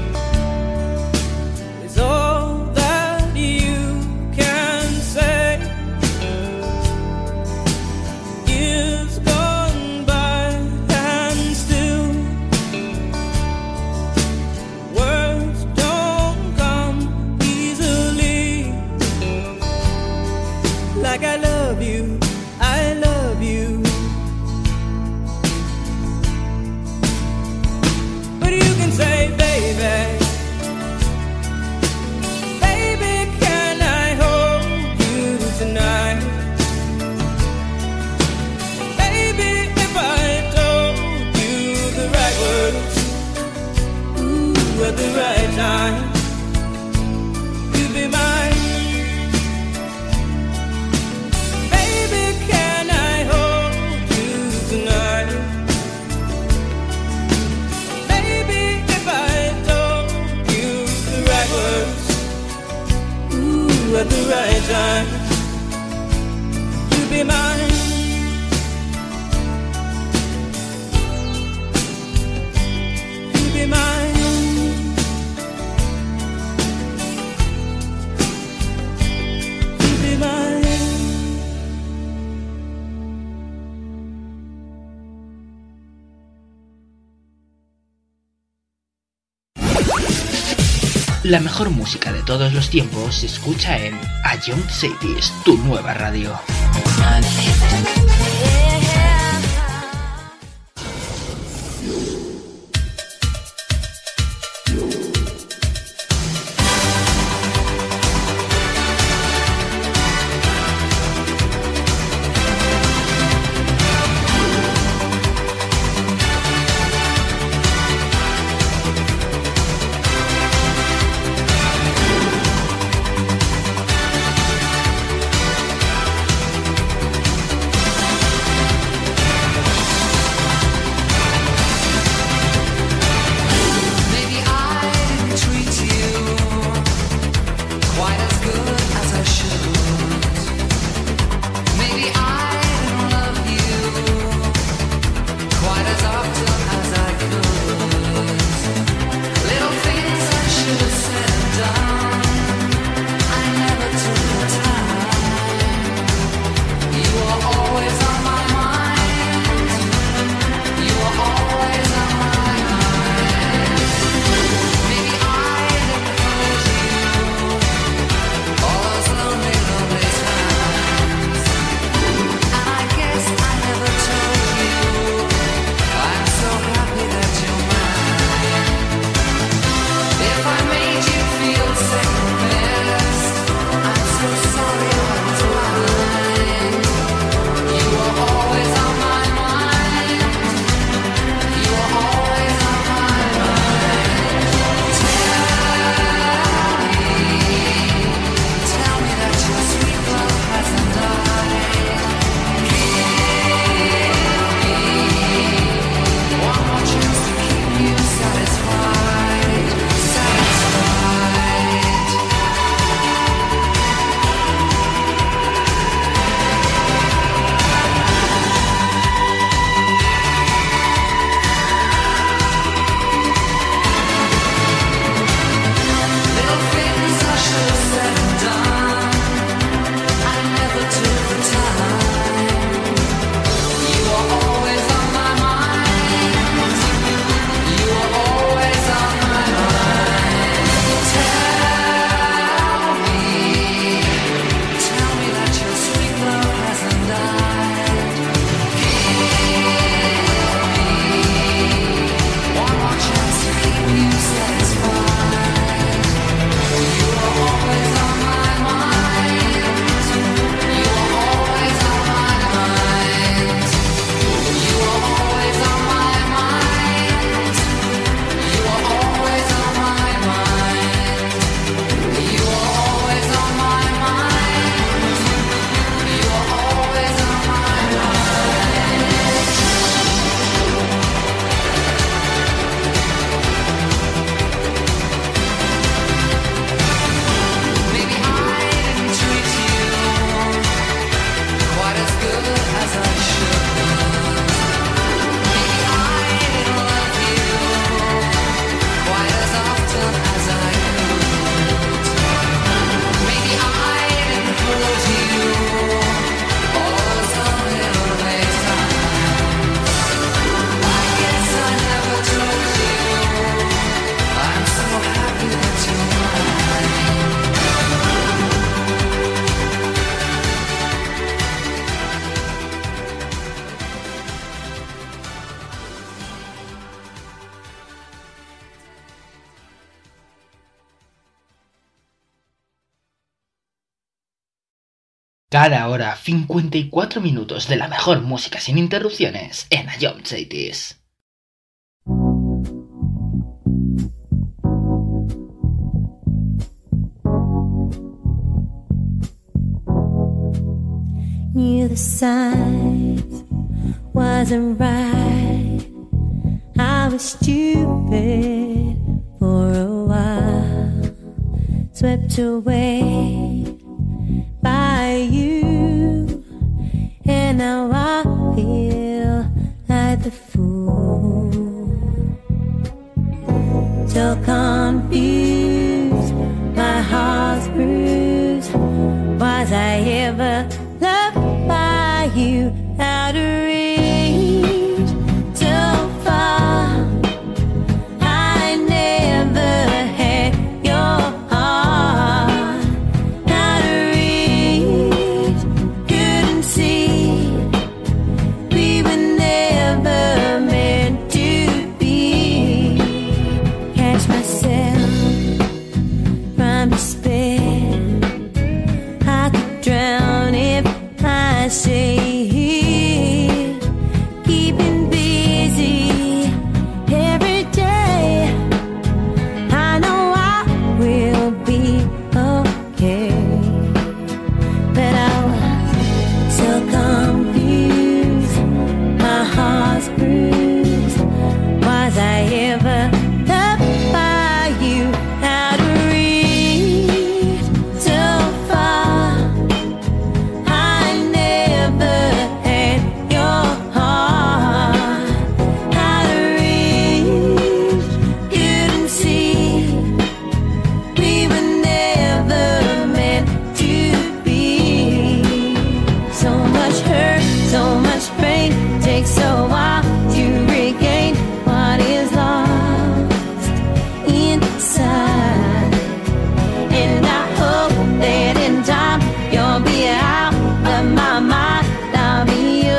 It's all that you can say. Years gone by and still words don't come easily. Like I love you, I love you. But you can say, baby, baby, can I hold you tonight? Baby, if I told you the right words, ooh, at the right time, you'd be mine. Baby, can I hold you tonight? Baby, if I told you the right words, ooh, at the right time, you'd be mine. You'd be mine. You'd be mine. La mejor música de todos los tiempos se escucha en A Young Cities, tu nueva radio. Cada hora 54 minutos de la mejor música sin interrupciones en Ion Cities. Knew the signs wasn't right. I was stupid for a while, swept away by you, and now I feel like the fool. So confused, my heart's bruised. Was I ever loved by you? Out of reach, so far. I never had your heart. Out of reach, couldn't see. We were never meant to be. Catch myself from despair. I could drown if I say it. Keeping busy every day. I know I will be okay, but I was so confused. My heart's bruised. Was I ever loved by you? Out of reach, so far. I never had your heart. Out of reach, couldn't see. We were never meant to be. So much hurt, so much pain. Takes a while to regain what is lost inside. And I hope that in time you'll be out of my mind. I'll be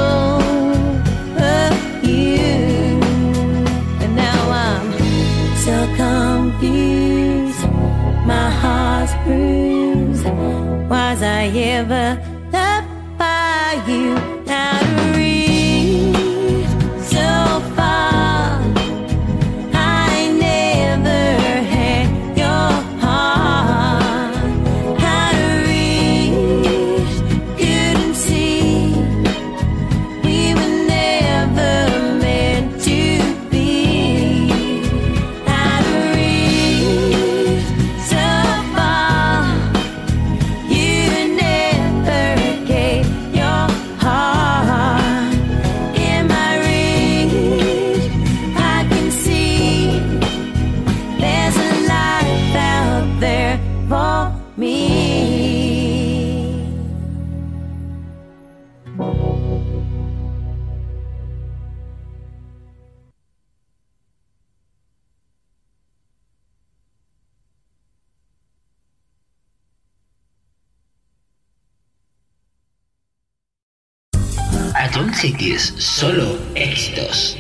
over you. And now I'm so confused. My heart's bruised. Was I ever loved by you? Out of reach, so far. I never had your heart. Out of reach, couldn't see. We were never meant to be. Out of reach, so far. You never gave your heart. In my reach, I can see there's a life out there for me. Ion Cities, solo éxitos.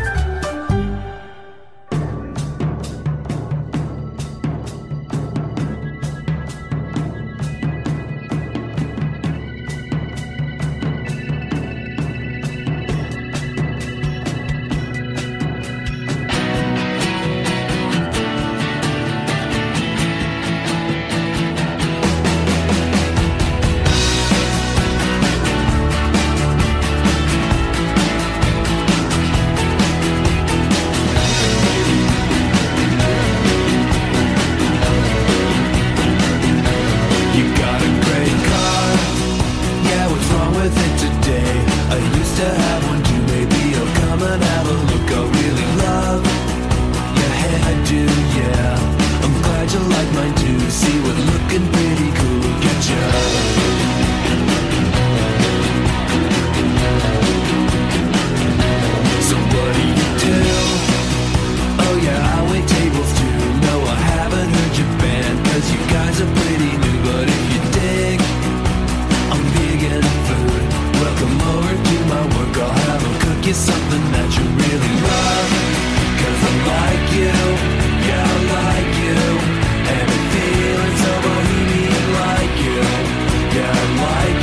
You got a great car. Yeah, what's wrong with it today? I used to have one too. Maybe you'll come and have a look. I really love your hairdo, yeah. I'm glad you like mine too. See, we're looking pretty cool. Get ya. So what do you do? Oh yeah, I wait tables too. No, I haven't heard your band, 'cause you guys are pretty new. But if you dig, I'm big in food. Welcome over to my work. I'll have them cook you something that you really love. 'Cause I like you, yeah, I like you. And I'm feeling so bohemian like you. Yeah, I like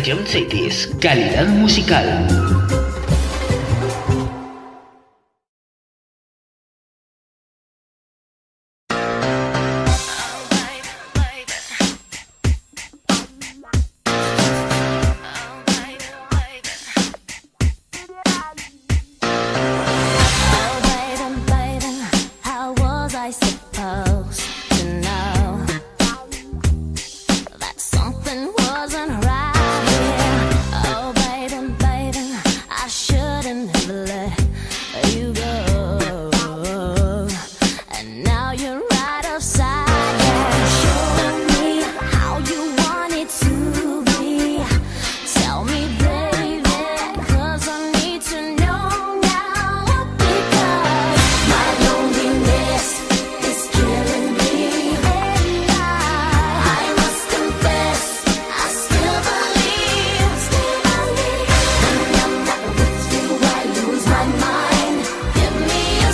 Ion Cities, calidad musical. How was I supposed to know that something wasn't right here? Oh, baby, baby, I shouldn't have let you go. And now you're right upside down. Show me how you want it to be. Tell me, baby, 'cause I need to know now. Because my loneliness is killing me, and I must confess, I still believe. When I'm not with you, I lose my mind. Give me a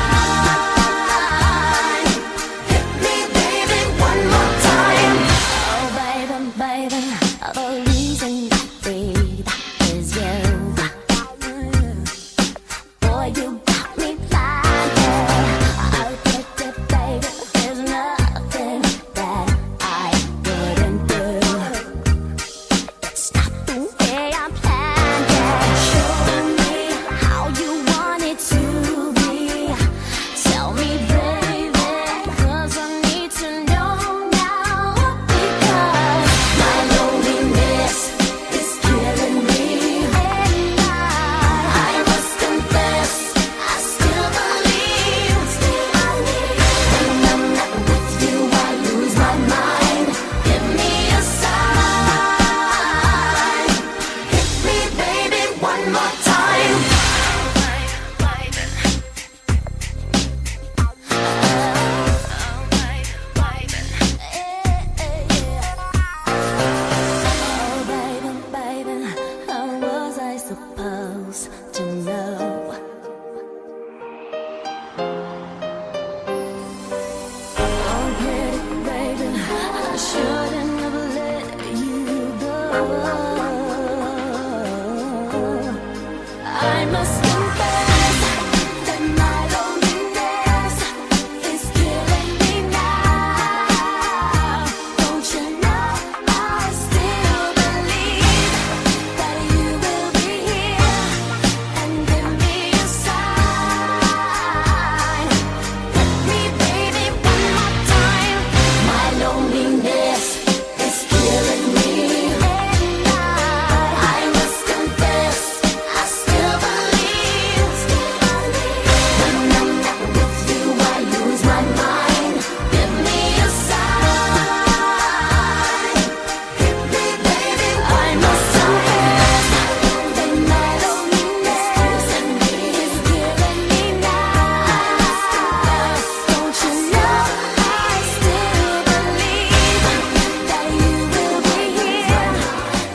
sign. Hit me, baby, one more time. Oh, baby, baby, the reason I breathe is you. Boy, you got me blinded. I'll get it, baby. There's nothing that I wouldn't do. It's not the way I planned it. Show me how you want it to be. Tell me, baby, 'cause I need to know now. Because my loneliness is killing me, and I must confess, I still believe. When I'm not with you, I lose my mind. Give me a sign. Hit me, baby, one more time. Oh, baby, baby, how was I supposed to know? Oh, pretty baby, I shouldn't have let you go. I must